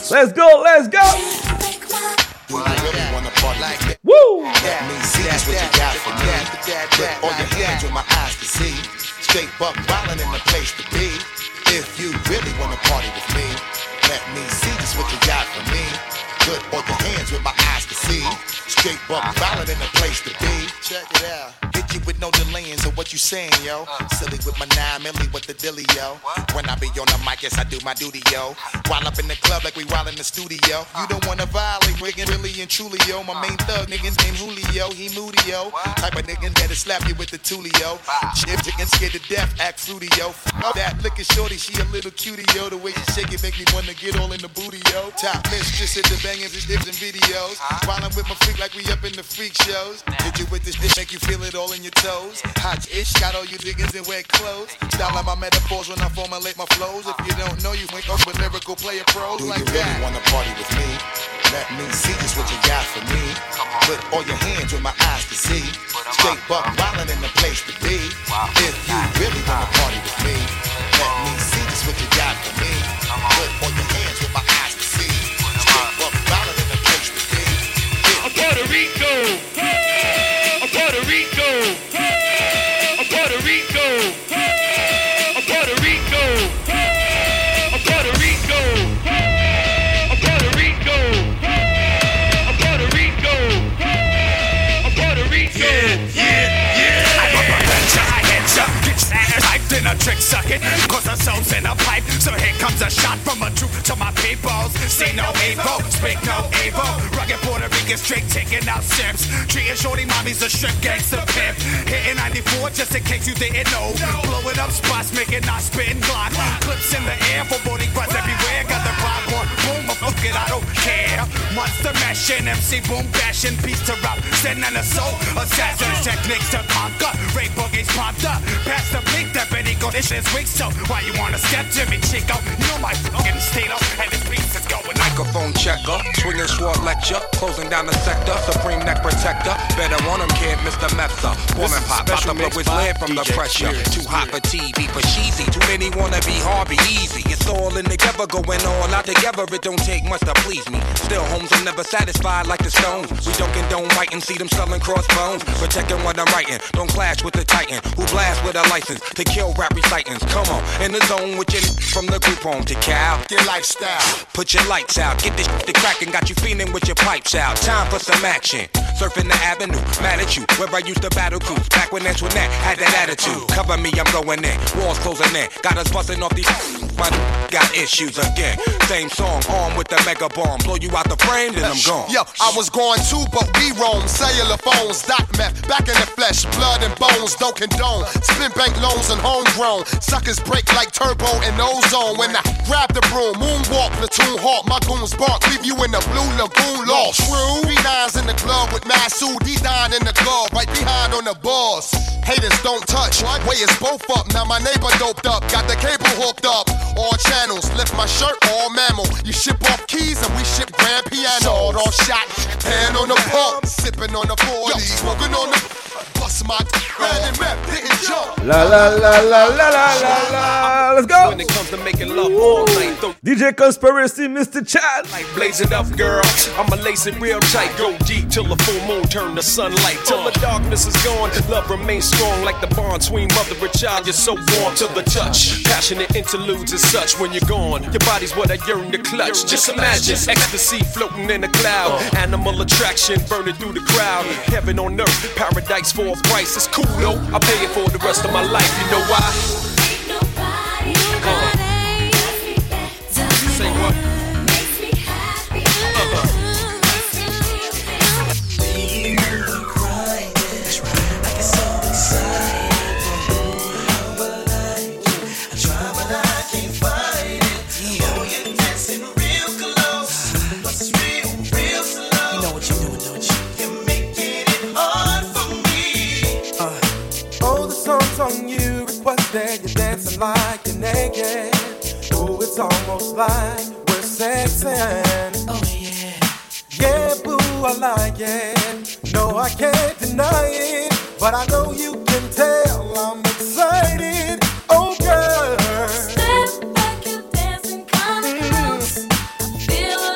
Let's go, let's go. Do I really wanna party like that? Woo! Let me see just what you got for me. Put all your hands with my eyes to see. Straight buck wildin' in the place to be. If you really wanna party with me, let me see just what you got for me. Put all your hands with my eyes to see. Straight buck wildin' in the place to be. Check it out. Hit you with no delaying, so what you saying, yo? Silly with my 9 milli with the dilly, yo. When I be on the mic, yes, I do my duty, yo. While up in the club like we wild in the studio. You don't wanna violate, Riggin, really and truly, yo. My main thug, niggas named Julio, he moody, yo. Type of niggas that'll slap you with the tulio. If chicken scared to death, act fruity, yo. F that liquor shorty, she a little cutie, yo. The way she shake it make me wanna get all in the booty, yo. Top mistress at the bangers and dips and videos. While I'm with my freak like we up in the freak shows. Hit you with this shit, make you feel it all in your toes. Hot ish, got all you diggers in wet clothes. Style like my metaphors when I formulate my flows. If you don't know, you ain't up with lyrical player pros like that. Do you really wanna party with me? Let me see just what you got for me. Put all your hands with my eyes to see. Straight buck wildin' in the place to be. If you really wanna party with me, let me see just what you got for me. Put all your hands with my eyes to see. Straight buck wildin' in the place to be. Puerto Rico, Puerto Rico, Puerto Rico, Puerto Rico, Puerto Rico, Puerto Rico, Puerto Rico, Puerto Rico. Yeah. I'm a prevention, I hit ya. Get typed in a trick sucking, cause the soul's in a pipe. So here comes a shot from a troop to my peoples. See no evil, speak no evil. Rugged Puerto Rican straight taking out sips. Treating shorty mommies a strip gangster pimp. Hitting 94 just in case you didn't know. Blowing up spots, making not spitting Glock. Clips in the air for Boricuas everywhere. Got the rock on, boom, fuck it, I don't care. Monster mashing, MC boom bashing. Peace to rap, sin and a soul. Assassins, techniques to conquer. Rape boogies popped up. Pass the beat, that Benny go this shit's weak. So why you wanna step to me, Chico? You know my fucking state up, and this beat is going. Microphone checker, swinging short lecture, closing down the sector, supreme neck protector. Better on him, kid, Mr. Mepsa. Woman pop, about to blow his lid from the pressure. Too hot for TV, for cheesy. Too many wanna be hard, be easy. It's all in together, going all out together. It don't take much to please me. Still, homes are never satisfied like the Stones. We don't condone writing, see them selling crossbones. Protecting what I'm writing, don't clash with the Titan who blast with a license to kill rap recitants. Come on, in the zone with your from the group home to Cal. Your lifestyle. Put your lights out, get this shit to crackin', got you feeling with your pipes out. Time for some action. Surfing the avenue, mad at you, where I used to battle cruise. Back when Antoinette had that attitude. Cover me, I'm going in. Walls closing in. Got us busting off these. My got issues again. Same song, armed with the mega bomb. Blow you out the frame, then I'm gone. Yo, I was going too, but we roam. Cellular phones, doc meth, back in the flesh, blood and bones, don't condone. Spin bank loans and homegrown. Suckers break like turbo and ozone. When I grab the broom, moonwalk, platoon hawk, my goons bark, leave you in the blue lagoon lost. True, 3-9s in the club with Masood, he dying in the glove, right behind on the balls. Haters don't touch, way is both up. Now my neighbor doped up, got the cable hooked up. All channels, lift my shirt, all mammal. You ship off keys and we ship grand piano. Sword off shot, hand on the pump, sipping on the 40, smoking on the bust my and map, didn't jump. La la la la la la la la. Let's go. When it comes to making love all night, DJ Conspiracy, Mr. Chad. Blaze it up, girl. I'ma lace it real tight. Go deep till the full moon turn to sunlight. Till the darkness is gone, love remains strong like the bond between mother and child. You're so warm to the touch. Passionate interludes and such when you're gone. Your body's what I yearn to clutch. Just imagine ecstasy floating in a cloud. Animal attraction burning through the crowd. Heaven on earth, paradise for a price. It's cool though. I'll pay it for the rest of my life. You know why? Say what? Song you requested, you're dancing like you're naked. Ooh, it's almost like we're sexing. Oh yeah, yeah, boo, I like it. No, I can't deny it, but I know you can tell I'm excited. Oh girl, step back, you're dancing kinda close. I feel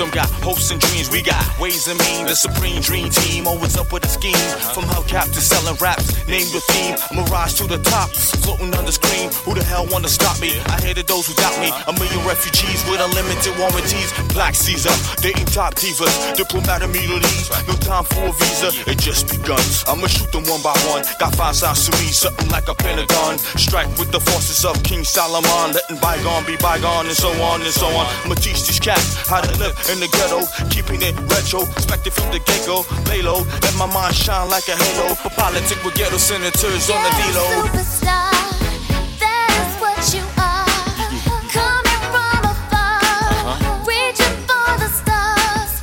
Some got hopes and dreams, we got ways and means. The supreme dream team, always up with a scheme. From hubcap to selling raps, name the theme. Mirage to the top, floating on the screen. Who the hell wanna stop me? I hated those who doubt me. A million refugees with unlimited warranties. Black Caesar, dating top divas. Diplomatic immunities, no time for a visa. It just begun. I'ma shoot them one by one. Got 5 sides to me, something like a pentagon. Strike with the forces of King Solomon, letting bygone be bygone, and so on and so on. I'ma teach these cats how to live in the ghetto, keeping it retro, expected from the get-go. Lay low, let my mind shine like a halo. For politics with ghetto senators on the D-Lo. Superstar, that is what you are. Coming from afar, reaching for the stars.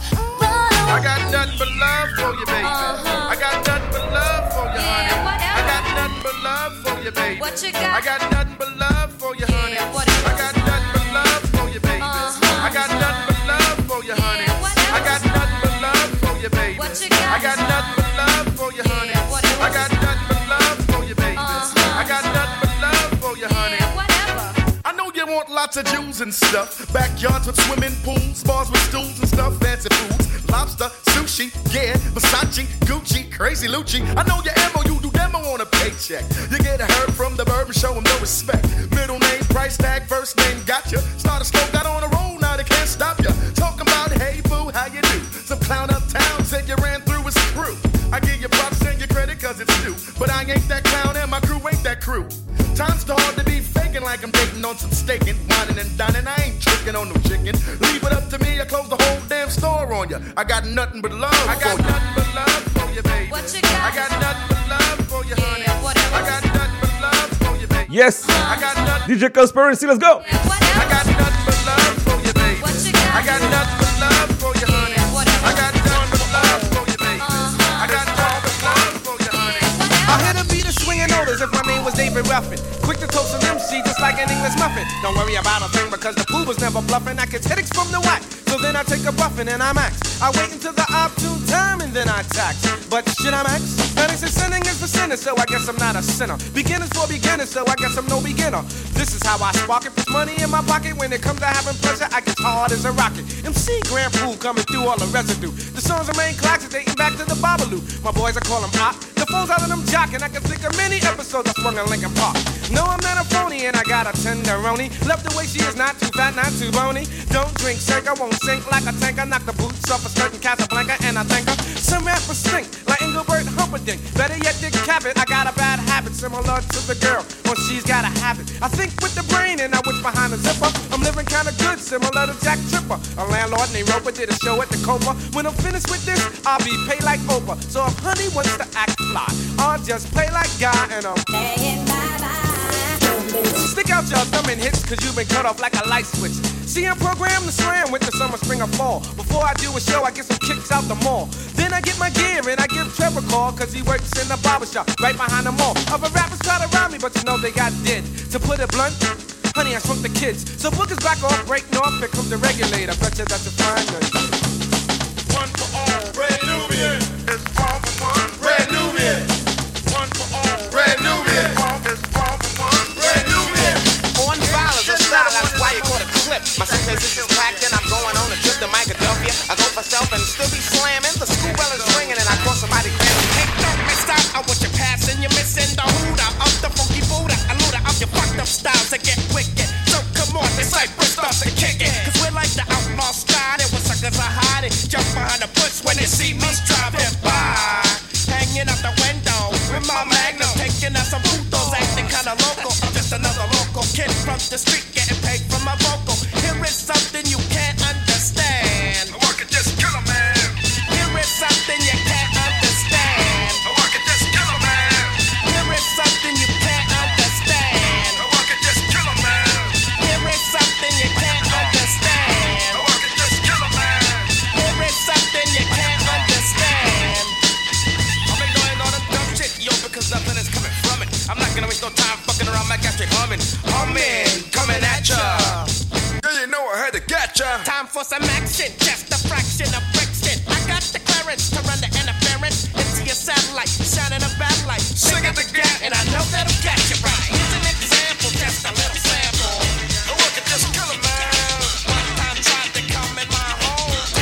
I got nothing but love for you, baby. I got nothing but love for you, honey. I got nothing but love for you, baby. What you got? I got nothing but love for you, honey. I got nothing but love for you, baby. I got nothing but love for you, honey. I got nothing but love for you, baby. I got nothing but love for you, honey. I got nothing but love for you, baby. I got nothing but love for you, honey. I know you want lots of Jews and stuff. Backyards with swimming pools, bars with stools and stuff, fancy foods. Lobster, sushi, yeah, Versace, Gucci, crazy Lucci. I know your ammo, you do demo on a paycheck. You get a herb from the bird and show him no respect. Middle name, price tag, first name, gotcha. Start a stroke, got on a roll, now they can't stop ya. Talking about, hey boo, how you do? Some clown uptown said you ran through his crew. I give you props and your credit cause it's due. But I ain't that clown and my crew ain't that crew. Time's too hard to be faking like I'm dating on some staking. Whining and dining, I ain't tricking on no chicken. Leave it up to me, I close the whole damn store on ya. I got nothing but love for you. I got nothing but love for you, baby. What you got? I got nothing but love for you, honey. I got nothing but love for you, baby. Yes. I got nothing. DJ Conspiracy, let's go. I got nothing but love for you, baby. I got nothing but love for you, honey. I got nothing but love for you, baby. I got nothing but love for you, honey. I hit a beat of swinging notice if my name was David Ruffin. Quick to toast an MC just like an English muffin. Don't worry about a thing because the fool was never bluffing. I catch headaches from the whack. So then I take a buffin' and I max. I wait until the opportune time and then I tax. But should I max? That is sinning is for sinners, so I guess I'm not a sinner. Beginners for beginners, so I guess I'm no beginner. This is how I spark it. Puts money in my pocket. When it comes to having pleasure, I get hard as a rocket. MC Grand Pool coming through all the residue. The songs are main classics, dating back to the Babalu. My boys, I call them op. The phones out of them jockin'. I can think of many episodes I swung in Lincoln Park. No, I'm not a phony and I got a tenderoni. Love the way she is, not too fat, not too bony. Don't drink, shake, I won't sink like a tanker. Knock the boots off a skirt in Casablanca and I thank her. Some rappers stink like Engelbert Humperdinck. Better yet, Dick Cavett. I got a bad habit similar to the girl when she's got a habit. I think with the brain and I wish behind the zipper. I'm living kinda good, similar to Jack Tripper. A landlord named Roper did a show at the Copa. When I'm finished with this, I'll be paid like Oprah. So if honey wants to act fly, I'll just play like Guy and I'm playing bye-bye. Stick out your thumb and hits, cause you've been cut off like a light switch. See, I'm programmed to slam with the summer, spring, or fall. Before I do a show, I get some kicks out the mall. Then I get my gear and I give Trevor a call, cause he works in the barbershop right behind the mall. Other rappers try to rob me, but you know they got dead. To put it blunt, honey, I shrunk the kids. So bookers back off, break north, here comes the regulator. Bet you that's a fine night. One for all, Red Nubian. It's all for one, Red Nubian. One for all, Red Nubian. It's all for one, Red Nubian. On file is a style, that's why you call it clip. My suitcase is packed and I'm going on a trip to Philadelphia. I go for self and still be slamming. The school bell is ringing and I call somebody cramming. Hey, don't miss out on what you're passing. You're missing the hooter of the funky Buddha. A looter of your fucked up styles that get wicked. So come on, this Cypress starts to kick it. Cause we're like the outlaw style. And when suckers are hiding, jump behind the bush when they see me driving by. Hanging out the window with my magnum, taking out some putos, acting kinda local. I'm just another local kid from the street, getting paid for my vocal. Here is something you can't understand. I could just kill a man. Here is something you can't understand. I could just kill a man. Here is something you can't understand. I could just kill a man. Here is something you can't understand. I could just kill a man. Here is something you can't understand. I've been going on a dumb shit, yo, because nothing is coming from it. I'm not gonna waste no time fucking around my gas straight humming. Coming at ya. Yeah, you know I had to get ya. Time for some action, just a fraction of friction. I got the clearance to run the interference into your satellite, shining a bad light. Sing it again, and I know that'll catch you right. Here's an example, just a little sample. I could just kill a man. One time tried to come in my home.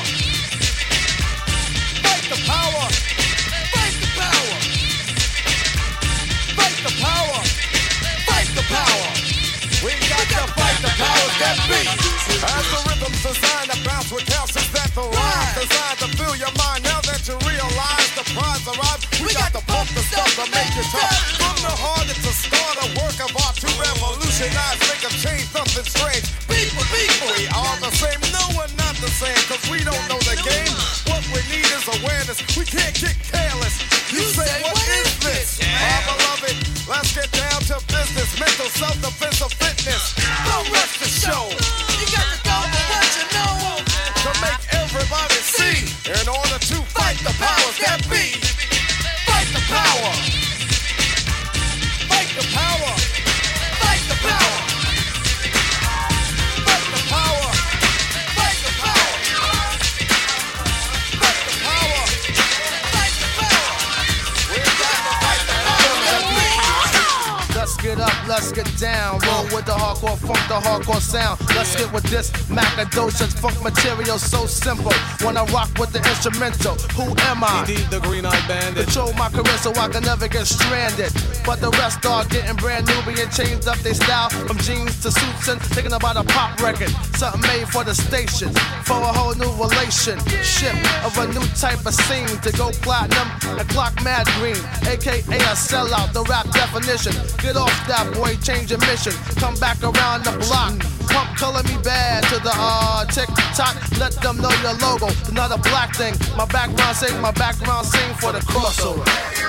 Fight the power. Fight the power. Fight the power. Fight the power. We got to fight the powers that be. As the rhythm's designed to bounce with calcium that the rhyme designed to fill your mind. Now that you realize the prize arrives, we got to pump the stuff to make it tough. From the heart, it's a start, a work of art to revolutionize, make a change, something strange. People, we are the same. No, we're not the same, cause we don't know the game. What we need is awareness. We can't get careless. You say, what is this? My beloved, let's get down to business. Mental self-defense of fitness. Don't rush the show. You got to go for what you know. To make everybody see. In order to fight the powers that be. Fight the power. Fight the power. Fight the power. Fight the power. Fight the power. Fight the power. Fight the power. We got to fight the powers that be. Let's get up, let's get down. Roll with the hardcore funk, the hardcore sound. Let's get with this Macadocious funk material so simple. When I rock with the instrumental, who am I? Indeed, the Green-Eyed Bandit. Control my career so I can never get stranded. But the rest are getting brand new, being changed up their style from jeans to suits and thinking about a pop record. Something made for the station, for a whole new relationship of a new type of scene to go platinum and clock mad green, aka a sellout, the rap definition. Get off that boy, change your mission. Come back around the block. Pump color me bad to the tick-tock. Let them know your logo. It's not a black thing. My background sing for the crossover.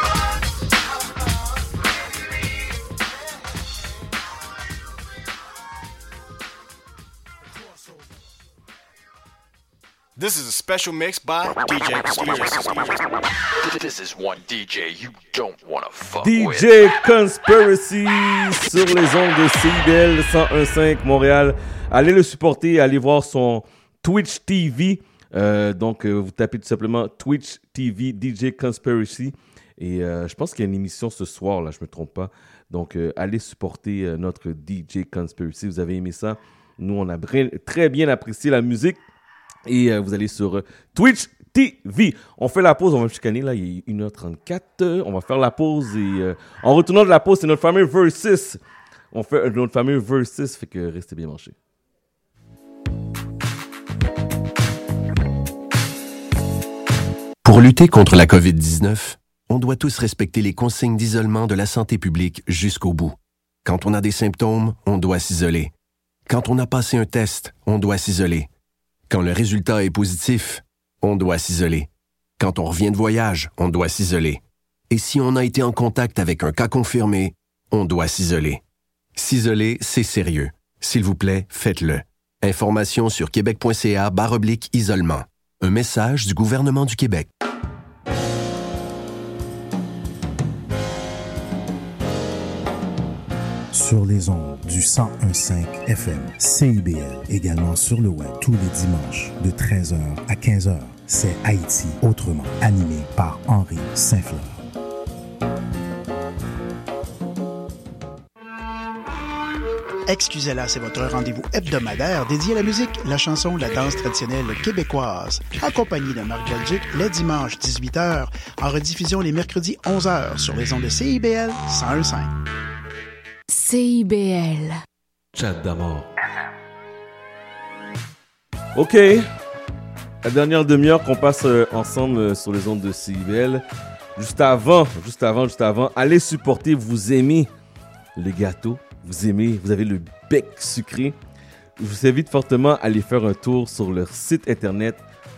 This is a special mix by DJ Conspiracy. This is one DJ you don't wanna fuck with. DJ Conspiracy sur les ondes de CIBL 101.5 Montréal. Allez le supporter, allez voir son Twitch TV. Donc, vous tapez tout simplement Twitch TV DJ Conspiracy. Et je pense qu'il y a une émission ce soir, là, je me trompe pas. Donc, allez supporter notre DJ Conspiracy. Vous avez aimé ça? Nous, on a très bien apprécié la musique. Et vous allez sur Twitch TV. On fait la pause, on va me chicaner là, il est 1h34. On va faire la pause et en retournant de la pause, c'est notre fameux Versus. On fait notre fameux Versus, fait que restez bien branchés. Pour lutter contre la COVID-19, on doit tous respecter les consignes d'isolement de la santé publique jusqu'au bout. Quand on a des symptômes, on doit s'isoler. Quand on a passé un test, on doit s'isoler. Quand le résultat est positif, on doit s'isoler. Quand on revient de voyage, on doit s'isoler. Et si on a été en contact avec un cas confirmé, on doit s'isoler. S'isoler, c'est sérieux. S'il vous plaît, faites-le. Information sur québec.ca/isolement. Un message du gouvernement du Québec. Sur les ondes du 101.5 FM, CIBL, également sur le web tous les dimanches de 13h à 15h. C'est Haïti autrement, animé par Henri Saint-Fleur. Excusez-la, c'est votre rendez-vous hebdomadaire dédié à la musique, la chanson, la danse traditionnelle québécoise. Accompagné de Marc Belgique, les dimanches 18h, en rediffusion les mercredis 11h sur les ondes de CIBL 101.5. CIBL. Chat d'amour. OK. La dernière demi-heure qu'on passe ensemble sur les ondes de CIBL. Juste avant, allez supporter, vous aimez les gâteaux, vous avez le bec sucré. Je vous invite fortement à aller faire un tour sur leur site internet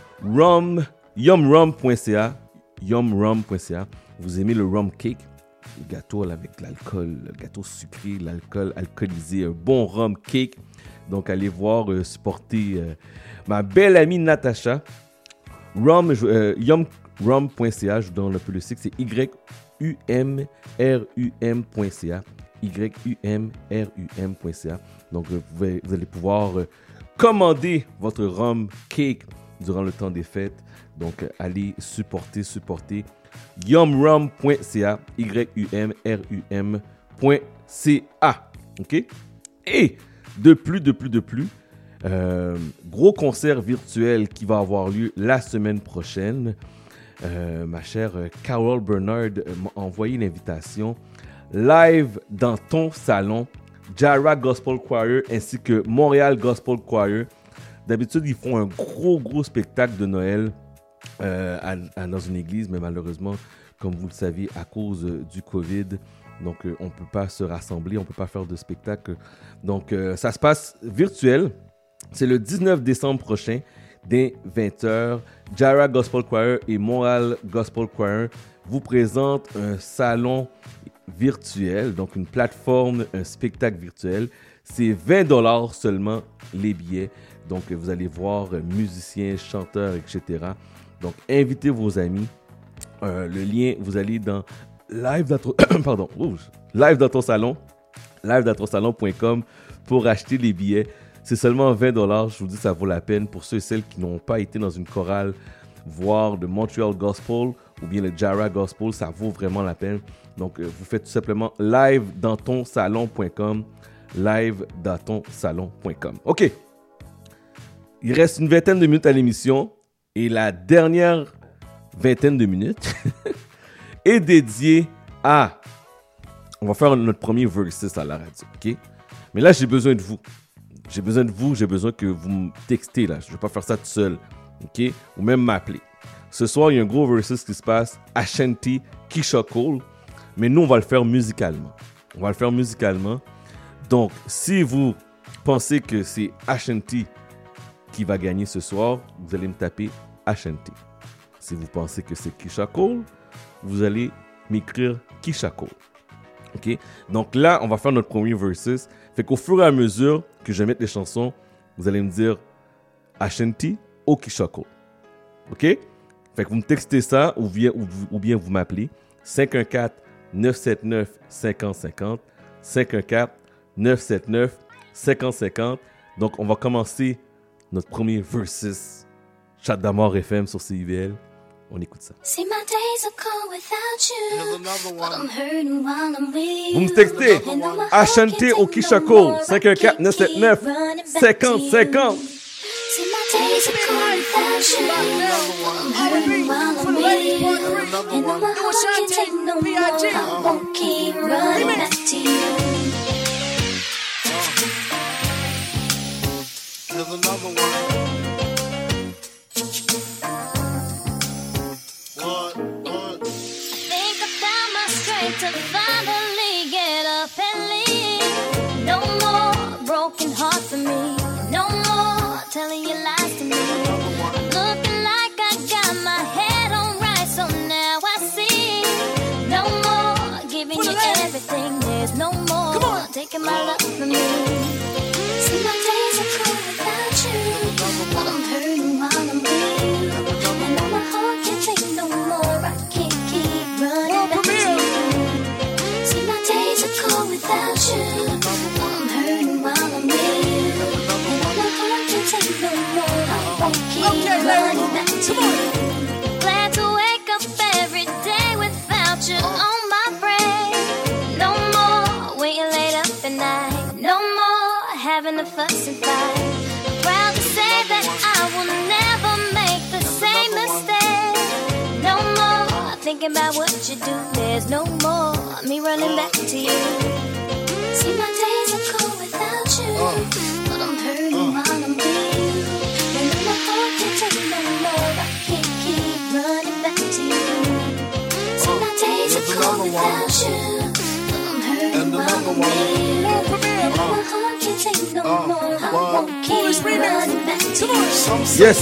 yumrum.ca. Vous aimez le rum cake, le gâteau avec l'alcool, le gâteau sucré, l'alcool alcoolisé, un bon rum cake. Donc, allez voir, supporter ma belle amie Natacha. Yumrum.ca, je vous donne un peu le site, c'est yumrum.ca. yumrum.ca. Donc, vous allez pouvoir commander votre rum cake durant le temps des fêtes. Donc, allez supporter yumrum.ca, yumrum.ca. OK? Et de plus, Gros concert virtuel qui va avoir lieu la semaine prochaine. Ma chère Carol Bernard m'a envoyé l'invitation. Live dans ton salon, Jara Gospel Choir ainsi que Montréal Gospel Choir. D'habitude, ils font un gros spectacle de Noël dans une église, mais malheureusement, comme vous le saviez, à cause du COVID, donc on ne peut pas se rassembler, on ne peut pas faire de spectacle. Donc, ça se passe virtuel. C'est le 19 décembre prochain, dès 20h. Jara Gospel Choir et Montréal Gospel Choir vous présentent un salon virtuel, donc une plateforme, un spectacle virtuel. C'est 20$ seulement les billets. Donc, vous allez voir musiciens, chanteurs, etc. Donc, invitez vos amis. Le lien, vous allez dans live dans ton salon, live-dans-ton-salon.com pour acheter les billets. C'est seulement 20$. Je vous dis, ça vaut la peine pour ceux et celles qui n'ont pas été dans une chorale voir le Montreal Gospel ou bien le Jara Gospel. Ça vaut vraiment la peine. Donc, vous faites tout simplement live-dans-ton-salon.com, live-dans-ton-salon.com. OK. Il reste une vingtaine de minutes à l'émission et la dernière vingtaine de minutes est dédiée à... On va faire notre premier versus à la radio, OK? Mais là, j'ai besoin de vous. J'ai besoin que vous me textez, là. Je ne vais pas faire ça tout seul, OK? Ou même m'appeler. Ce soir, il y a un gros versus qui se passe, Ashanti, Keisha Cole, mais nous, on va le faire musicalement. Donc, si vous pensez que c'est Ashanti qui va gagner ce soir, vous allez me taper Ashanti. Si vous pensez que c'est Keisha Cole, vous allez m'écrire Keisha Cole. OK? Donc là, on va faire notre premier versus. Fait qu'au fur et à mesure que je mette les chansons, vous allez me dire Ashanti ou Keisha Cole. OK? Fait que vous me textez ça ou bien vous m'appelez 514-979-5050. 514-979-5050. Donc, on va commencer notre premier versus Chat d'Amour FM sur CIBL. On écoute ça. See my days are cold without you, but I'm hurting while I'm with you. Vous me textez Ashanti ou Keisha Cole 514-979-5050. See my days are cold without you, but I'm hurting while I'm with you. And though my heart can't take no more, I won't keep running back to you. Here's another one. To finally get up and leave. No more broken heart for me. No more telling you lies to me. Looking like I got my head on right, so now I see. No more giving you everything. There's no more taking my love from me. See my days are cold without you, but I'm hurting while I'm with you. And now my heart can't take no more. I can't keep running back to you. Without you, I'm hurting while I'm with you. And all my heart can take no more. I won't keep running back to you. Glad to wake up every day without you on my brain. No more waiting late up at night. No more having a fuss and fight. Proud to say that I will never make the same mistake. No more thinking about what you do. There's no more me running back to you. See my days are cold without you, but I'm hurting while I'm with you. And though my heart can't take no more, I can't keep running back to you. See my days are cold without you, but I'm hurting while I'm with you. And though my heart can't take no more, I won't keep running back to you. Yes.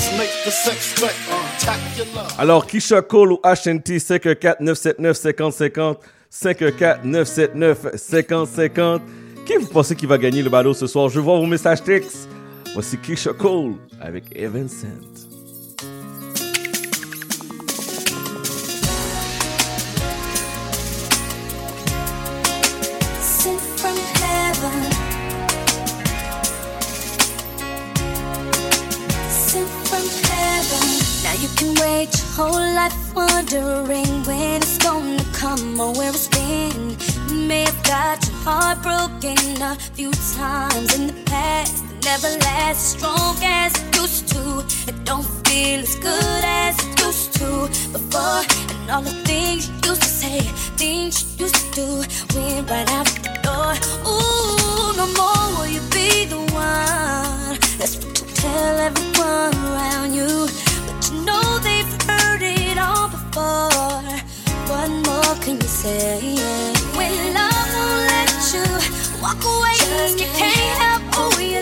Alors, Keisha Cole ou Ashanti, 514-979-5050. 514-979-5050. Qui vous pensez qui va gagner le ballot ce soir? Je vois vos messages textes. Voici Keisha Cole avec Evan Sant. Sent from heaven, sent from heaven. Now you can wait your whole life wondering when it's gonna come or where it's been. You may have got your heart broken a few times in the past, and never last as strong as it used to. It don't feel as good as it used to before. And all the things you used to say, things you used to do, went right out the door. Ooh, no more will you be the one. That's what you tell everyone around you. But you know they've heard it all before. What more can you say? When love won't let you walk away, just you can't help who you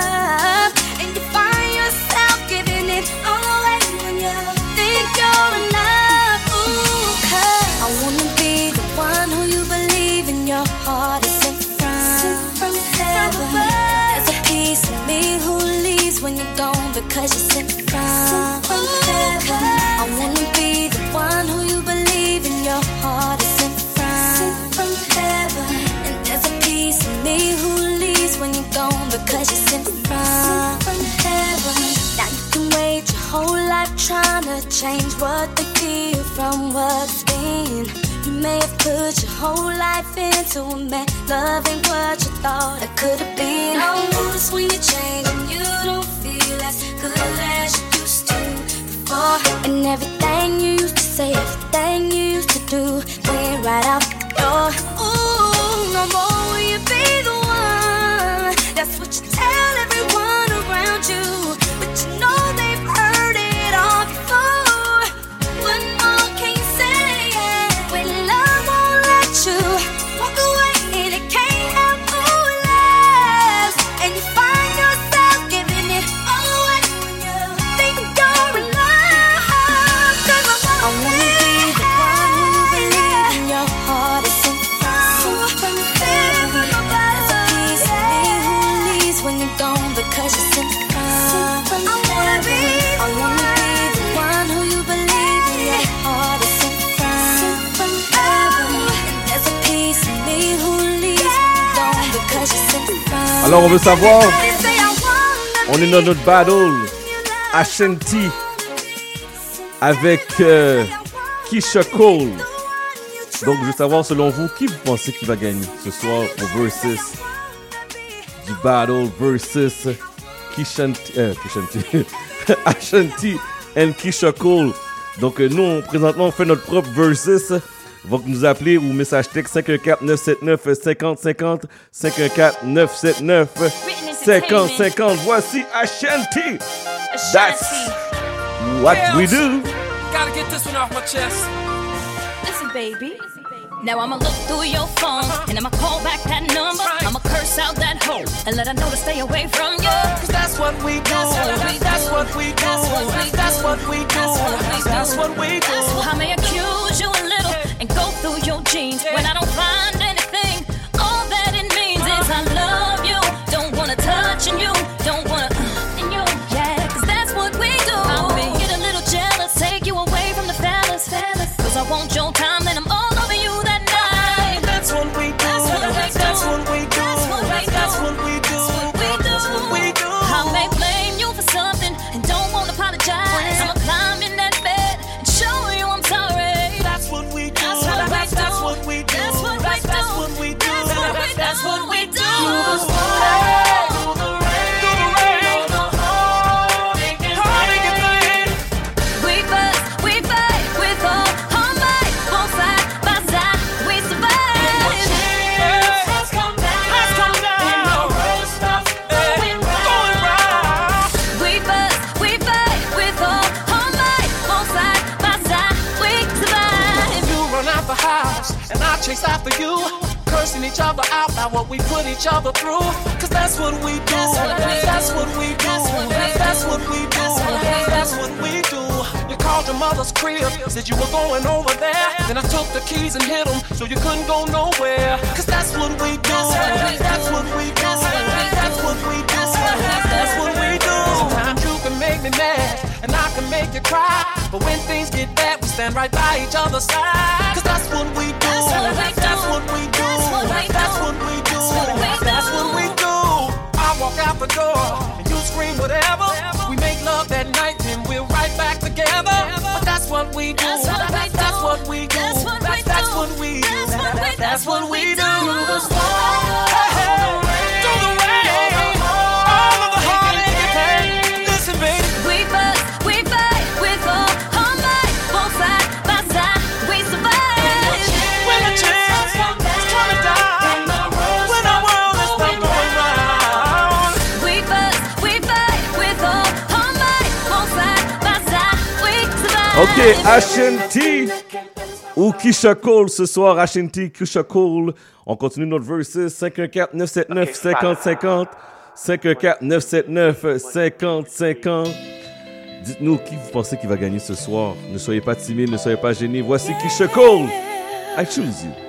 love, and you find yourself giving it all away when you think you're enough. Ooh, 'cause I wanna be the one who you believe in your heart is sent from heaven. There's a piece of me who leaves when you're gone because you're sent from heaven. I wanna be the one who you believe in your heart is sent from heaven. And there's a piece of me who leaves when you're gone because you're sent from heaven. Now you can wait your whole life trying to change what they feel from what's been. You may have put your whole life into a man, loving what you thought it could have been. I notice when you change and you don't feel as good as you used to before. And everything you used to say, everything you used to do, went right out the door. Ooh, no more will you be the one. That's what you tell everyone around you. But you know they've heard it all before. What more can you say? When love won't let you walk away and it can't help who it loves, and you find yourself giving it all away when you think you're in love. 'Cause I wanna be the one who you believe in your heart is sent from heaven. There's a piece of me who leaves when you're gone because you're sent from heaven. I wanna be the one who you believe in your heart is sent from heaven. And there's a piece of me who leaves when you're gone because you're sent from. Alors, on veut savoir, on est dans notre battle Ashanti avec Keisha Cole. Donc, je veux savoir, selon vous, qui vous pensez qui va gagner ce soir au versus du battle versus Ashanti and Keisha Cole. Donc, nous, présentement, on fait notre propre versus. Donc, nous appeler ou message texte 514-979-5050, 514-979-5050. Voici Ashanti. That's what we do. Gotta get this one off my chest. Listen, baby. Now I'ma look through your phone and I'ma call back that number. I'ma curse out that hoe and let her know to stay away from you. 'Cause that's what we do. That's what we do. That's what we do. That's what we do. I may accuse you a little and go through your jeans when I don't find anything. All that it means is I love you. Don't wanna touch on you. Don't wanna in you. Yeah, 'cause that's what we do. I'll get a little jealous, take you away from the fellas. 'Cause I want your time, then I'm all over you that night. That's what we do. That's what we do. That's what we do. That's what we do. That's what we do. That's what we do. I may blame you for something and don't wanna apologize. I'ma climb in that bed and show you I'm sorry. That's what we do. That's what we do. That's what we do. That's what we do. That's what we do. That's what we do. We fuss, we fight with all might, both side by side, we survive. Has come down. And the road stops going round. We fuss, we fight with all might, both side by side, we survive. You run out the house and I chase after you, cursing each other out by what we put each other through. 'Cause that's what we do. That's what we do. That's what we do. That's what we do. That's what we do. You called your mother's crib, said you were going over there. Then I took the keys and hid them so you couldn't go nowhere. 'Cause that's what we do. That's what we do. That's what we do. That's what we do. Sometimes you can make me mad and I can make you cry, but when things get bad, we stand right by each other's side. 'Cause that's what we do. That's what we do. That's what we do. That's what we do. That's what we do. I walk out the door and you scream whatever. We make love that night and we're right back together. But that's what we do. That's what we do. That's what we do. That's what we do. That's what we do. That's what we do. Through the rain, all of the Ok, Ashanti ou Keisha Cole ce soir. Ashanti, Keisha Cole. On continue notre versus 514-979-5050. 514-979-5050. Dites-nous qui vous pensez qui va gagner ce soir. Ne soyez pas timide, ne soyez pas gênés. Voici Keisha Cole. I choose you.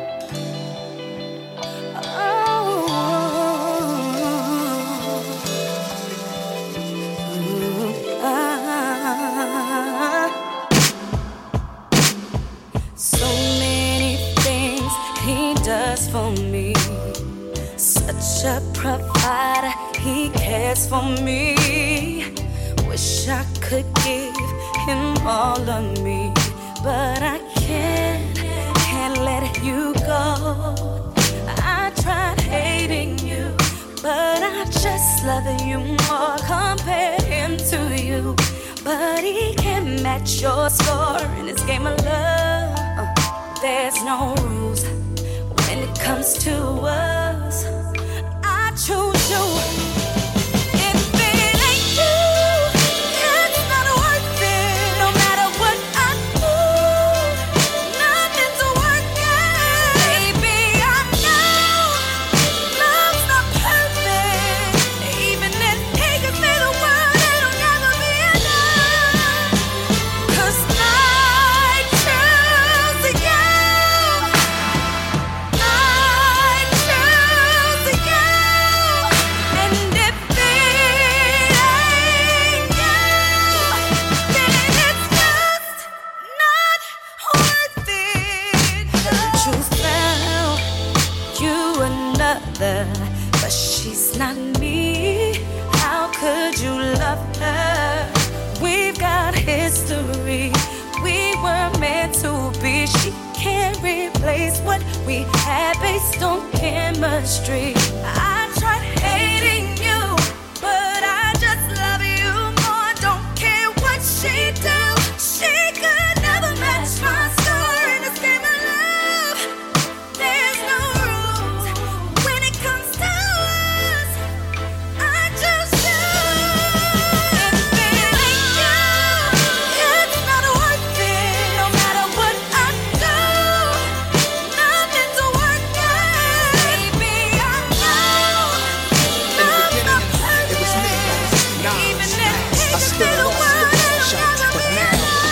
So many things he does for me. Such a provider, he cares for me. Wish I could give him all of me, but I can't let you go. I tried hating you, but I just love you more. Compare him to you, but he can't match your score in this game of love. There's no rules when it comes to us. I choose you. If it ain't you, it's not worth it. No matter what I do, nothing's working. Baby, I know love's not perfect. Even if he could say the word, it'll never be enough. 'Cause I choose you. I choose you. And if it ain't you, then it's just not worth it. Choose now, you another, but she's not me. How could you love her? We've got history. We were meant to be. She can't replace what we had based on chemistry. I tried hating you, but I just love you more. Don't care what she do. She could never match my score in this game of love. There's no rules when it comes to us. I just choose. If it ain't you, it's not worth it. No matter what I do, nothing's working. Baby, I know love's not perfect. Even if he could say the word, it'll never be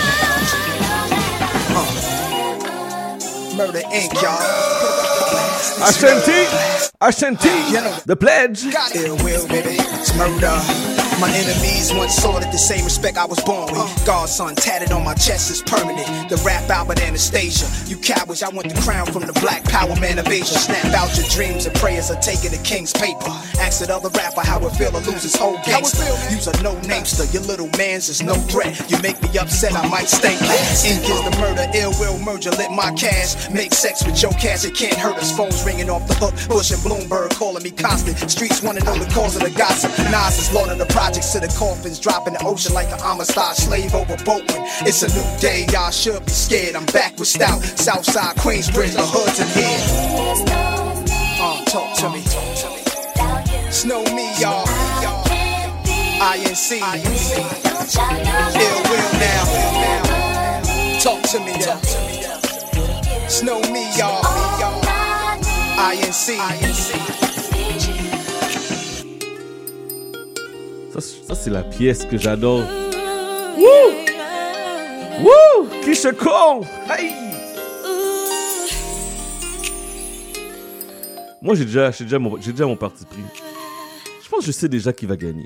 Murder Inc., y'all. Ashanti, Ashanti, the pledge. Ill will, baby. It's murder. My enemies once sought it the same respect I was born with. Godson tatted on my chest is permanent. The rap Albert Anastasia. You cowards, I want the crown from the black power man of Asia. Snap out your dreams and prayers are taking the king's paper. Ask that other rapper how it feel to lose his whole gangster. Use a no-namester, your little man's is no threat. You make me upset, I might stay last. Ink is the murder, ill will merger, lit my cash. Make sex with your cash, it can't hurt us. Phones ringing off the hook, Bush and Bloomberg calling me constant. Streets wanna know the cause of the gossip. Nas is Lord of the projects to the coffins, dropping the ocean like an Amistad slave over boatman. It's a new day, y'all should be scared. I'm back with stout, Southside Queensbridge, the hoods in here. Talk to me. Snow me, y'all. INC. Ill will now. Talk to me, y'all. Snow me, y'all. INC. Ça c'est la pièce que j'adore. Woo! Woo! Keisha Cole! Hey! Moi j'ai déjà mon parti pris. Je pense que je sais déjà qui va gagner.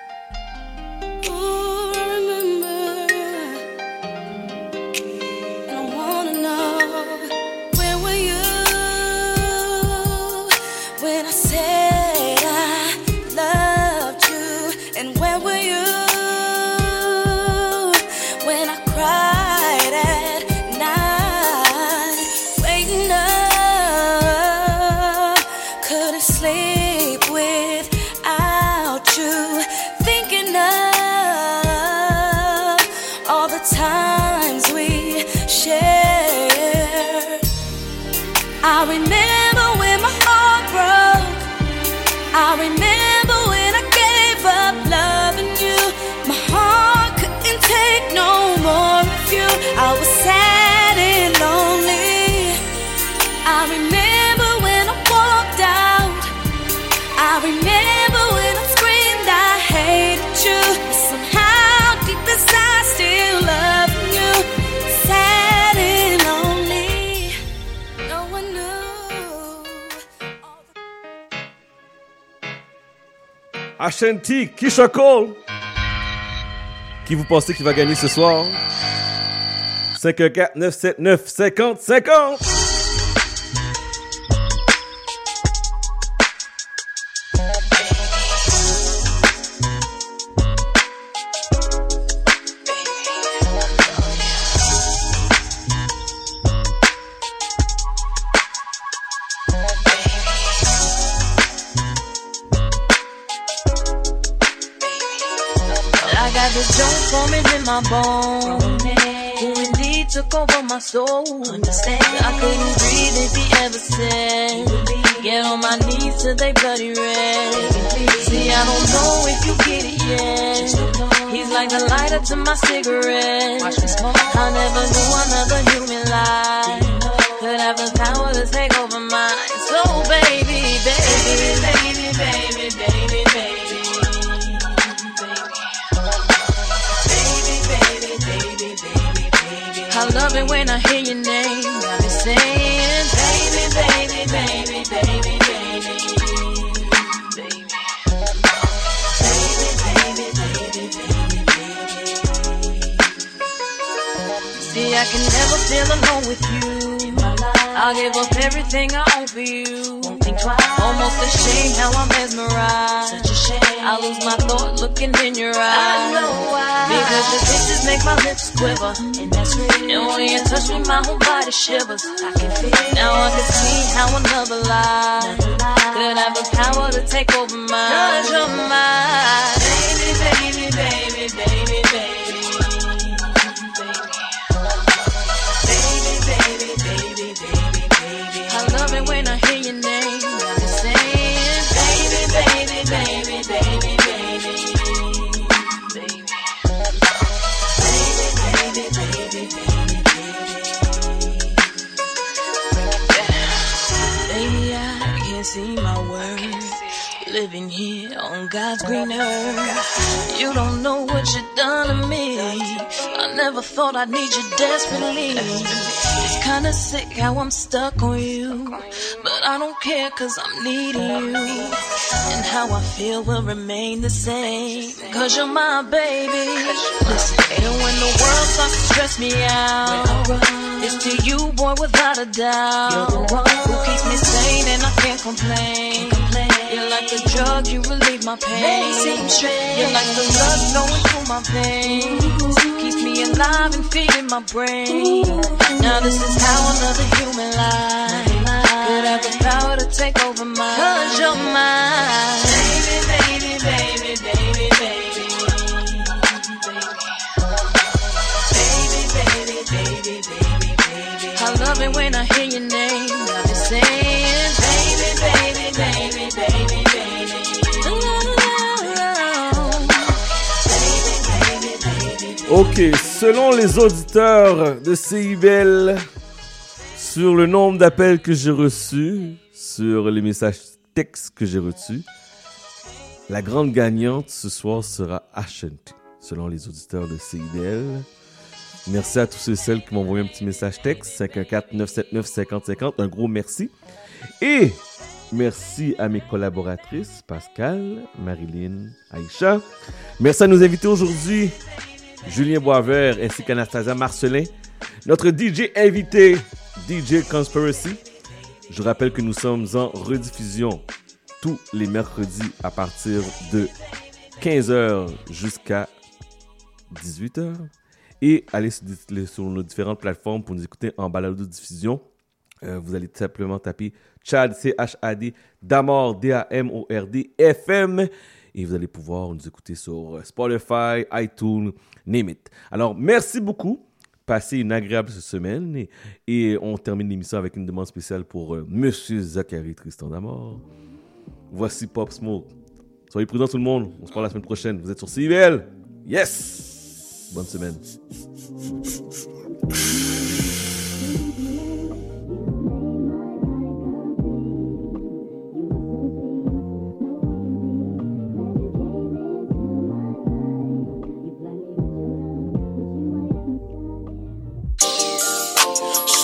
I remember when my heart broke. I remember when I gave up loving you. My heart couldn't take no more of Ashanti, Keisha Cole. Qui vous pensez qui va gagner ce soir? 514-979-5050. My bone, who indeed took over my soul. Understand, I couldn't breathe if he ever said, get on my knees till they bloody red. See, I don't know if you get it yet. He's like the lighter to my cigarette. I never knew another human life could have the power to take over mine. So baby, baby, baby, baby, baby, baby. I love it when I hear your name. I be saying, baby, baby, baby, baby, baby, baby. See, I can never feel alone with you. I'll give up everything I own for you. Almost ashamed how I'm mesmerized. Such a shame. I lose my thought looking in your eyes. I know why. Because your kisses make my lips quiver. And that's real. And when you touch me, my whole body shivers. I can feel. Now I can see how another lie could have the power to take over mine. 'Cause you're mine. Baby, baby, baby, baby, baby. When I hear your name, I'll be saying, baby, baby, baby, baby, baby, baby, baby, I can't see my words. Living here on God's green earth, you don't know what you've done to me. I never thought I'd need you desperately. It's kinda sick how I'm stuck on you, but I don't care 'cause I'm needing you. And how I feel will remain the same, 'cause you're my baby. Listen, and when the world starts to stress me out, it's to you, boy, without a doubt. You're the one who keeps me sane and I can't complain. You're like the drug, you relieve my pain. You're like the blood flowing through my veins, keeps me alive and feeding my brain. Now this is how another human life could have the power to take over mine. 'Cause you're mine. Baby, baby, baby, baby, baby. Baby, baby, baby, baby, baby. I love it when I hear your name. I'll be saying, baby, baby, baby, baby, baby. Ok, selon les auditeurs de CIBL, sur le nombre d'appels que j'ai reçus, sur les messages textes que j'ai reçus, la grande gagnante ce soir sera Ashanti, selon les auditeurs de CIBL. Merci à tous ceux et celles qui m'ont envoyé un petit message texte, 514-979-5050, un gros merci. Et merci à mes collaboratrices, Pascal, Marilyn, Aïcha. Merci à nos invités aujourd'hui, Julien Boisvert ainsi qu'Anastasia Marcelin. Notre DJ invité, DJ Conspiracy. Je rappelle que nous sommes en rediffusion tous les mercredis à partir de 15h jusqu'à 18h. Et allez sur nos différentes plateformes pour nous écouter en balado-diffusion. Vous allez tout simplement taper Chad, C-H-A-D, Damord, D-A-M-O-R-D, FM. Et vous allez pouvoir nous écouter sur Spotify, iTunes, name it. Alors, merci beaucoup. Passez une agréable semaine. Et on termine l'émission avec une demande spéciale pour Monsieur Zachary Tristan Damord. Voici Pop Smoke. Soyez prudents tout le monde. On se parle la semaine prochaine. Vous êtes sur CIBL. Yes! Bonne semaine.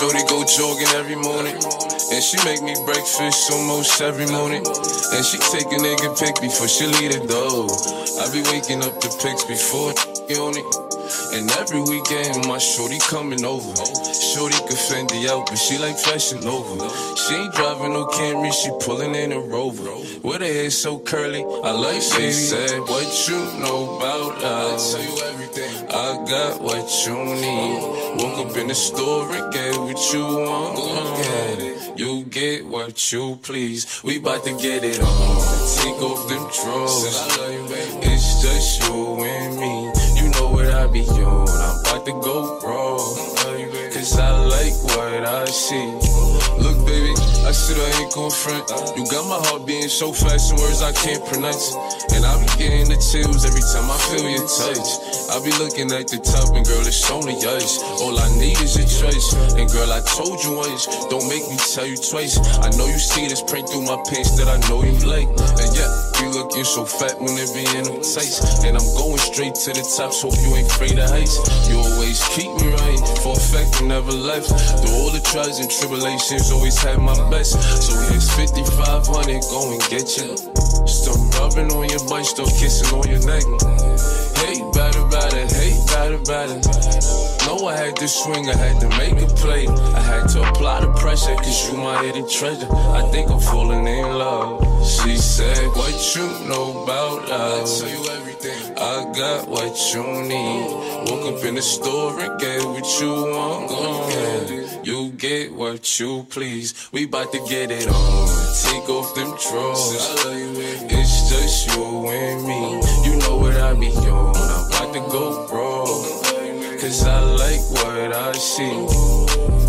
Shorty go jogging every morning, and she make me breakfast almost every morning. And she take a nigga pic before she leave the door. I be waking up the pics before on it. And every weekend my shorty coming over. Shorty could Fendi out, but she like Fashion Nova. She ain't driving no Camry, she pulling in a Rover. With her hair so curly, I like she said, what you know about us? I tell you everything. I got what you need. Woke up in the store and get what you want. Get it. You get what you please. We bout to get it on. Take off them drawers. It's just you and me. You know what I be on. I'm about to go raw. Cause I like what I see. Look, baby, I said I ain't gon' front. You got my heart beating so fast in words I can't pronounce. And I be getting the chills every time I feel your touch. I be looking at the top and girl, it's only ice. All I need is your choice. And girl, I told you once, don't make me tell you twice. I know you see this print through my pants that I know you like. And yeah, you looking so fat when it be in them tights. And I'm going straight to the top, so you ain't afraid of heights. You always keep me right, for a fact you never left. Through all the trials and tribulations, always had my best. So here's 5,500, go and get you. Still rubbing on your butt, still kissing on your neck. Hey, batter, hey, batter. Know I had to swing, I had to make a play. I had to apply the pressure, cause you my hidden treasure. I think I'm falling in love. She said, what you know about us? I tell you everything. I got what you need. Woke up in the store and get what you want. You get what you please. We bout to get it on. Take off them drawers. It's just you and me. You know what I be on. I'm about to go raw. Cause I like what I see.